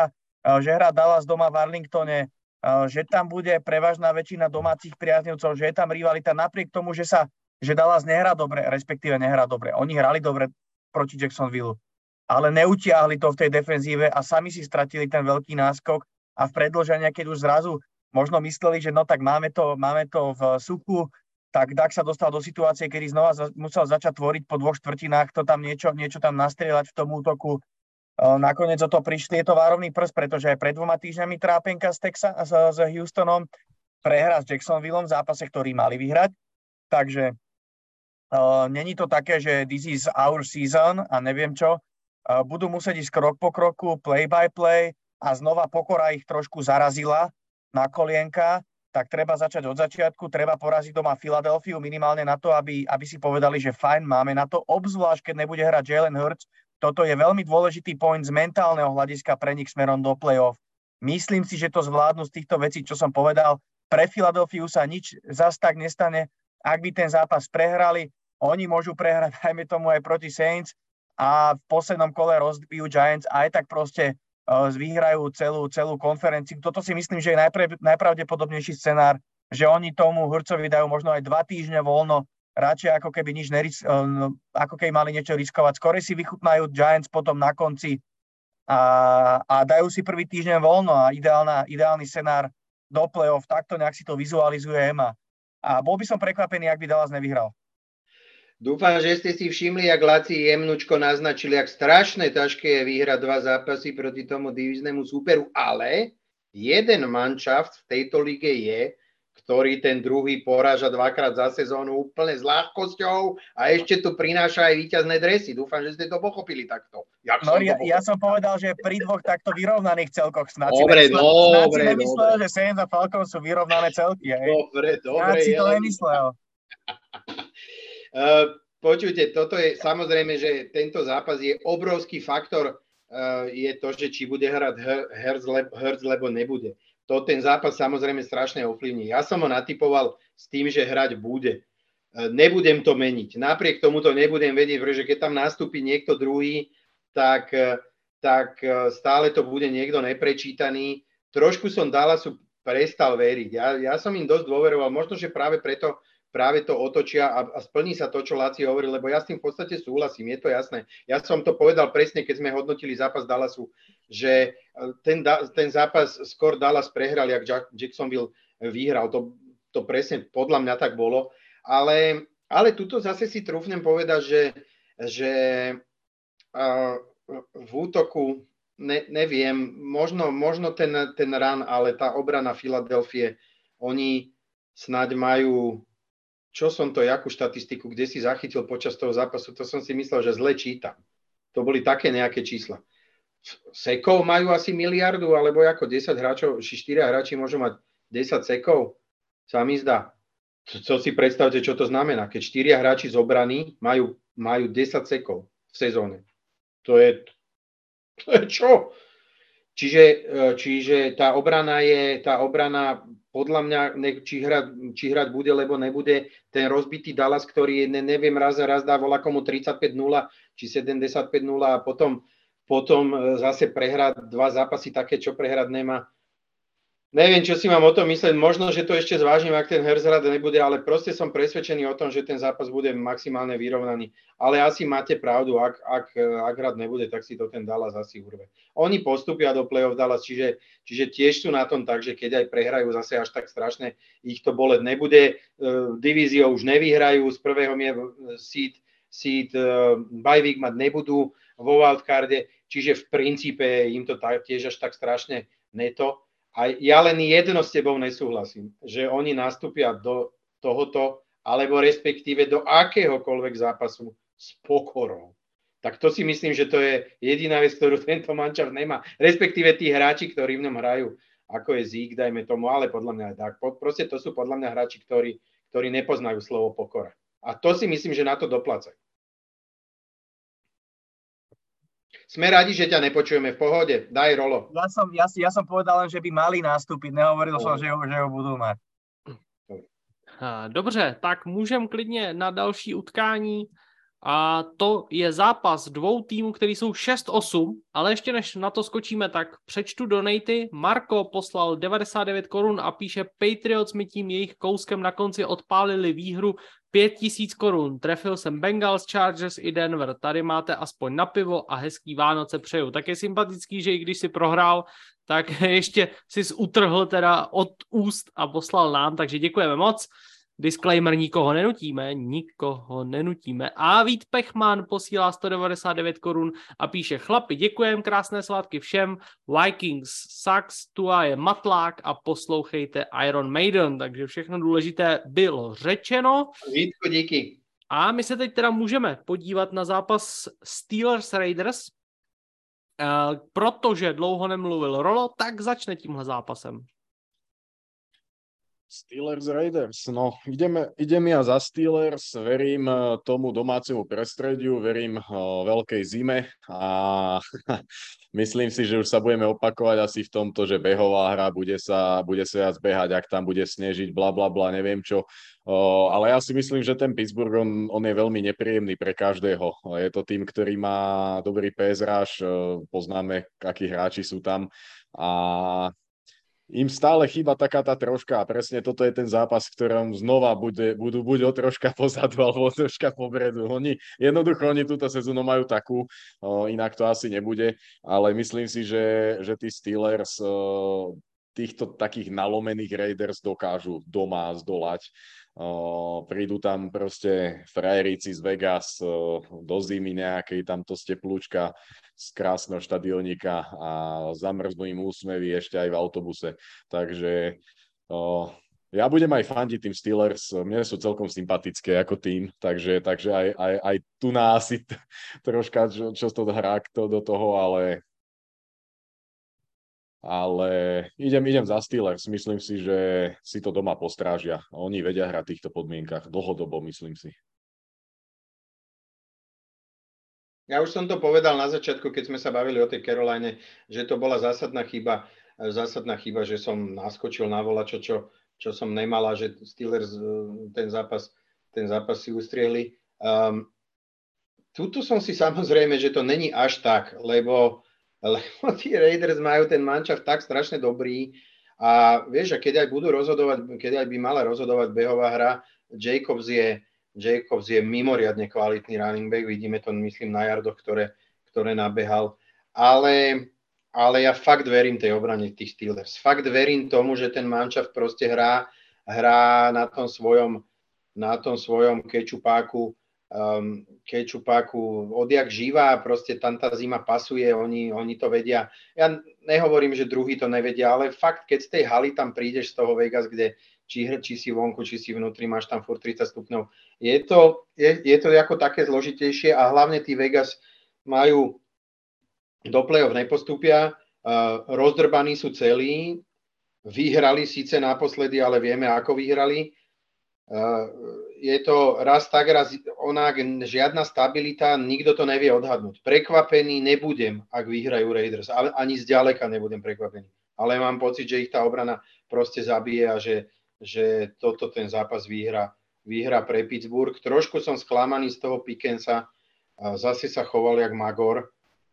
hrá Dallas doma v Arlingtone, že tam bude prevažná väčšina domácich priaznivcov, že je tam rivalita napriek tomu, že Dallas nehrá dobre, respektíve nehrá dobre. Oni hrali dobre proti Jacksonville, ale neutiahli to v tej defenzíve a sami si stratili ten veľký náskok a v predĺžení, keď už zrazu možno mysleli, že no tak máme to v suchu, tak Dak sa dostal do situácie, kedy znova musel začať tvoriť po 2 štvrtinách, to tam niečo tam nastrieľať v tom útoku. Nakoniec o to prišli, je to várovný prst, pretože aj pred 2 týždňami trápenka s Houstonom, prehra s Jacksonvilleom v zápase, ktorý mali vyhrať. Takže není to také, že this is our season a neviem čo. Budú musieť ísť krok po kroku, play by play a znova pokora ich trošku zarazila na kolienka, tak treba začať od začiatku, treba poraziť doma Filadelfiu minimálne na to, aby si povedali, že fajn, máme na to, obzvlášť keď nebude hrať Jalen Hurts. Toto je veľmi dôležitý point z mentálneho hľadiska pre nich smerom do play-off. Myslím si, že to zvládnu z týchto vecí, čo som povedal. Pre Filadelfiu sa nič zas tak nestane. Ak by ten zápas prehrali, oni môžu prehrať, dajme tomu aj proti Saints a v poslednom kole rozbijú Giants a aj tak proste vyhrajú celú konferenciu. Toto si myslím, že je najpravdepodobnejší scenár, že oni tomu Hurtsovi dajú možno aj 2 týždne voľno, radšej ako keby ako keby mali niečo riskovať. Skôr si vychutnajú Giants potom na konci a dajú si prvý týždeň voľno a ideálny scenár do play-off. Takto nejak si to vizualizujem a bol by som prekvapený, ak by Dallas nevyhral. Dúfam, že ste si všimli, jak Laci jemnučko naznačili, jak strašné ťažké je vyhrať 2 zápasy proti tomu divíznemu súperu, ale jeden manšaft v tejto lige je, ktorý ten druhý poráža dvakrát za sezónu úplne s ľahkosťou a ešte tu prináša aj víťazné dresy. Dúfam, že ste to pochopili takto. Ja som povedal, že pri dvoch takto vyrovnaných celkoch snad dobre. Nemyslel, že Saints a Falcons sú vyrovnané celky. Dobre. Ja si to nemyslel. Počujte, toto je samozrejme, že tento zápas je obrovský faktor, je to, že či bude hrať Hurts, lebo nebude. To ten zápas samozrejme strašne ovplyvní. Ja som ho natypoval s tým, že hrať bude. Nebudem to meniť. Napriek tomu to nebudem vedieť, pretože keď tam nastúpi niekto druhý, tak stále to bude niekto neprečítaný. Trošku som Dallasu prestal veriť. Ja som im dosť dôveroval. Možno, že práve preto práve to otočia a splní sa to, čo Laci hovoril, lebo ja s tým v podstate súhlasím, je to jasné. Ja som to povedal presne, keď sme hodnotili zápas Dallasu, že ten zápas skôr Dallas prehral, jak Jacksonville vyhral. To presne podľa mňa tak bolo. Ale tuto zase si trúfnem povedať, že v útoku neviem, možno ten run, ale tá obrana Filadelfie, oni snáď majú, jakú štatistiku, kde si zachytil počas toho zápasu, to som si myslel, že zle čítam. To boli také nejaké čísla. Sekov majú asi miliardu, alebo ako 10 hráčov, 4 hráči môžu mať 10 sekov, sa mi zdá. Co si predstavte, čo to znamená, keď 4 hráči z obrany majú 10 sekov v sezóne. To je čo? Čiže tá obrana podľa mňa, či hrať bude, lebo nebude, ten rozbitý Dallas, ktorý neviem, raz dá komu 35-0 či 75-0 a potom zase prehrať 2 zápasy také, čo prehrať nemá. Neviem, čo si mám o tom myslieť. Možno, že to ešte zvážim, ak ten Hurts hrať nebude, ale proste som presvedčený o tom, že ten zápas bude maximálne vyrovnaný. Ale asi máte pravdu, ak hrať nebude, tak si to ten Dallas asi urve. Oni postupia do play-off Dallas, čiže tiež sú na tom tak, že keď aj prehrajú zase až tak strašne, ich to boleť nebude. Divíziou už nevyhrajú, z prvého seed bye week mať nebudú vo wildcarde, čiže v princípe im to tiež až tak strašne neto. A ja len jedno s tebou nesúhlasím, že oni nastúpia do tohoto, alebo respektíve do akéhokoľvek zápasu s pokorou. Tak to si myslím, že to je jediná vec, ktorú tento mančaft nemá. Respektíve tí hráči, ktorí v ňom hrajú, ako je Zeke, dajme tomu, ale podľa mňa aj tak. Proste to sú podľa mňa hráči, ktorí nepoznajú slovo pokora. A to si myslím, že na to doplácajú. Sme radi, že ťa nepočujeme v pohode. Daj, Rolo. Ja som povedal len, že by mali nastúpiť. Nehovoril som, že ho budú mať. Dobře, tak můžeme klidně na další utkání. A to je zápas 2 týmů, který jsou 6-8, ale ještě než na to skočíme, tak přečtu donaty. Marko poslal 99 korun a píše: Patriots mi tím jejich kouskem na konci odpálili výhru 5000 korun. Trefil jsem Bengals, Chargers i Denver. Tady máte aspoň na pivo a hezký Vánoce přeju. Tak je sympatický, že i když si prohrál, tak ještě si utrhl teda od úst a poslal nám, takže děkujeme moc. Disclaimer, nikoho nenutíme. A Vít Pechman posílá 199 korun a píše: chlapi, děkujem, krásné svátky všem, Vikings sucks, Tua je matlák a poslouchejte Iron Maiden. Takže všechno důležité bylo řečeno. Vítko, díky. A my se teď teda můžeme podívat na zápas Steelers-Raiders, protože dlouho nemluvil Rolo, tak začne tímhle zápasem. Steelers Raiders, no idem ja za Steelers, verím tomu domácemu prestrediu, verím veľkej zime a myslím si, že už sa budeme opakovať asi v tomto, že behová hra bude sa viac behať, ak tam bude snežiť, blablabla, neviem čo. Ale ja si myslím, že ten Pittsburgh, on je veľmi nepríjemný pre každého. Je to tým, ktorý má dobrý pass rush, poznáme, akí hráči sú tam a im stále chýba taká tá troška a presne toto je ten zápas, v ktorom znova budú buď o troška pozadu alebo o troška popredu. Oni túto sezónu majú takú, inak to asi nebude, ale myslím si, že tí Steelers týchto takých nalomených Raiders dokážu doma zdolať Prídu tam proste frajeríci z Vegas do zimy nejakej, tamto z teplúčka z krásneho štadiónika a zamrznú im úsmevy ešte aj v autobuse. Takže ja budem aj fandiť tým Steelers, mne sú celkom sympatické ako tým, takže aj tu na asi troška čo to hrá do toho, ale idem za Steelers. Myslím si, že si to doma postrážia. Oni vedia hrať v týchto podmienkach dlhodobo, myslím si. Ja už som to povedal na začiatku, keď sme sa bavili o tej Caroline, že to bola zásadná chyba, že som naskočil na volačo, čo som nemala, že Steelers ten zápas si ustriehli. Tuto som si samozrejme, že to není až tak, lebo tí Raiders majú ten manšaft tak strašne dobrý a vieš, a keď aj budú rozhodovať, keď aj by mala rozhodovať behová hra, Jacobs je mimoriadne kvalitný running back, vidíme to, myslím, na yardoch, ktoré nabehal, ale ja fakt verím tej obrane tých Steelers. Fakt verím tomu, že ten manšaft proste hrá na tom svojom kečupáku odjak živá, proste tam tá zima pasuje, oni to vedia. Ja nehovorím, že druhý to nevedia, ale fakt, keď z tej haly tam prídeš z toho Vegas, kde či si vonku, či si vnútri, máš tam furt 30 stupňov. Je to ako také zložitejšie a hlavne tí Vegas majú do play-off nepostúpia, rozdrbaní sú celí, vyhrali síce naposledy, ale vieme, ako vyhrali. Je to raz tak, raz onak, žiadna stabilita, nikto to nevie odhadnúť. Prekvapený nebudem, ak vyhrajú Raiders, ale ani zďaleka nebudem prekvapený. Ale mám pocit, že ich tá obrana proste zabije a že toto ten zápas vyhrá pre Pittsburgh. Trošku som sklamaný z toho Pickensa, zase sa choval jak magor.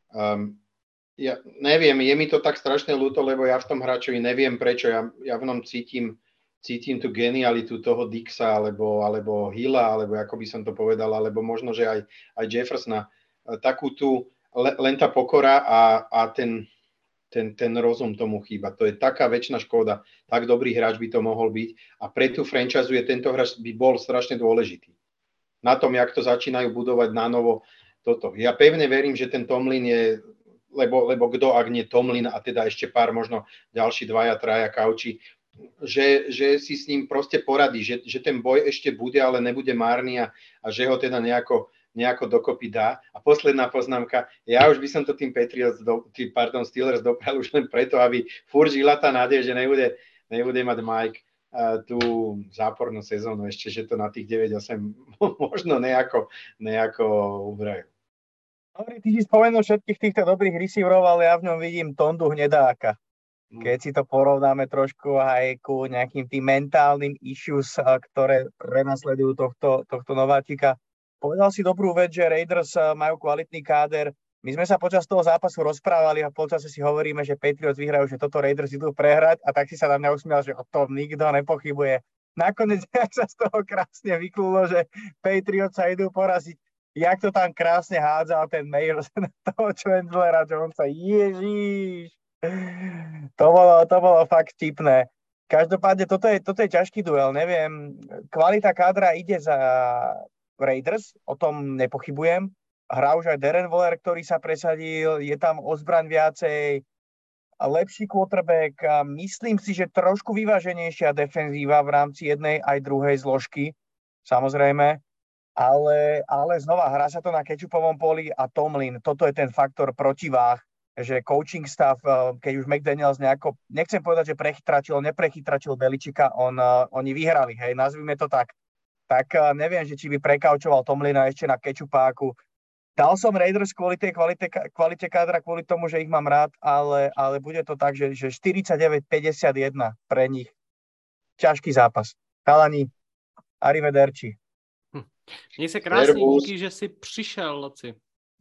Ja neviem, je mi to tak strašne ľúto, lebo ja v tom hráčovi neviem prečo, ja v ňom cítim tú genialitu toho Dixa, alebo Hilla, alebo ako by som to povedal, alebo možno, že aj Jeffersona. Takú tú, len tá pokora a ten rozum tomu chýba. To je taká väčšina škoda. Tak dobrý hráč by to mohol byť a pre tú franchise tento hráč by bol strašne dôležitý. Na tom, jak to začínajú budovať na novo toto. Ja pevne verím, že ten Tomlin je, lebo kto, ak nie Tomlin a teda ešte pár, možno ďalší 2-3 kauči, že si s ním proste poradí, že ten boj ešte bude, ale nebude márny a že ho teda nejako dokopy dá. A posledná poznámka, ja už by som to tým Steelers doprial už len preto, aby furt žila tá nádej, že nebude mať Mike tú zápornú sezónu ešte, že to na tých 9-8 možno nejako ubrajú. Dobre, ty si spomenul všetkých týchto dobrých receiverov, ale ja v ňom vidím Tondu Hnedáka. Keď si to porovnáme trošku aj ku nejakým tým mentálnym issues, ktoré prenasledujú tohto nováčika. Povedal si dobrú vec, že Raiders majú kvalitný káder. My sme sa počas toho zápasu rozprávali a v polčase si hovoríme, že Patriots vyhrajú, že toto Raiders idú prehrať a tak si sa na mňa usmial, že o tom nikto nepochybuje. Nakoniec sa z toho krásne vyklúlo, že Patriots sa idú poraziť. Jak to tam krásne hádzal ten Mayers na toho Chandlera Jonesa. Ježiš! To bolo fakt vtipné. Každopádne, toto je ťažký duel, neviem. Kvalita kádra ide za Raiders, o tom nepochybujem. Hrá už aj Darren Waller, ktorý sa presadil, je tam ozbraň viacej, lepší quarterback. Myslím si, že trošku vyváženejšia defenzíva v rámci jednej aj druhej zložky, samozrejme. Ale znova, hrá sa to na kečupovom poli a Tomlin, toto je ten faktor protiváh, že coaching staff, keď už McDaniels nejako, nechcem povedať, že neprechytračil Beličika, oni vyhrali, hej, nazvime to tak. Tak neviem, že či by prekaučoval Tomlina ešte na kečupáku. Dal som Raiders kvôli tej kvalite kádra, kvôli tomu, že ich mám rád, ale bude to tak, že 49-51 pre nich. Ťažký zápas. Chalani, arrivederci. Měj se krásně, díky, že jsi přišel, Laci.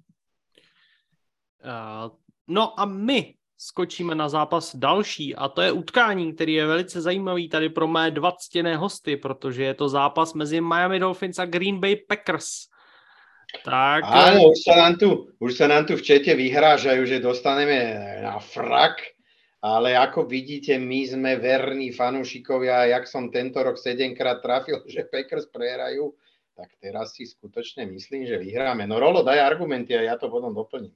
No a my skočíme na zápas další a to je utkání, který je velice zajímavý tady pro mé dva ctěné hosty, protože je to zápas mezi Miami Dolphins a Green Bay Packers. Tak... Áno, už sa nám tu v čete vyhrážajú, že dostaneme na frak Ale ako vidíte, my sme verní fanúšikovia. Jak som tento rok 7-krát trafil, že Packers prehrajú, tak teraz si skutočne myslím, že vyhráme. No Rolo, daj argumenty a ja to potom doplním.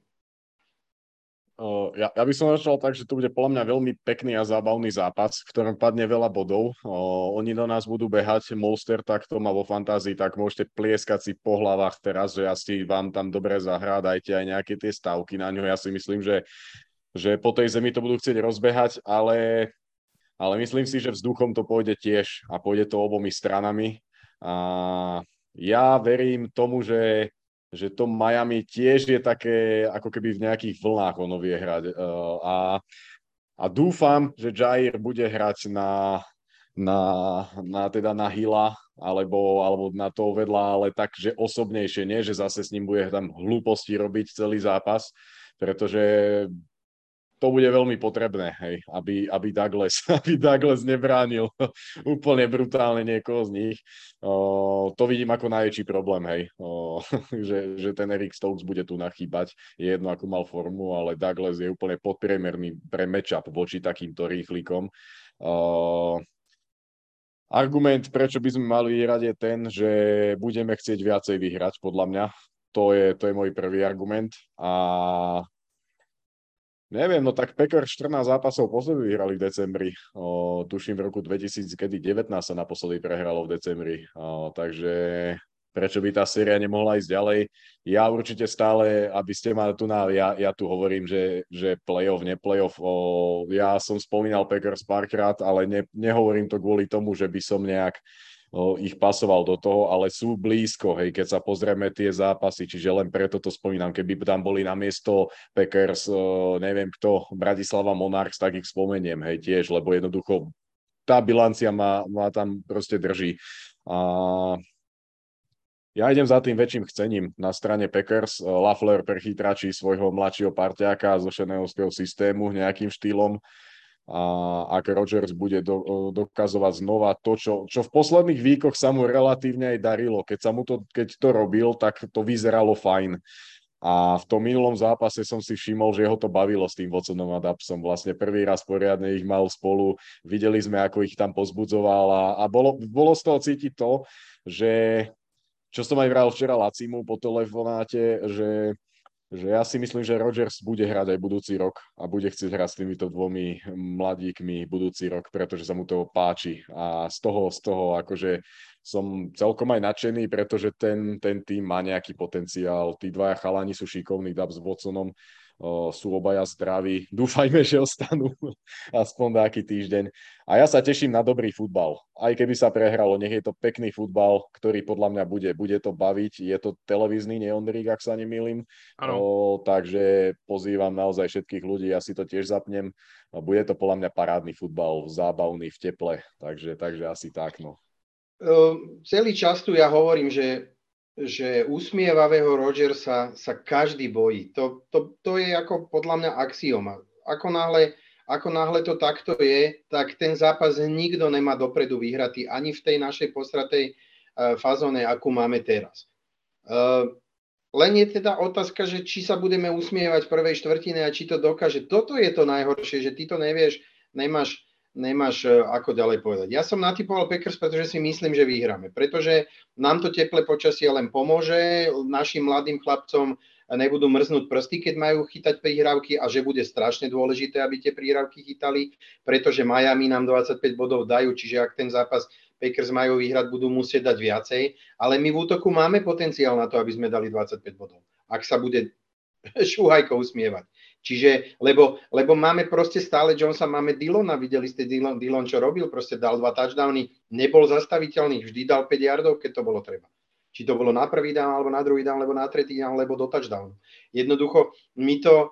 Ja by som začal tak, že to bude podľa mňa veľmi pekný a zábavný zápas, v ktorom padne veľa bodov. Oni do nás budú behať, Monster tak to má vo fantázii, tak môžete plieskať si po hlavách teraz, že asi vám tam dobre zahrá, dajte aj nejaké tie stavky na ňo. Ja si myslím, že po tej zemi to budú chcieť rozbehať, ale myslím si, že vzduchom to pôjde tiež a pôjde to obomi stranami. A ja verím tomu, že to Miami tiež je také, ako keby v nejakých vlnách ono vie hrať. A dúfam, že Jair bude hrať teda na Hilla, alebo na to vedľa, ale takže osobnejšie, nie, že zase s ním bude tam hlúposti robiť celý zápas, pretože to bude veľmi potrebné, hej, aby Douglas nebránil úplne brutálne niekoho z nich. To vidím ako najväčší problém, hej, že ten Eric Stokes bude tu nachýbať. Je jedno, akú mal formu, ale Douglas je úplne podpriemerný pre matchup voči takýmto rýchlikom. Argument, prečo by sme mali vyhrať, je ten, že budeme chcieť viacej vyhrať, podľa mňa. To je môj prvý argument. A neviem, no tak Packers 14 zápasov po sebe vyhrali v decembri. Tuším v roku 2019 sa naposledy prehralo v decembri. Takže prečo by tá séria nemohla ísť ďalej? Ja určite stále, aby ste ma tu ja tu hovorím, že playoff, neplayoff. Ja som spomínal Packers párkrát, ale nehovorím to kvôli tomu, že by som nejak ich pasoval do toho, ale sú blízko, hej, keď sa pozrieme tie zápasy, čiže len preto to spomínam, keby tam boli na miesto Packers, neviem kto, Bratislava Monarchs, tak ich spomeniem, hej, tiež, lebo jednoducho tá bilancia ma tam proste drží. A ja idem za tým väčším chcením na strane Packers. Lafleur prechytračí svojho mladšieho parťáka zo šenehovského systému nejakým štýlom. A ak Rodgers bude dokazovať znova to, čo v posledných víkoch sa mu relatívne aj darilo. Keď to robil, tak to vyzeralo fajn. A v tom minulom zápase som si všimol, že ho to bavilo s tým Watsonom a Dubsom. Vlastne prvý raz poriadne ich mal spolu. Videli sme, ako ich tam pozbudzoval a bolo z toho cítiť to, že čo som aj vral včera Lacimu po telefonáte, že ja si myslím, že Rodgers bude hrať aj budúci rok a bude chcieť hrať s týmito dvomi mladíkmi budúci rok, pretože sa mu to páči. A z toho akože som celkom aj nadšený, pretože ten tým má nejaký potenciál. Tí dvaja chalani sú šikovní, Dubs s Watsonom, sú obaja zdraví. Dúfajme, že ostanú aspoň taký týždeň. A ja sa teším na dobrý futbal. Aj keby sa prehralo, nech je to pekný futbal, ktorý podľa mňa bude to baviť. Je to televízny, nie Ondrík, ak sa nemýlim. Takže pozývam naozaj všetkých ľudí, ja si to tiež zapnem. Bude to podľa mňa parádny futbal, zábavný, v teple. Takže asi tak, no. Celý čas tu ja hovorím, že usmievavého Rodgersa sa každý bojí. To je ako podľa mňa axioma. Ako náhle to takto je, tak ten zápas nikto nemá dopredu vyhratý ani v tej našej postratej fazóne, akú máme teraz. Len je teda otázka, že či sa budeme usmievať v prvej štvrtine a či to dokáže. Toto je to najhoršie, že ty to nevieš, nemáš ako ďalej povedať. Ja som natypoval Packers, pretože si myslím, že vyhráme. Pretože nám to teplé počasie len pomôže, našim mladým chlapcom nebudú mrznúť prsty, keď majú chytať prihrávky a že bude strašne dôležité, aby tie prihrávky chytali, pretože Miami nám 25 bodov dajú, čiže ak ten zápas Packers majú vyhrať, budú musieť dať viacej, ale my v útoku máme potenciál na to, aby sme dali 25 bodov. Ak sa bude Šuhajko usmievať. Čiže, lebo máme proste stále Jonesa, máme Dylona, videli ste Dylon, čo robil, proste dal 2 touchdowny, nebol zastaviteľný, vždy dal 5 yardov, keď to bolo treba. Či to bolo na prvý down, alebo na druhý down, alebo na tretí down, alebo do touchdownu. Jednoducho, my to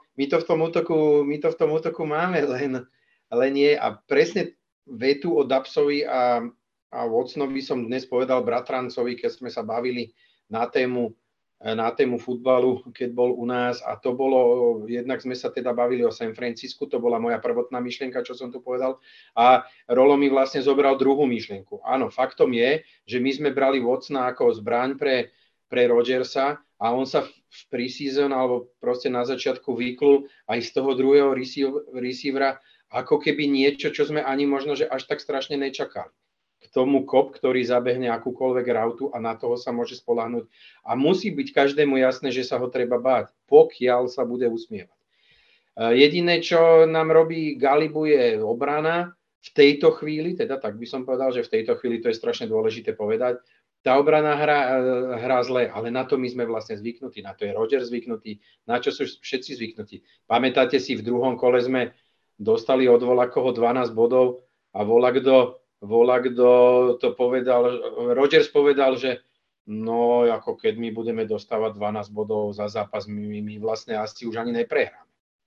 v tom útoku máme, len nie. A presne vetu o Dubsovi a Watsonovi som dnes povedal bratrancovi, keď sme sa bavili na tému futbalu, keď bol u nás, a to bolo, jednak sme sa teda bavili o San Francisku, to bola moja prvotná myšlienka, čo som tu povedal, a Rolo mi vlastne zobral druhú myšlienku. Áno, faktom je, že my sme brali Watsona ako zbraň pre Rodgersa a on sa v preseason alebo proste na začiatku vyklul aj z toho druhého receivera ako keby niečo, čo sme ani možno, že až tak strašne nečakali. K tomu kop, ktorý zabehne akúkoľvek rautu a na toho sa môže spoľahnúť. A musí byť každému jasné, že sa ho treba báť, pokiaľ sa bude usmievať. Jediné, čo nám robí galibu, je obrana v tejto chvíli, teda tak by som povedal, že v tejto chvíli to je strašne dôležité povedať. Tá obrana hrá zle, ale na to my sme vlastne zvyknutí, na to je Roger zvyknutý, na čo sú všetci zvyknutí. Pamätáte si, v druhom kole sme dostali od Volakoho 12 bodov a Volakdo to povedal, Rogers povedal, že no, ako keď my budeme dostávať 12 bodov za zápas, my vlastne asi už ani neprehráme.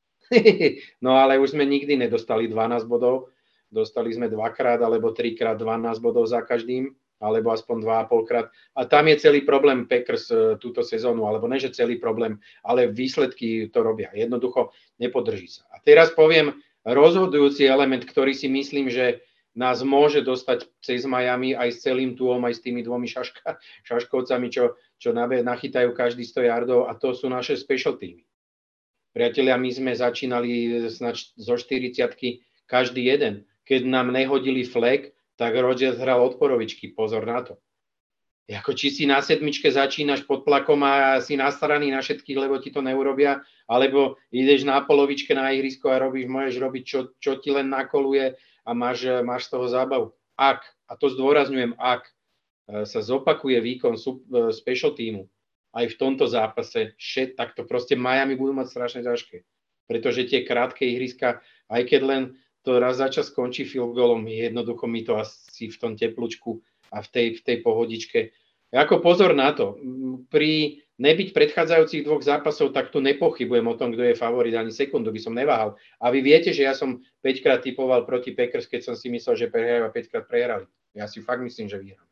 No ale už sme nikdy nedostali 12 bodov, dostali sme 2-krát alebo 3-krát 12 bodov za každým, alebo aspoň 2,5-krát. A tam je celý problém Packers túto sezónu, alebo ne, že celý problém, ale výsledky to robia. Jednoducho nepodrží sa. A teraz poviem rozhodujúci element, ktorý si myslím, že nás môže dostať cez Miami aj s celým túom, aj s tými dvomi šaškovcami, čo nachytajú každý 100 yardov, a to sú naše special teamy. Priatelia, my sme začínali zo 40-ky každý jeden. Keď nám nehodili flag, tak Rodgers hral odporovičky. Pozor na to. Ako či si na sedmičke začínaš pod tlakom a si nastaraný na všetkých, lebo ti to neurobia, alebo ideš na polovičke na ihrisko a môžeš robiť, čo ti len nakoluje a máš z toho zábavu. Ak, a to zdôrazňujem, ak sa zopakuje výkon special teamu, aj v tomto zápase, tak to proste Miami budú mať strašne ťažké. Pretože tie krátke ihriska, aj keď len to raz za čas skončí field goalom, jednoducho mi to asi v tom teplúčku a v tej pohodičke. Ako pozor na to, pri nebyť predchádzajúcich dvoch zápasov, tak tu nepochybujem o tom, kto je favorit, ani sekundu by som neváhal. A vy viete, že ja som 5-krát typoval proti Packers, keď som si myslel, že prehrajú, a 5-krát prehrali. Ja si fakt myslím, že vyhrám.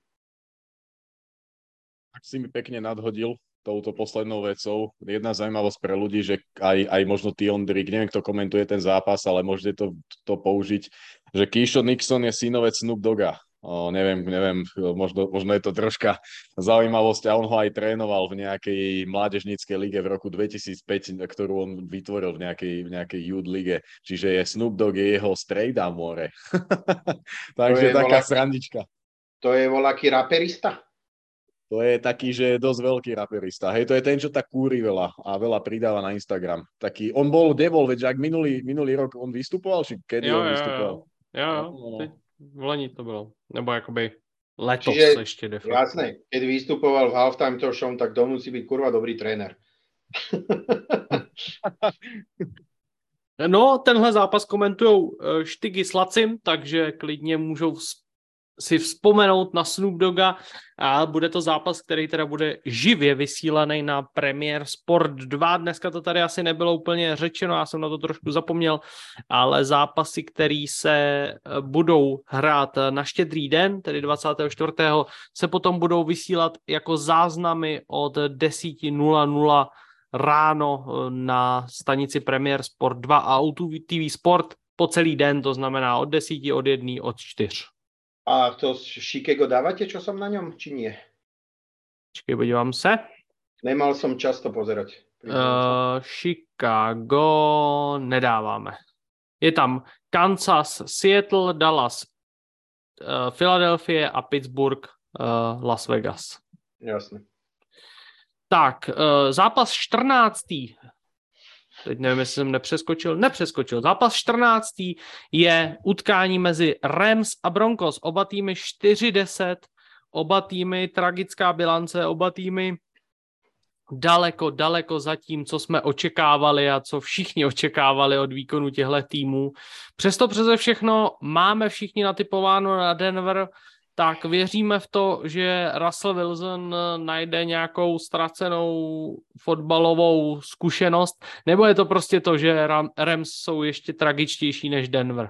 Tak si mi pekne nadhodil touto poslednou vecou. Jedna zaujímavosť pre ľudí, že aj možno Tion Drake, neviem, kto komentuje ten zápas, ale môžete to použiť, že Keyshawn Nixon je synovec Snoop Dogga. Neviem, možno je to troška zaujímavosť, a on ho aj trénoval v nejakej mládežníckej lige v roku 2005, ktorú on vytvoril v nejakej youth lige. Čiže Snoop Dogg je jeho strejda more. Takže taká srandička. To je voľaký raperista? To je taký, že je dosť veľký raperista. Hej, to je ten, čo tak kúri veľa a veľa pridáva na Instagram. Taký, on bol, veď ak minulý rok on vystupoval, či kedy on vystupoval? Jo. V loni to bylo. Nebo jakoby letos ešte de facto. Jasné, keď vystupoval v halftime show, tak to musí byť kurva dobrý tréner. No, tenhle zápas komentujou Štygy s Lacim, takže klidně můžou si vzpomenout na Snoop Dogga, a bude to zápas, který teda bude živě vysílaný na Premier Sport 2. Dneska to tady asi nebylo úplně řečeno, já jsem na to trošku zapomněl, ale zápasy, které se budou hrát na Štědrý den, tedy 24. se potom budou vysílat jako záznamy od 10:00 ráno na stanici Premier Sport 2 a O2 TV Sport po celý den, to znamená od 10, od 1, od 4. A to Chicago dávate, čo som na ňom, či nie? Počkej, podívám se. Nemal som čas to pozerať. Chicago nedáváme. Je tam Kansas, Seattle, Dallas, Philadelphia a Pittsburgh, Las Vegas. Jasne. Tak, zápas 14. Teď nevím, jestli jsem nepřeskočil. Zápas 14. je utkání mezi Rams a Broncos. Oba týmy 4-10, oba týmy tragická bilance, oba týmy daleko za tím, co jsme očekávali a co všichni očekávali od výkonu těchto týmů. Přesto přeze všechno máme všichni natypováno na Denver, tak věříme v to, že Russell Wilson najde nějakou ztracenou fotbalovou zkušenost, nebo je to prostě to, že Rams jsou ještě tragičtější než Denver?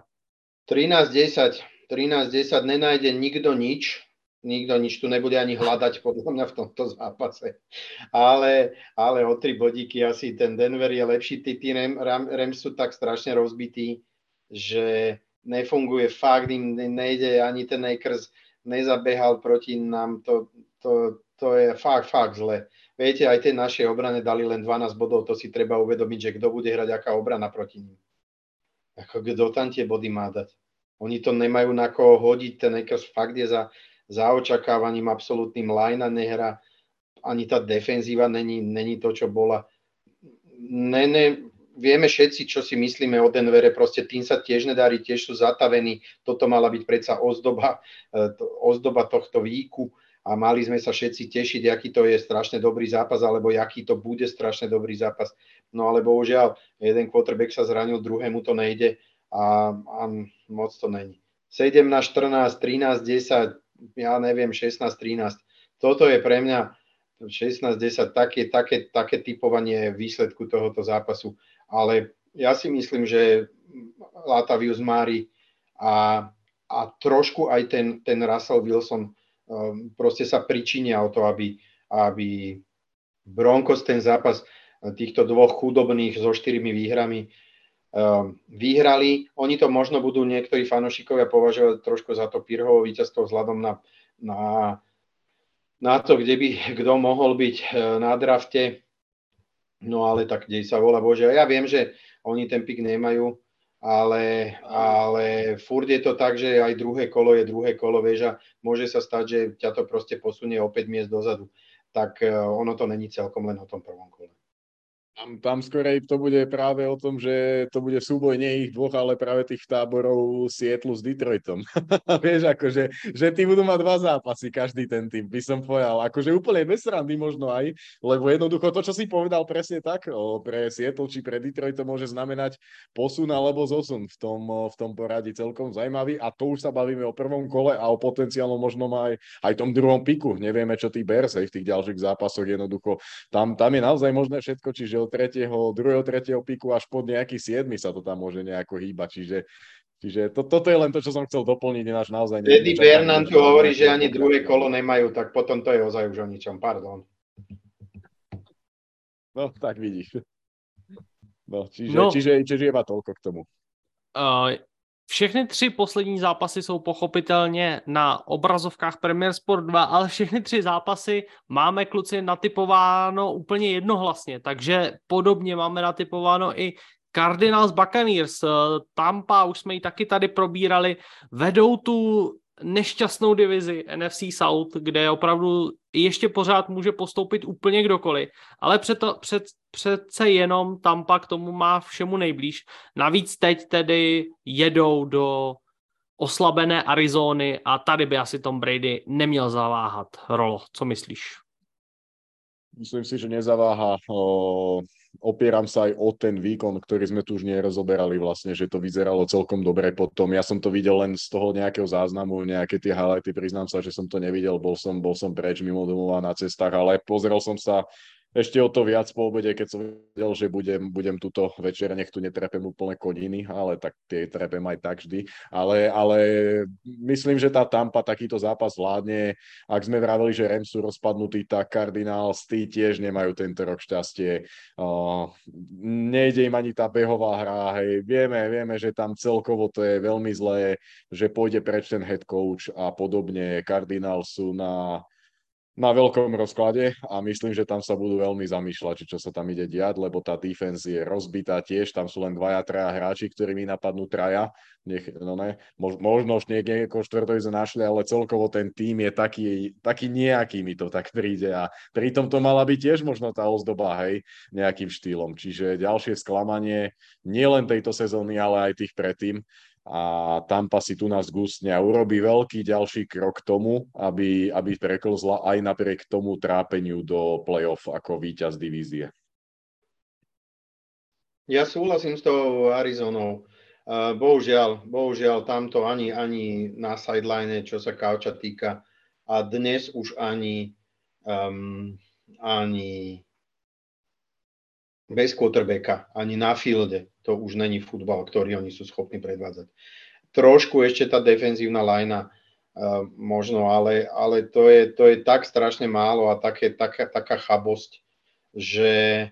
13-10 nenájde nikto nič, tu nebude ani hľadať podľa mňa v tomto zápase. Ale o 3 bodíky asi ten Denver je lepší. Tí Rams sú tak strašne rozbití, že nefunguje, fakt im nejde ani ten Akers, nezabehal proti nám, to je fakt zle. Viete, aj tie naše obrane dali len 12 bodov, to si treba uvedomiť, že kto bude hrať aká obrana proti ním. Ako kto tam tie body má dať? Oni to nemajú na koho hodiť, ten Lakers fakt je za očakávaním absolútnym, Lajna nehra, ani tá defenzíva není to, čo bola. Vieme všetci, čo si myslíme o Denvere, proste tým sa tiež nedarí, tiež sú zatavení, toto mala byť predsa ozdoba tohto výku a mali sme sa všetci tešiť, aký to je strašne dobrý zápas, alebo aký to bude strašne dobrý zápas. No ale bohužiaľ, jeden quarterback sa zranil, druhému to nejde a moc to není. 17-14, 13-10, ja neviem, 16-13. Toto je pre mňa 16-10 také typovanie výsledku tohoto zápasu. Ale ja si myslím, že Latavius Murray a trošku aj ten Russell Wilson proste sa pričinia o to, aby Broncos ten zápas týchto dvoch chudobných so 4 výhrami vyhrali. Oni to možno budú niektorí fanúšikovia považovať trošku za to Pirhovo víťazstvo vzhľadom na to, kde by kto mohol byť na drafte. No ale tak dej sa volá Bože. Ja viem, že oni ten pik nemajú, ale furt je to tak, že aj druhé kolo je druhé kolo, vieš, a môže sa stať, že ťa to proste posunie o 5 miest dozadu. Tak ono to není celkom len o tom prvom kole. Tam skorej to bude práve o tom, že to bude súboj nie ich dvoch, ale práve tých táborov Seattle s Detroitom. Vieš, akože, že tí budú mať 2 zápasy, každý ten tým, by som povedal. Akože úplne bez srandy možno aj, lebo jednoducho to, čo si povedal presne tak, pre Seattle či pre Detroit to môže znamenať posun alebo zosun v tom poradí celkom zaujímavý. A to už sa bavíme o prvom kole a o potenciálnom možnom aj tom druhom piku. Nevieme, čo tí Bears v tých ďalších zápasoch jednoducho. Tam je naozaj možné všetko, čiže od 3. piku až pod nejaký 7. sa to tam môže nejako hýbať. Čiže toto je len to, čo som chcel doplniť. Naozaj Eddie Bernard tu hovorí, že ani druhé kolo nemajú, tak potom to je ozaj už o ničom. Pardon. No, tak vidíš. Čiže iba toľko k tomu. Všechny 3 poslední zápasy jsou pochopitelně na obrazovkách Premier Sport 2, ale všechny 3 zápasy máme, kluci, natypováno úplně jednohlasně, takže podobně máme natypováno i Cardinals Buccaneers. Tampa, už jsme ji taky tady probírali, vedou tu nešťastnou divizi NFC South, kde opravdu ještě pořád může postoupit úplně kdokoliv, ale přece jenom Tampa k tomu má všemu nejblíž. Navíc teď tedy jedou do oslabené Arizony a tady by asi Tom Brady neměl zaváhat. Rolo, co myslíš? Myslím si, že nezaváha. Opieram sa aj o ten výkon, ktorý sme tu už nerozoberali vlastne, že to vyzeralo celkom dobre potom. Ja som to videl len z toho nejakého záznamu, nejaké tie highlighty, priznám sa, že som to nevidel, bol som preč mimo domova na cestách, ale pozrel som sa ešte o to viac po obede, keď som vedel, že budem túto večer, nech tu netrepem úplne koniny, ale tak tie trepem aj tak vždy. Ale myslím, že tá Tampa takýto zápas vládne. Ak sme vraveli, že Rams sú rozpadnutí, tak Cardinals tí tiež nemajú tento rok šťastie. Nejde im ani tá behová hra. Hej. Vieme, že tam celkovo to je veľmi zlé, že pôjde preč ten head coach a podobne. Cardinals sú na veľkom rozklade a myslím, že tam sa budú veľmi zamýšľať, čo sa tam ide diať, lebo tá defense je rozbitá tiež, tam sú len 2-3 hráči, ktorí mi napadnú 3. Možno už niekoho 4. našli, ale celkovo ten tým je taký nejaký, mi to tak príde a pritom to mala byť tiež možno tá ozdoba, hej, nejakým štýlom. Čiže ďalšie sklamanie nielen tejto sezóny, ale aj tých predtým. A Tampa si tu nás gustne a urobí veľký ďalší krok k tomu, aby preklzla aj napriek tomu trápeniu do play-off ako víťaz divízie. Ja súhlasím s tou Arizonou. Bohužiaľ tamto ani na sideline, čo sa kauča týka, a dnes už ani bez quarterbacka, ani na fielde. To už není futbal, ktorý oni sú schopní predvádzať. Trošku ešte tá defenzívna lajna možno, ale to je tak strašne málo a taká chabosť, že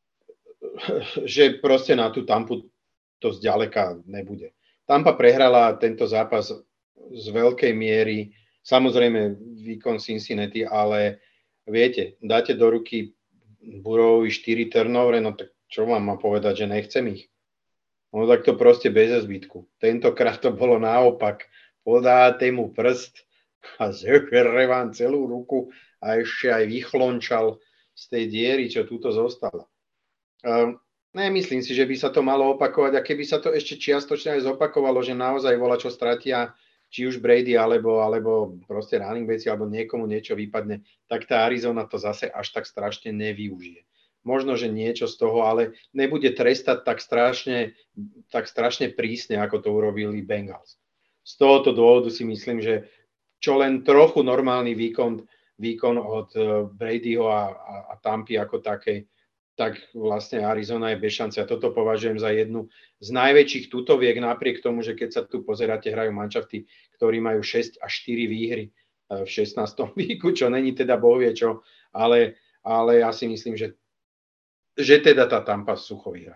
proste na tú Tampu to zďaleka nebude. Tampa prehrala tento zápas z veľkej miery, samozrejme výkon Cincinnati, ale viete, dáte do ruky Burrowovi 4 turnovery, no tak čo vám má povedať, že nechcem ich? No tak to proste bez zbytku. Tentokrát to bolo naopak. Podáte mu prst a zežere vám celú ruku a ešte aj vychlončal z tej diery, čo tuto zostala. Nemyslím si, že by sa to malo opakovať, a keby sa to ešte čiastočne aj zopakovalo, že naozaj volá, čo stratia, či už Brady, alebo proste running backi, alebo niekomu niečo vypadne, tak tá Arizona to zase až tak strašne nevyužije. Možno, že niečo z toho, ale nebude trestať tak strašne prísne, ako to urobili Bengals. Z tohoto dôvodu si myslím, že čo len trochu normálny výkon od Bradyho a Tampy ako takej, tak vlastne Arizona je bez šance. A toto považujem za jednu z najväčších tutoviek, napriek tomu, že keď sa tu pozeráte, hrajú manšafty, ktorí majú 6 až 4 výhry v 16. víku, čo není teda bohvie čo, ale ja si myslím, že teda tá Tampa sucho vyhrá.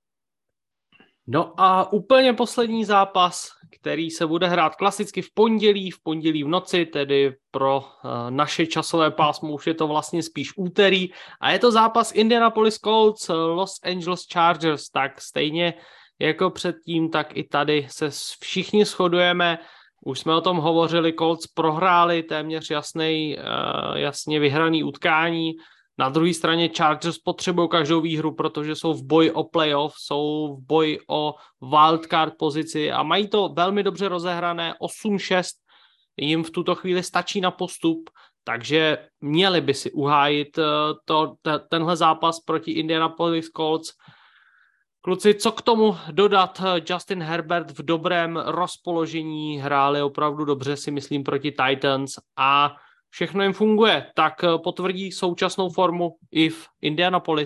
No a úplně poslední zápas, který se bude hrát klasicky v pondělí v noci, tedy pro naše časové pásmo už je to vlastně spíš úterý, a je to zápas Indianapolis Colts, Los Angeles Chargers. Tak stejně jako předtím, tak i tady se všichni shodujeme. Už jsme o tom hovořili, Colts prohráli téměř jasně vyhraný utkání. Na druhé straně Chargers potřebují každou výhru, protože jsou v boji o playoff, jsou v boji o wildcard pozici a mají to velmi dobře rozehrané. 8-6 jim v tuto chvíli stačí na postup, takže měli by si uhájit tenhle zápas proti Indianapolis Colts. Kluci, co k tomu dodat? Justin Herbert v dobrém rozpoložení, hráli opravdu dobře, si myslím, proti Titans a všechno jim funguje, tak potvrdí současnou formu i v Indianapolis.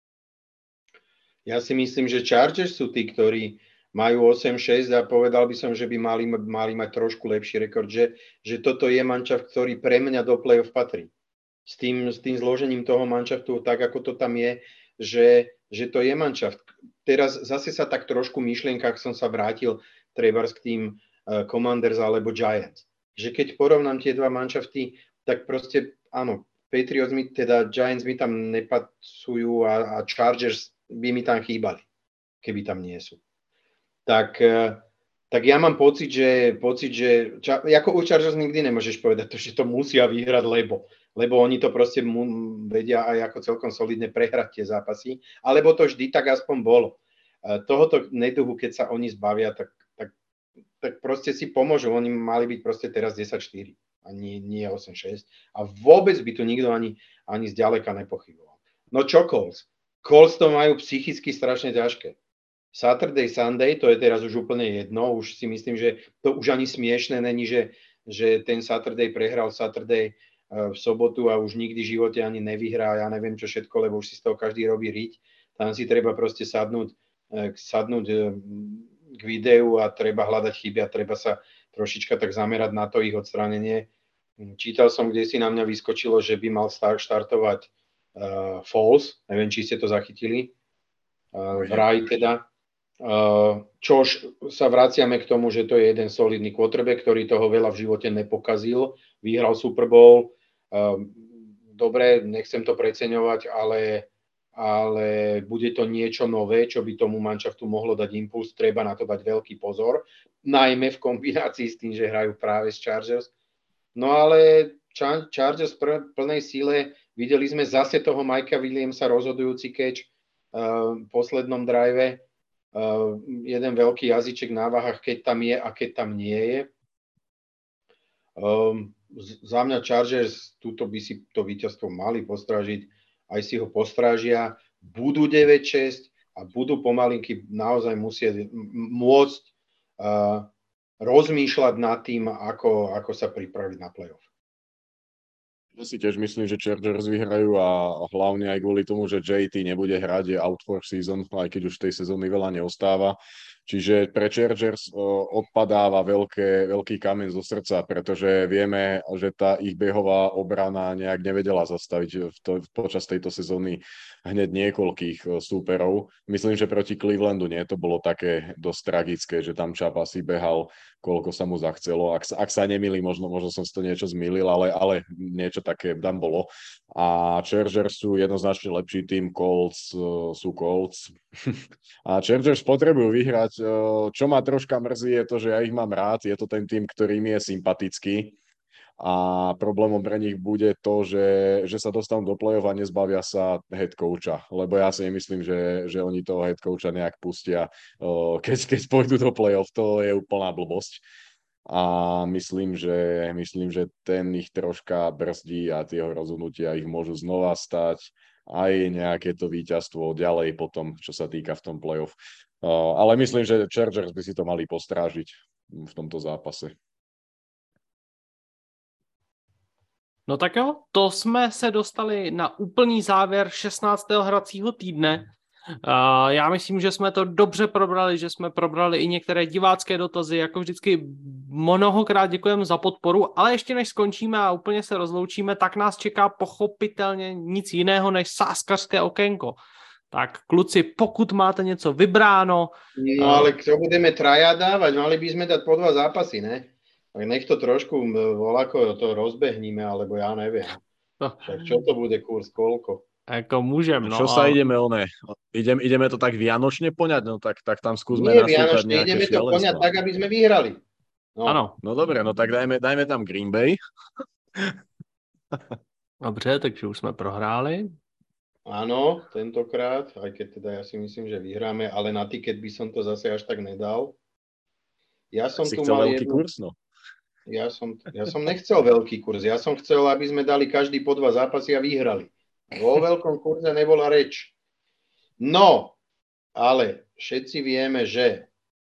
Ja si myslím, že Chargers sú tí, ktorí majú 8-6 a povedal by som, že by mali mať trošku lepší rekord, že toto je manšaft, ktorý pre mňa do play-off patrí. S tým zložením toho manšaftu, tak ako to tam je, že to je manšaft. Teraz zase sa tak trošku v myšlienkach som sa vrátil trebárs k tým Commanders alebo Giants. Že keď porovnám tie dva manšafty, tak proste áno, Patriots Giants mi tam nepasujú a Chargers by mi tam chýbali, keby tam nie sú. Tak ja mám pocit, že ako u Chargers nikdy nemôžeš povedať to, že to musia vyhrať, lebo oni to proste vedia aj ako celkom solidne prehrať tie zápasy, alebo to vždy tak aspoň bolo. Tohoto neduhu, keď sa oni zbavia, tak proste si pomôžu. Oni mali byť proste teraz 10-4 a nie 8-6 a vôbec by tu nikto ani zďaleka nepochyboval. No čo Colts? Colts to majú psychicky strašne ťažké. Saturday, Sunday, to je teraz už úplne jedno, už si myslím, že to už ani smiešné není, že ten Saturday prehral Saturday v sobotu a už nikdy v živote ani nevyhrá, ja neviem čo všetko, lebo už si z toho každý robí riť. Tam si treba proste sadnúť k videu a treba hľadať chyby a treba sa trošička tak zamerať na to ich odstránenie. Čítal som, kde si na mňa vyskočilo, že by mal štartovať Foles, neviem, či ste to zachytili, vraj teda. Čož sa vraciame k tomu, že to je jeden solidný quarterback, ktorý toho veľa v živote nepokazil, vyhral Super Bowl. Dobre, nechcem to preceňovať, ale bude to niečo nové, čo by tomu manšaftu mohlo dať impuls, treba na to dať veľký pozor, najmä v kombinácii s tým, že hrajú práve s Chargers. No ale Chargers v plnej síle, videli sme zase toho Mikea Williamsa, rozhodujúci catch v poslednom drive, jeden veľký jazyček na váhach, keď tam je a keď tam nie je. Za mňa Chargers túto by si to víťazstvo mali postrážiť, aj si ho postrážia, budú 9-6 a budú pomalinky naozaj môcť rozmýšľať nad tým, ako sa pripraviť na playoff. Ja si tiež myslím, že Chargers vyhrajú a hlavne aj kvôli tomu, že JT nebude hrať, je out for season, aj keď už tej sezóny veľa neostáva. Čiže pre Chargers odpadáva veľký kameň zo srdca, pretože vieme, že tá ich behová obrana nejak nevedela zastaviť počas tejto sezóny hneď niekoľkých súperov. Myslím, že proti Clevelandu nie, to bolo také dosť tragické, že tam Chubb asi behal, koľko sa mu zachcelo. Ak sa nemýlim, možno som si to niečo zmýlil, ale niečo také tam bolo. A Chargers sú jednoznačne lepší tým, Colts sú Colts. A Chargers potrebujú vyhrať. Čo ma troška mrzí je to, že ja ich mám rád. Je to ten tým, ktorý mi je sympatický. A problémom pre nich bude to, že sa dostanú do play-off a nezbavia sa head coacha. Lebo ja si nemyslím, že oni toho head coacha nejak pustia. Keď pôjdu do play-off, to je úplná blbosť. A myslím, že ten ich troška brzdí a tie rozhodnutia ich môžu znova stať. Aj nejaké to víťazstvo ďalej potom, čo sa týka v tom play-off. Ale myslím, že Chargers by si to mali postrážiť v tomto zápase. No tak jo, to jsme se dostali na úplný závěr 16. hracího týdne. Já myslím, že jsme to dobře probrali, že jsme probrali i některé divácké dotazy, jako vždycky mnohokrát děkujeme za podporu, ale ještě než skončíme a úplně se rozloučíme, tak nás čeká pochopitelně nic jiného než sáskařské okénko. Tak kluci, pokud máte něco vybráno... No ale čo budeme traja dávať? Mali by sme dať po 2 zápasy, ne? Tak nech to trošku voľako to rozbehníme, alebo ja neviem. Však čo to bude kurz, koľko? Ako môžem, no. Čo sa ideme, ideme to tak vianočne poňať, no tak tam skúsme Nie nasúkať vianočne, nejaké ideme to poňať tak, aby sme vyhrali. Ano. No dobre, no tak dajme tam Green Bay. Dobře, takže už jsme prohráli. Áno, tentokrát, aj keď teda ja si myslím, že vyhráme, ale na tiket by som to zase až tak nedal. Ja som si tu chcel mal veľký kurz, no. Ja som nechcel veľký kurz. Ja som chcel, aby sme dali každý po 2 zápasy a vyhrali. Vo veľkom kurze nebola reč. No, ale všetci vieme, že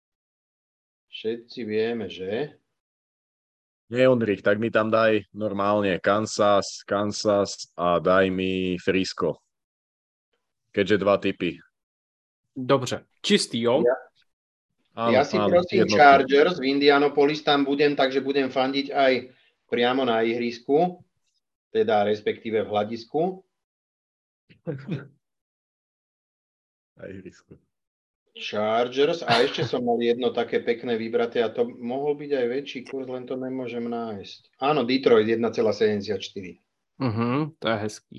Nie, Ondrik, tak mi tam daj normálne Kansas a daj mi Frisco. Keďže 2 tipy. Dobře, čistý, jo? Ja si prosím jednotný. Chargers, v Indianapolis tam budem, takže budem fandiť aj priamo na ihrisku, teda respektíve v hľadisku. Na ihrisku. Chargers a ešte som mal jedno také pekné vybraté a to mohol byť aj väčší kurz, len to nemôžem nájsť. Áno, Detroit 1,74. To je hezký.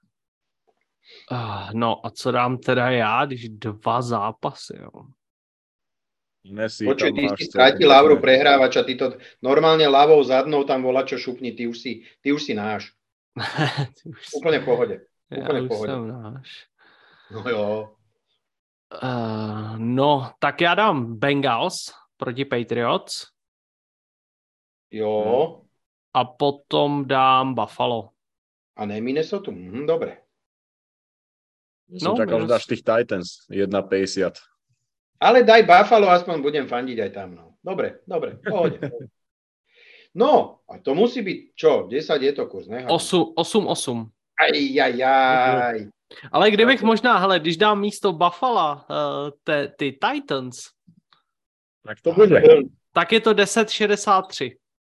No a co dám teda já, když 2 zápasy, jo? Počuj, ty si strátil Lavru prehrávača, ty to normálne ľavou zadnou tam volá čo šupni, ty už si náš. Úplne v pohode. Úplne v pohode. Jsem náš. No jo. No, tak já dám Bengals proti Patriots. Jo. A potom dám Buffalo. A ne Minnesota? Dobre. Som čakal, že dáš tých Titans 1,50. Ale daj Buffalo, aspoň budem fandiť aj tam. No. Dobre, pohode. No, a to musí byť, čo, 10 je to kurz, ne? 8. Ajajaj. Ale kdybych možná, hele, když dám místo Buffalo ty Titans, tak to bude. Tak je to 10,63.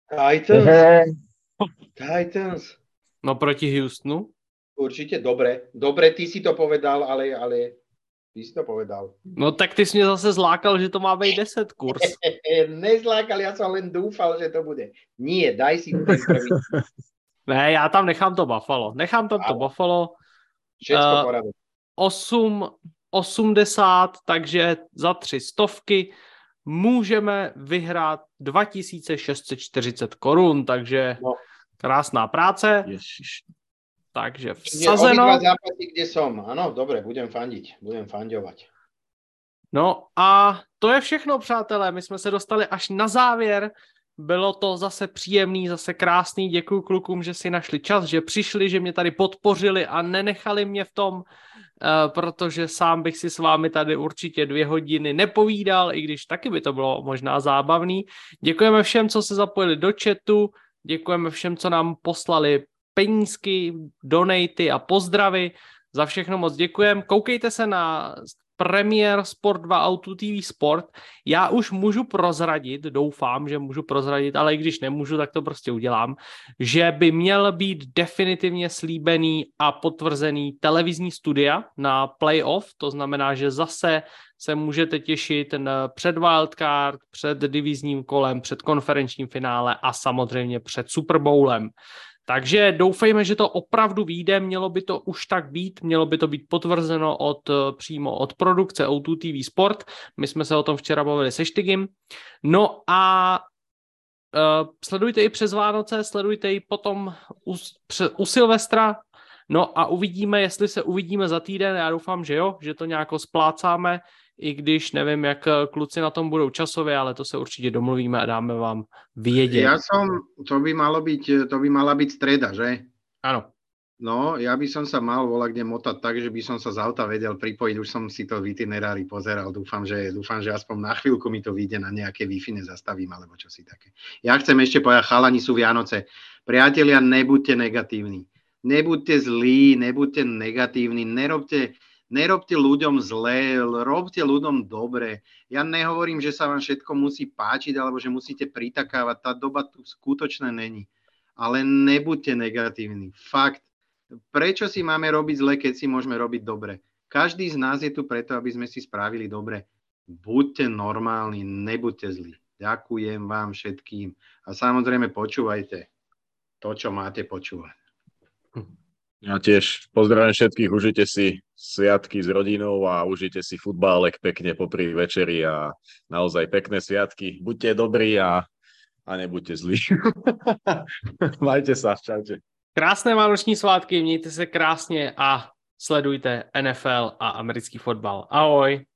Titans. No proti Houstonu? Určite, dobre, ty si to povedal, ale ty si to povedal. No tak ty jsi mě zase zlákal, že to má být 10 kurz. Nezlákal, ja som len dúfal, že to bude. Nie, daj si ten prvý. Ne, já tam nechám to Buffalo. Buffalo. Všetko poradí. 8,80, takže za 300 můžeme vyhrát 2640 korun, takže krásná práce. Ježiš. Takže vsazeno. Obidva zápasy, kde som. Áno, dobre, budem fandovať. No a to je všechno, přátelé. My jsme se dostali až na závěr. Bylo to zase příjemný, zase krásný. Děkuju klukům, že si našli čas, že přišli, že mě tady podpořili a nenechali mě v tom, protože sám bych si s vámi tady určitě 2 hodiny nepovídal, i když taky by to bylo možná zábavný. Děkujeme všem, co se zapojili do chatu, děkujeme všem, co nám poslali penízky, donaty a pozdravy. Za všechno moc děkujem. Koukejte se na premiér Sport 2 Auto TV Sport. Já už můžu prozradit, doufám, že můžu prozradit, ale i když nemůžu, tak to prostě udělám, že by měl být definitivně slíbený a potvrzený televizní studia na playoff, to znamená, že zase se můžete těšit před wildcard, před divizním kolem, před konferenčním finále a samozřejmě před Super Bowlem. Takže doufejme, že to opravdu vyjde, mělo by to už tak být, mělo by to být potvrzeno přímo od produkce O2 TV Sport. My jsme se o tom včera bavili se Štygim. No a sledujte i přes Vánoce, sledujte i potom u Silvestra. No a uvidíme, jestli se uvidíme za týden. Já doufám, že jo, že to nějak splácáme, i když nevím, jak kluci na tom budou časově, ale to se určitě domluvíme a dáme vám vědět. To by mala byť streda, že? Áno. No, ja by som sa mal volať kde motať tak, že by som sa z auta vedel pripojiť, už som si to v itinerári pozeral, dúfam, že aspoň na chvíľku mi to vyjde, na nejaké Wi-Fi nezastavím, alebo čo si také. Ja chcem ešte povedať, chalani, sú Vianoce. Priatelia, nebuďte negatívni. Nebuďte zlí, nebuďte negatívni, nerobte ľuďom zlé, robte ľuďom dobre. Ja nehovorím, že sa vám všetko musí páčiť, alebo že musíte pritakávať, tá doba tu skutočne není. Ale nebuďte negatívni, fakt. Prečo si máme robiť zle, keď si môžeme robiť dobre? Každý z nás je tu preto, aby sme si spravili dobre. Buďte normálni, nebuďte zlí. Ďakujem vám všetkým. A samozrejme počúvajte to, čo máte počúvať. Ja tiež pozdravím všetkých, užite si sviatky s rodinou a užite si futbálek pekne popri večeri a naozaj pekné sviatky. Buďte dobrí a nebuďte zlí. Majte sa, čaute. Krásné vánoční svátky, mějte se krásně a sledujte NFL a americký fotbal. Ahoj.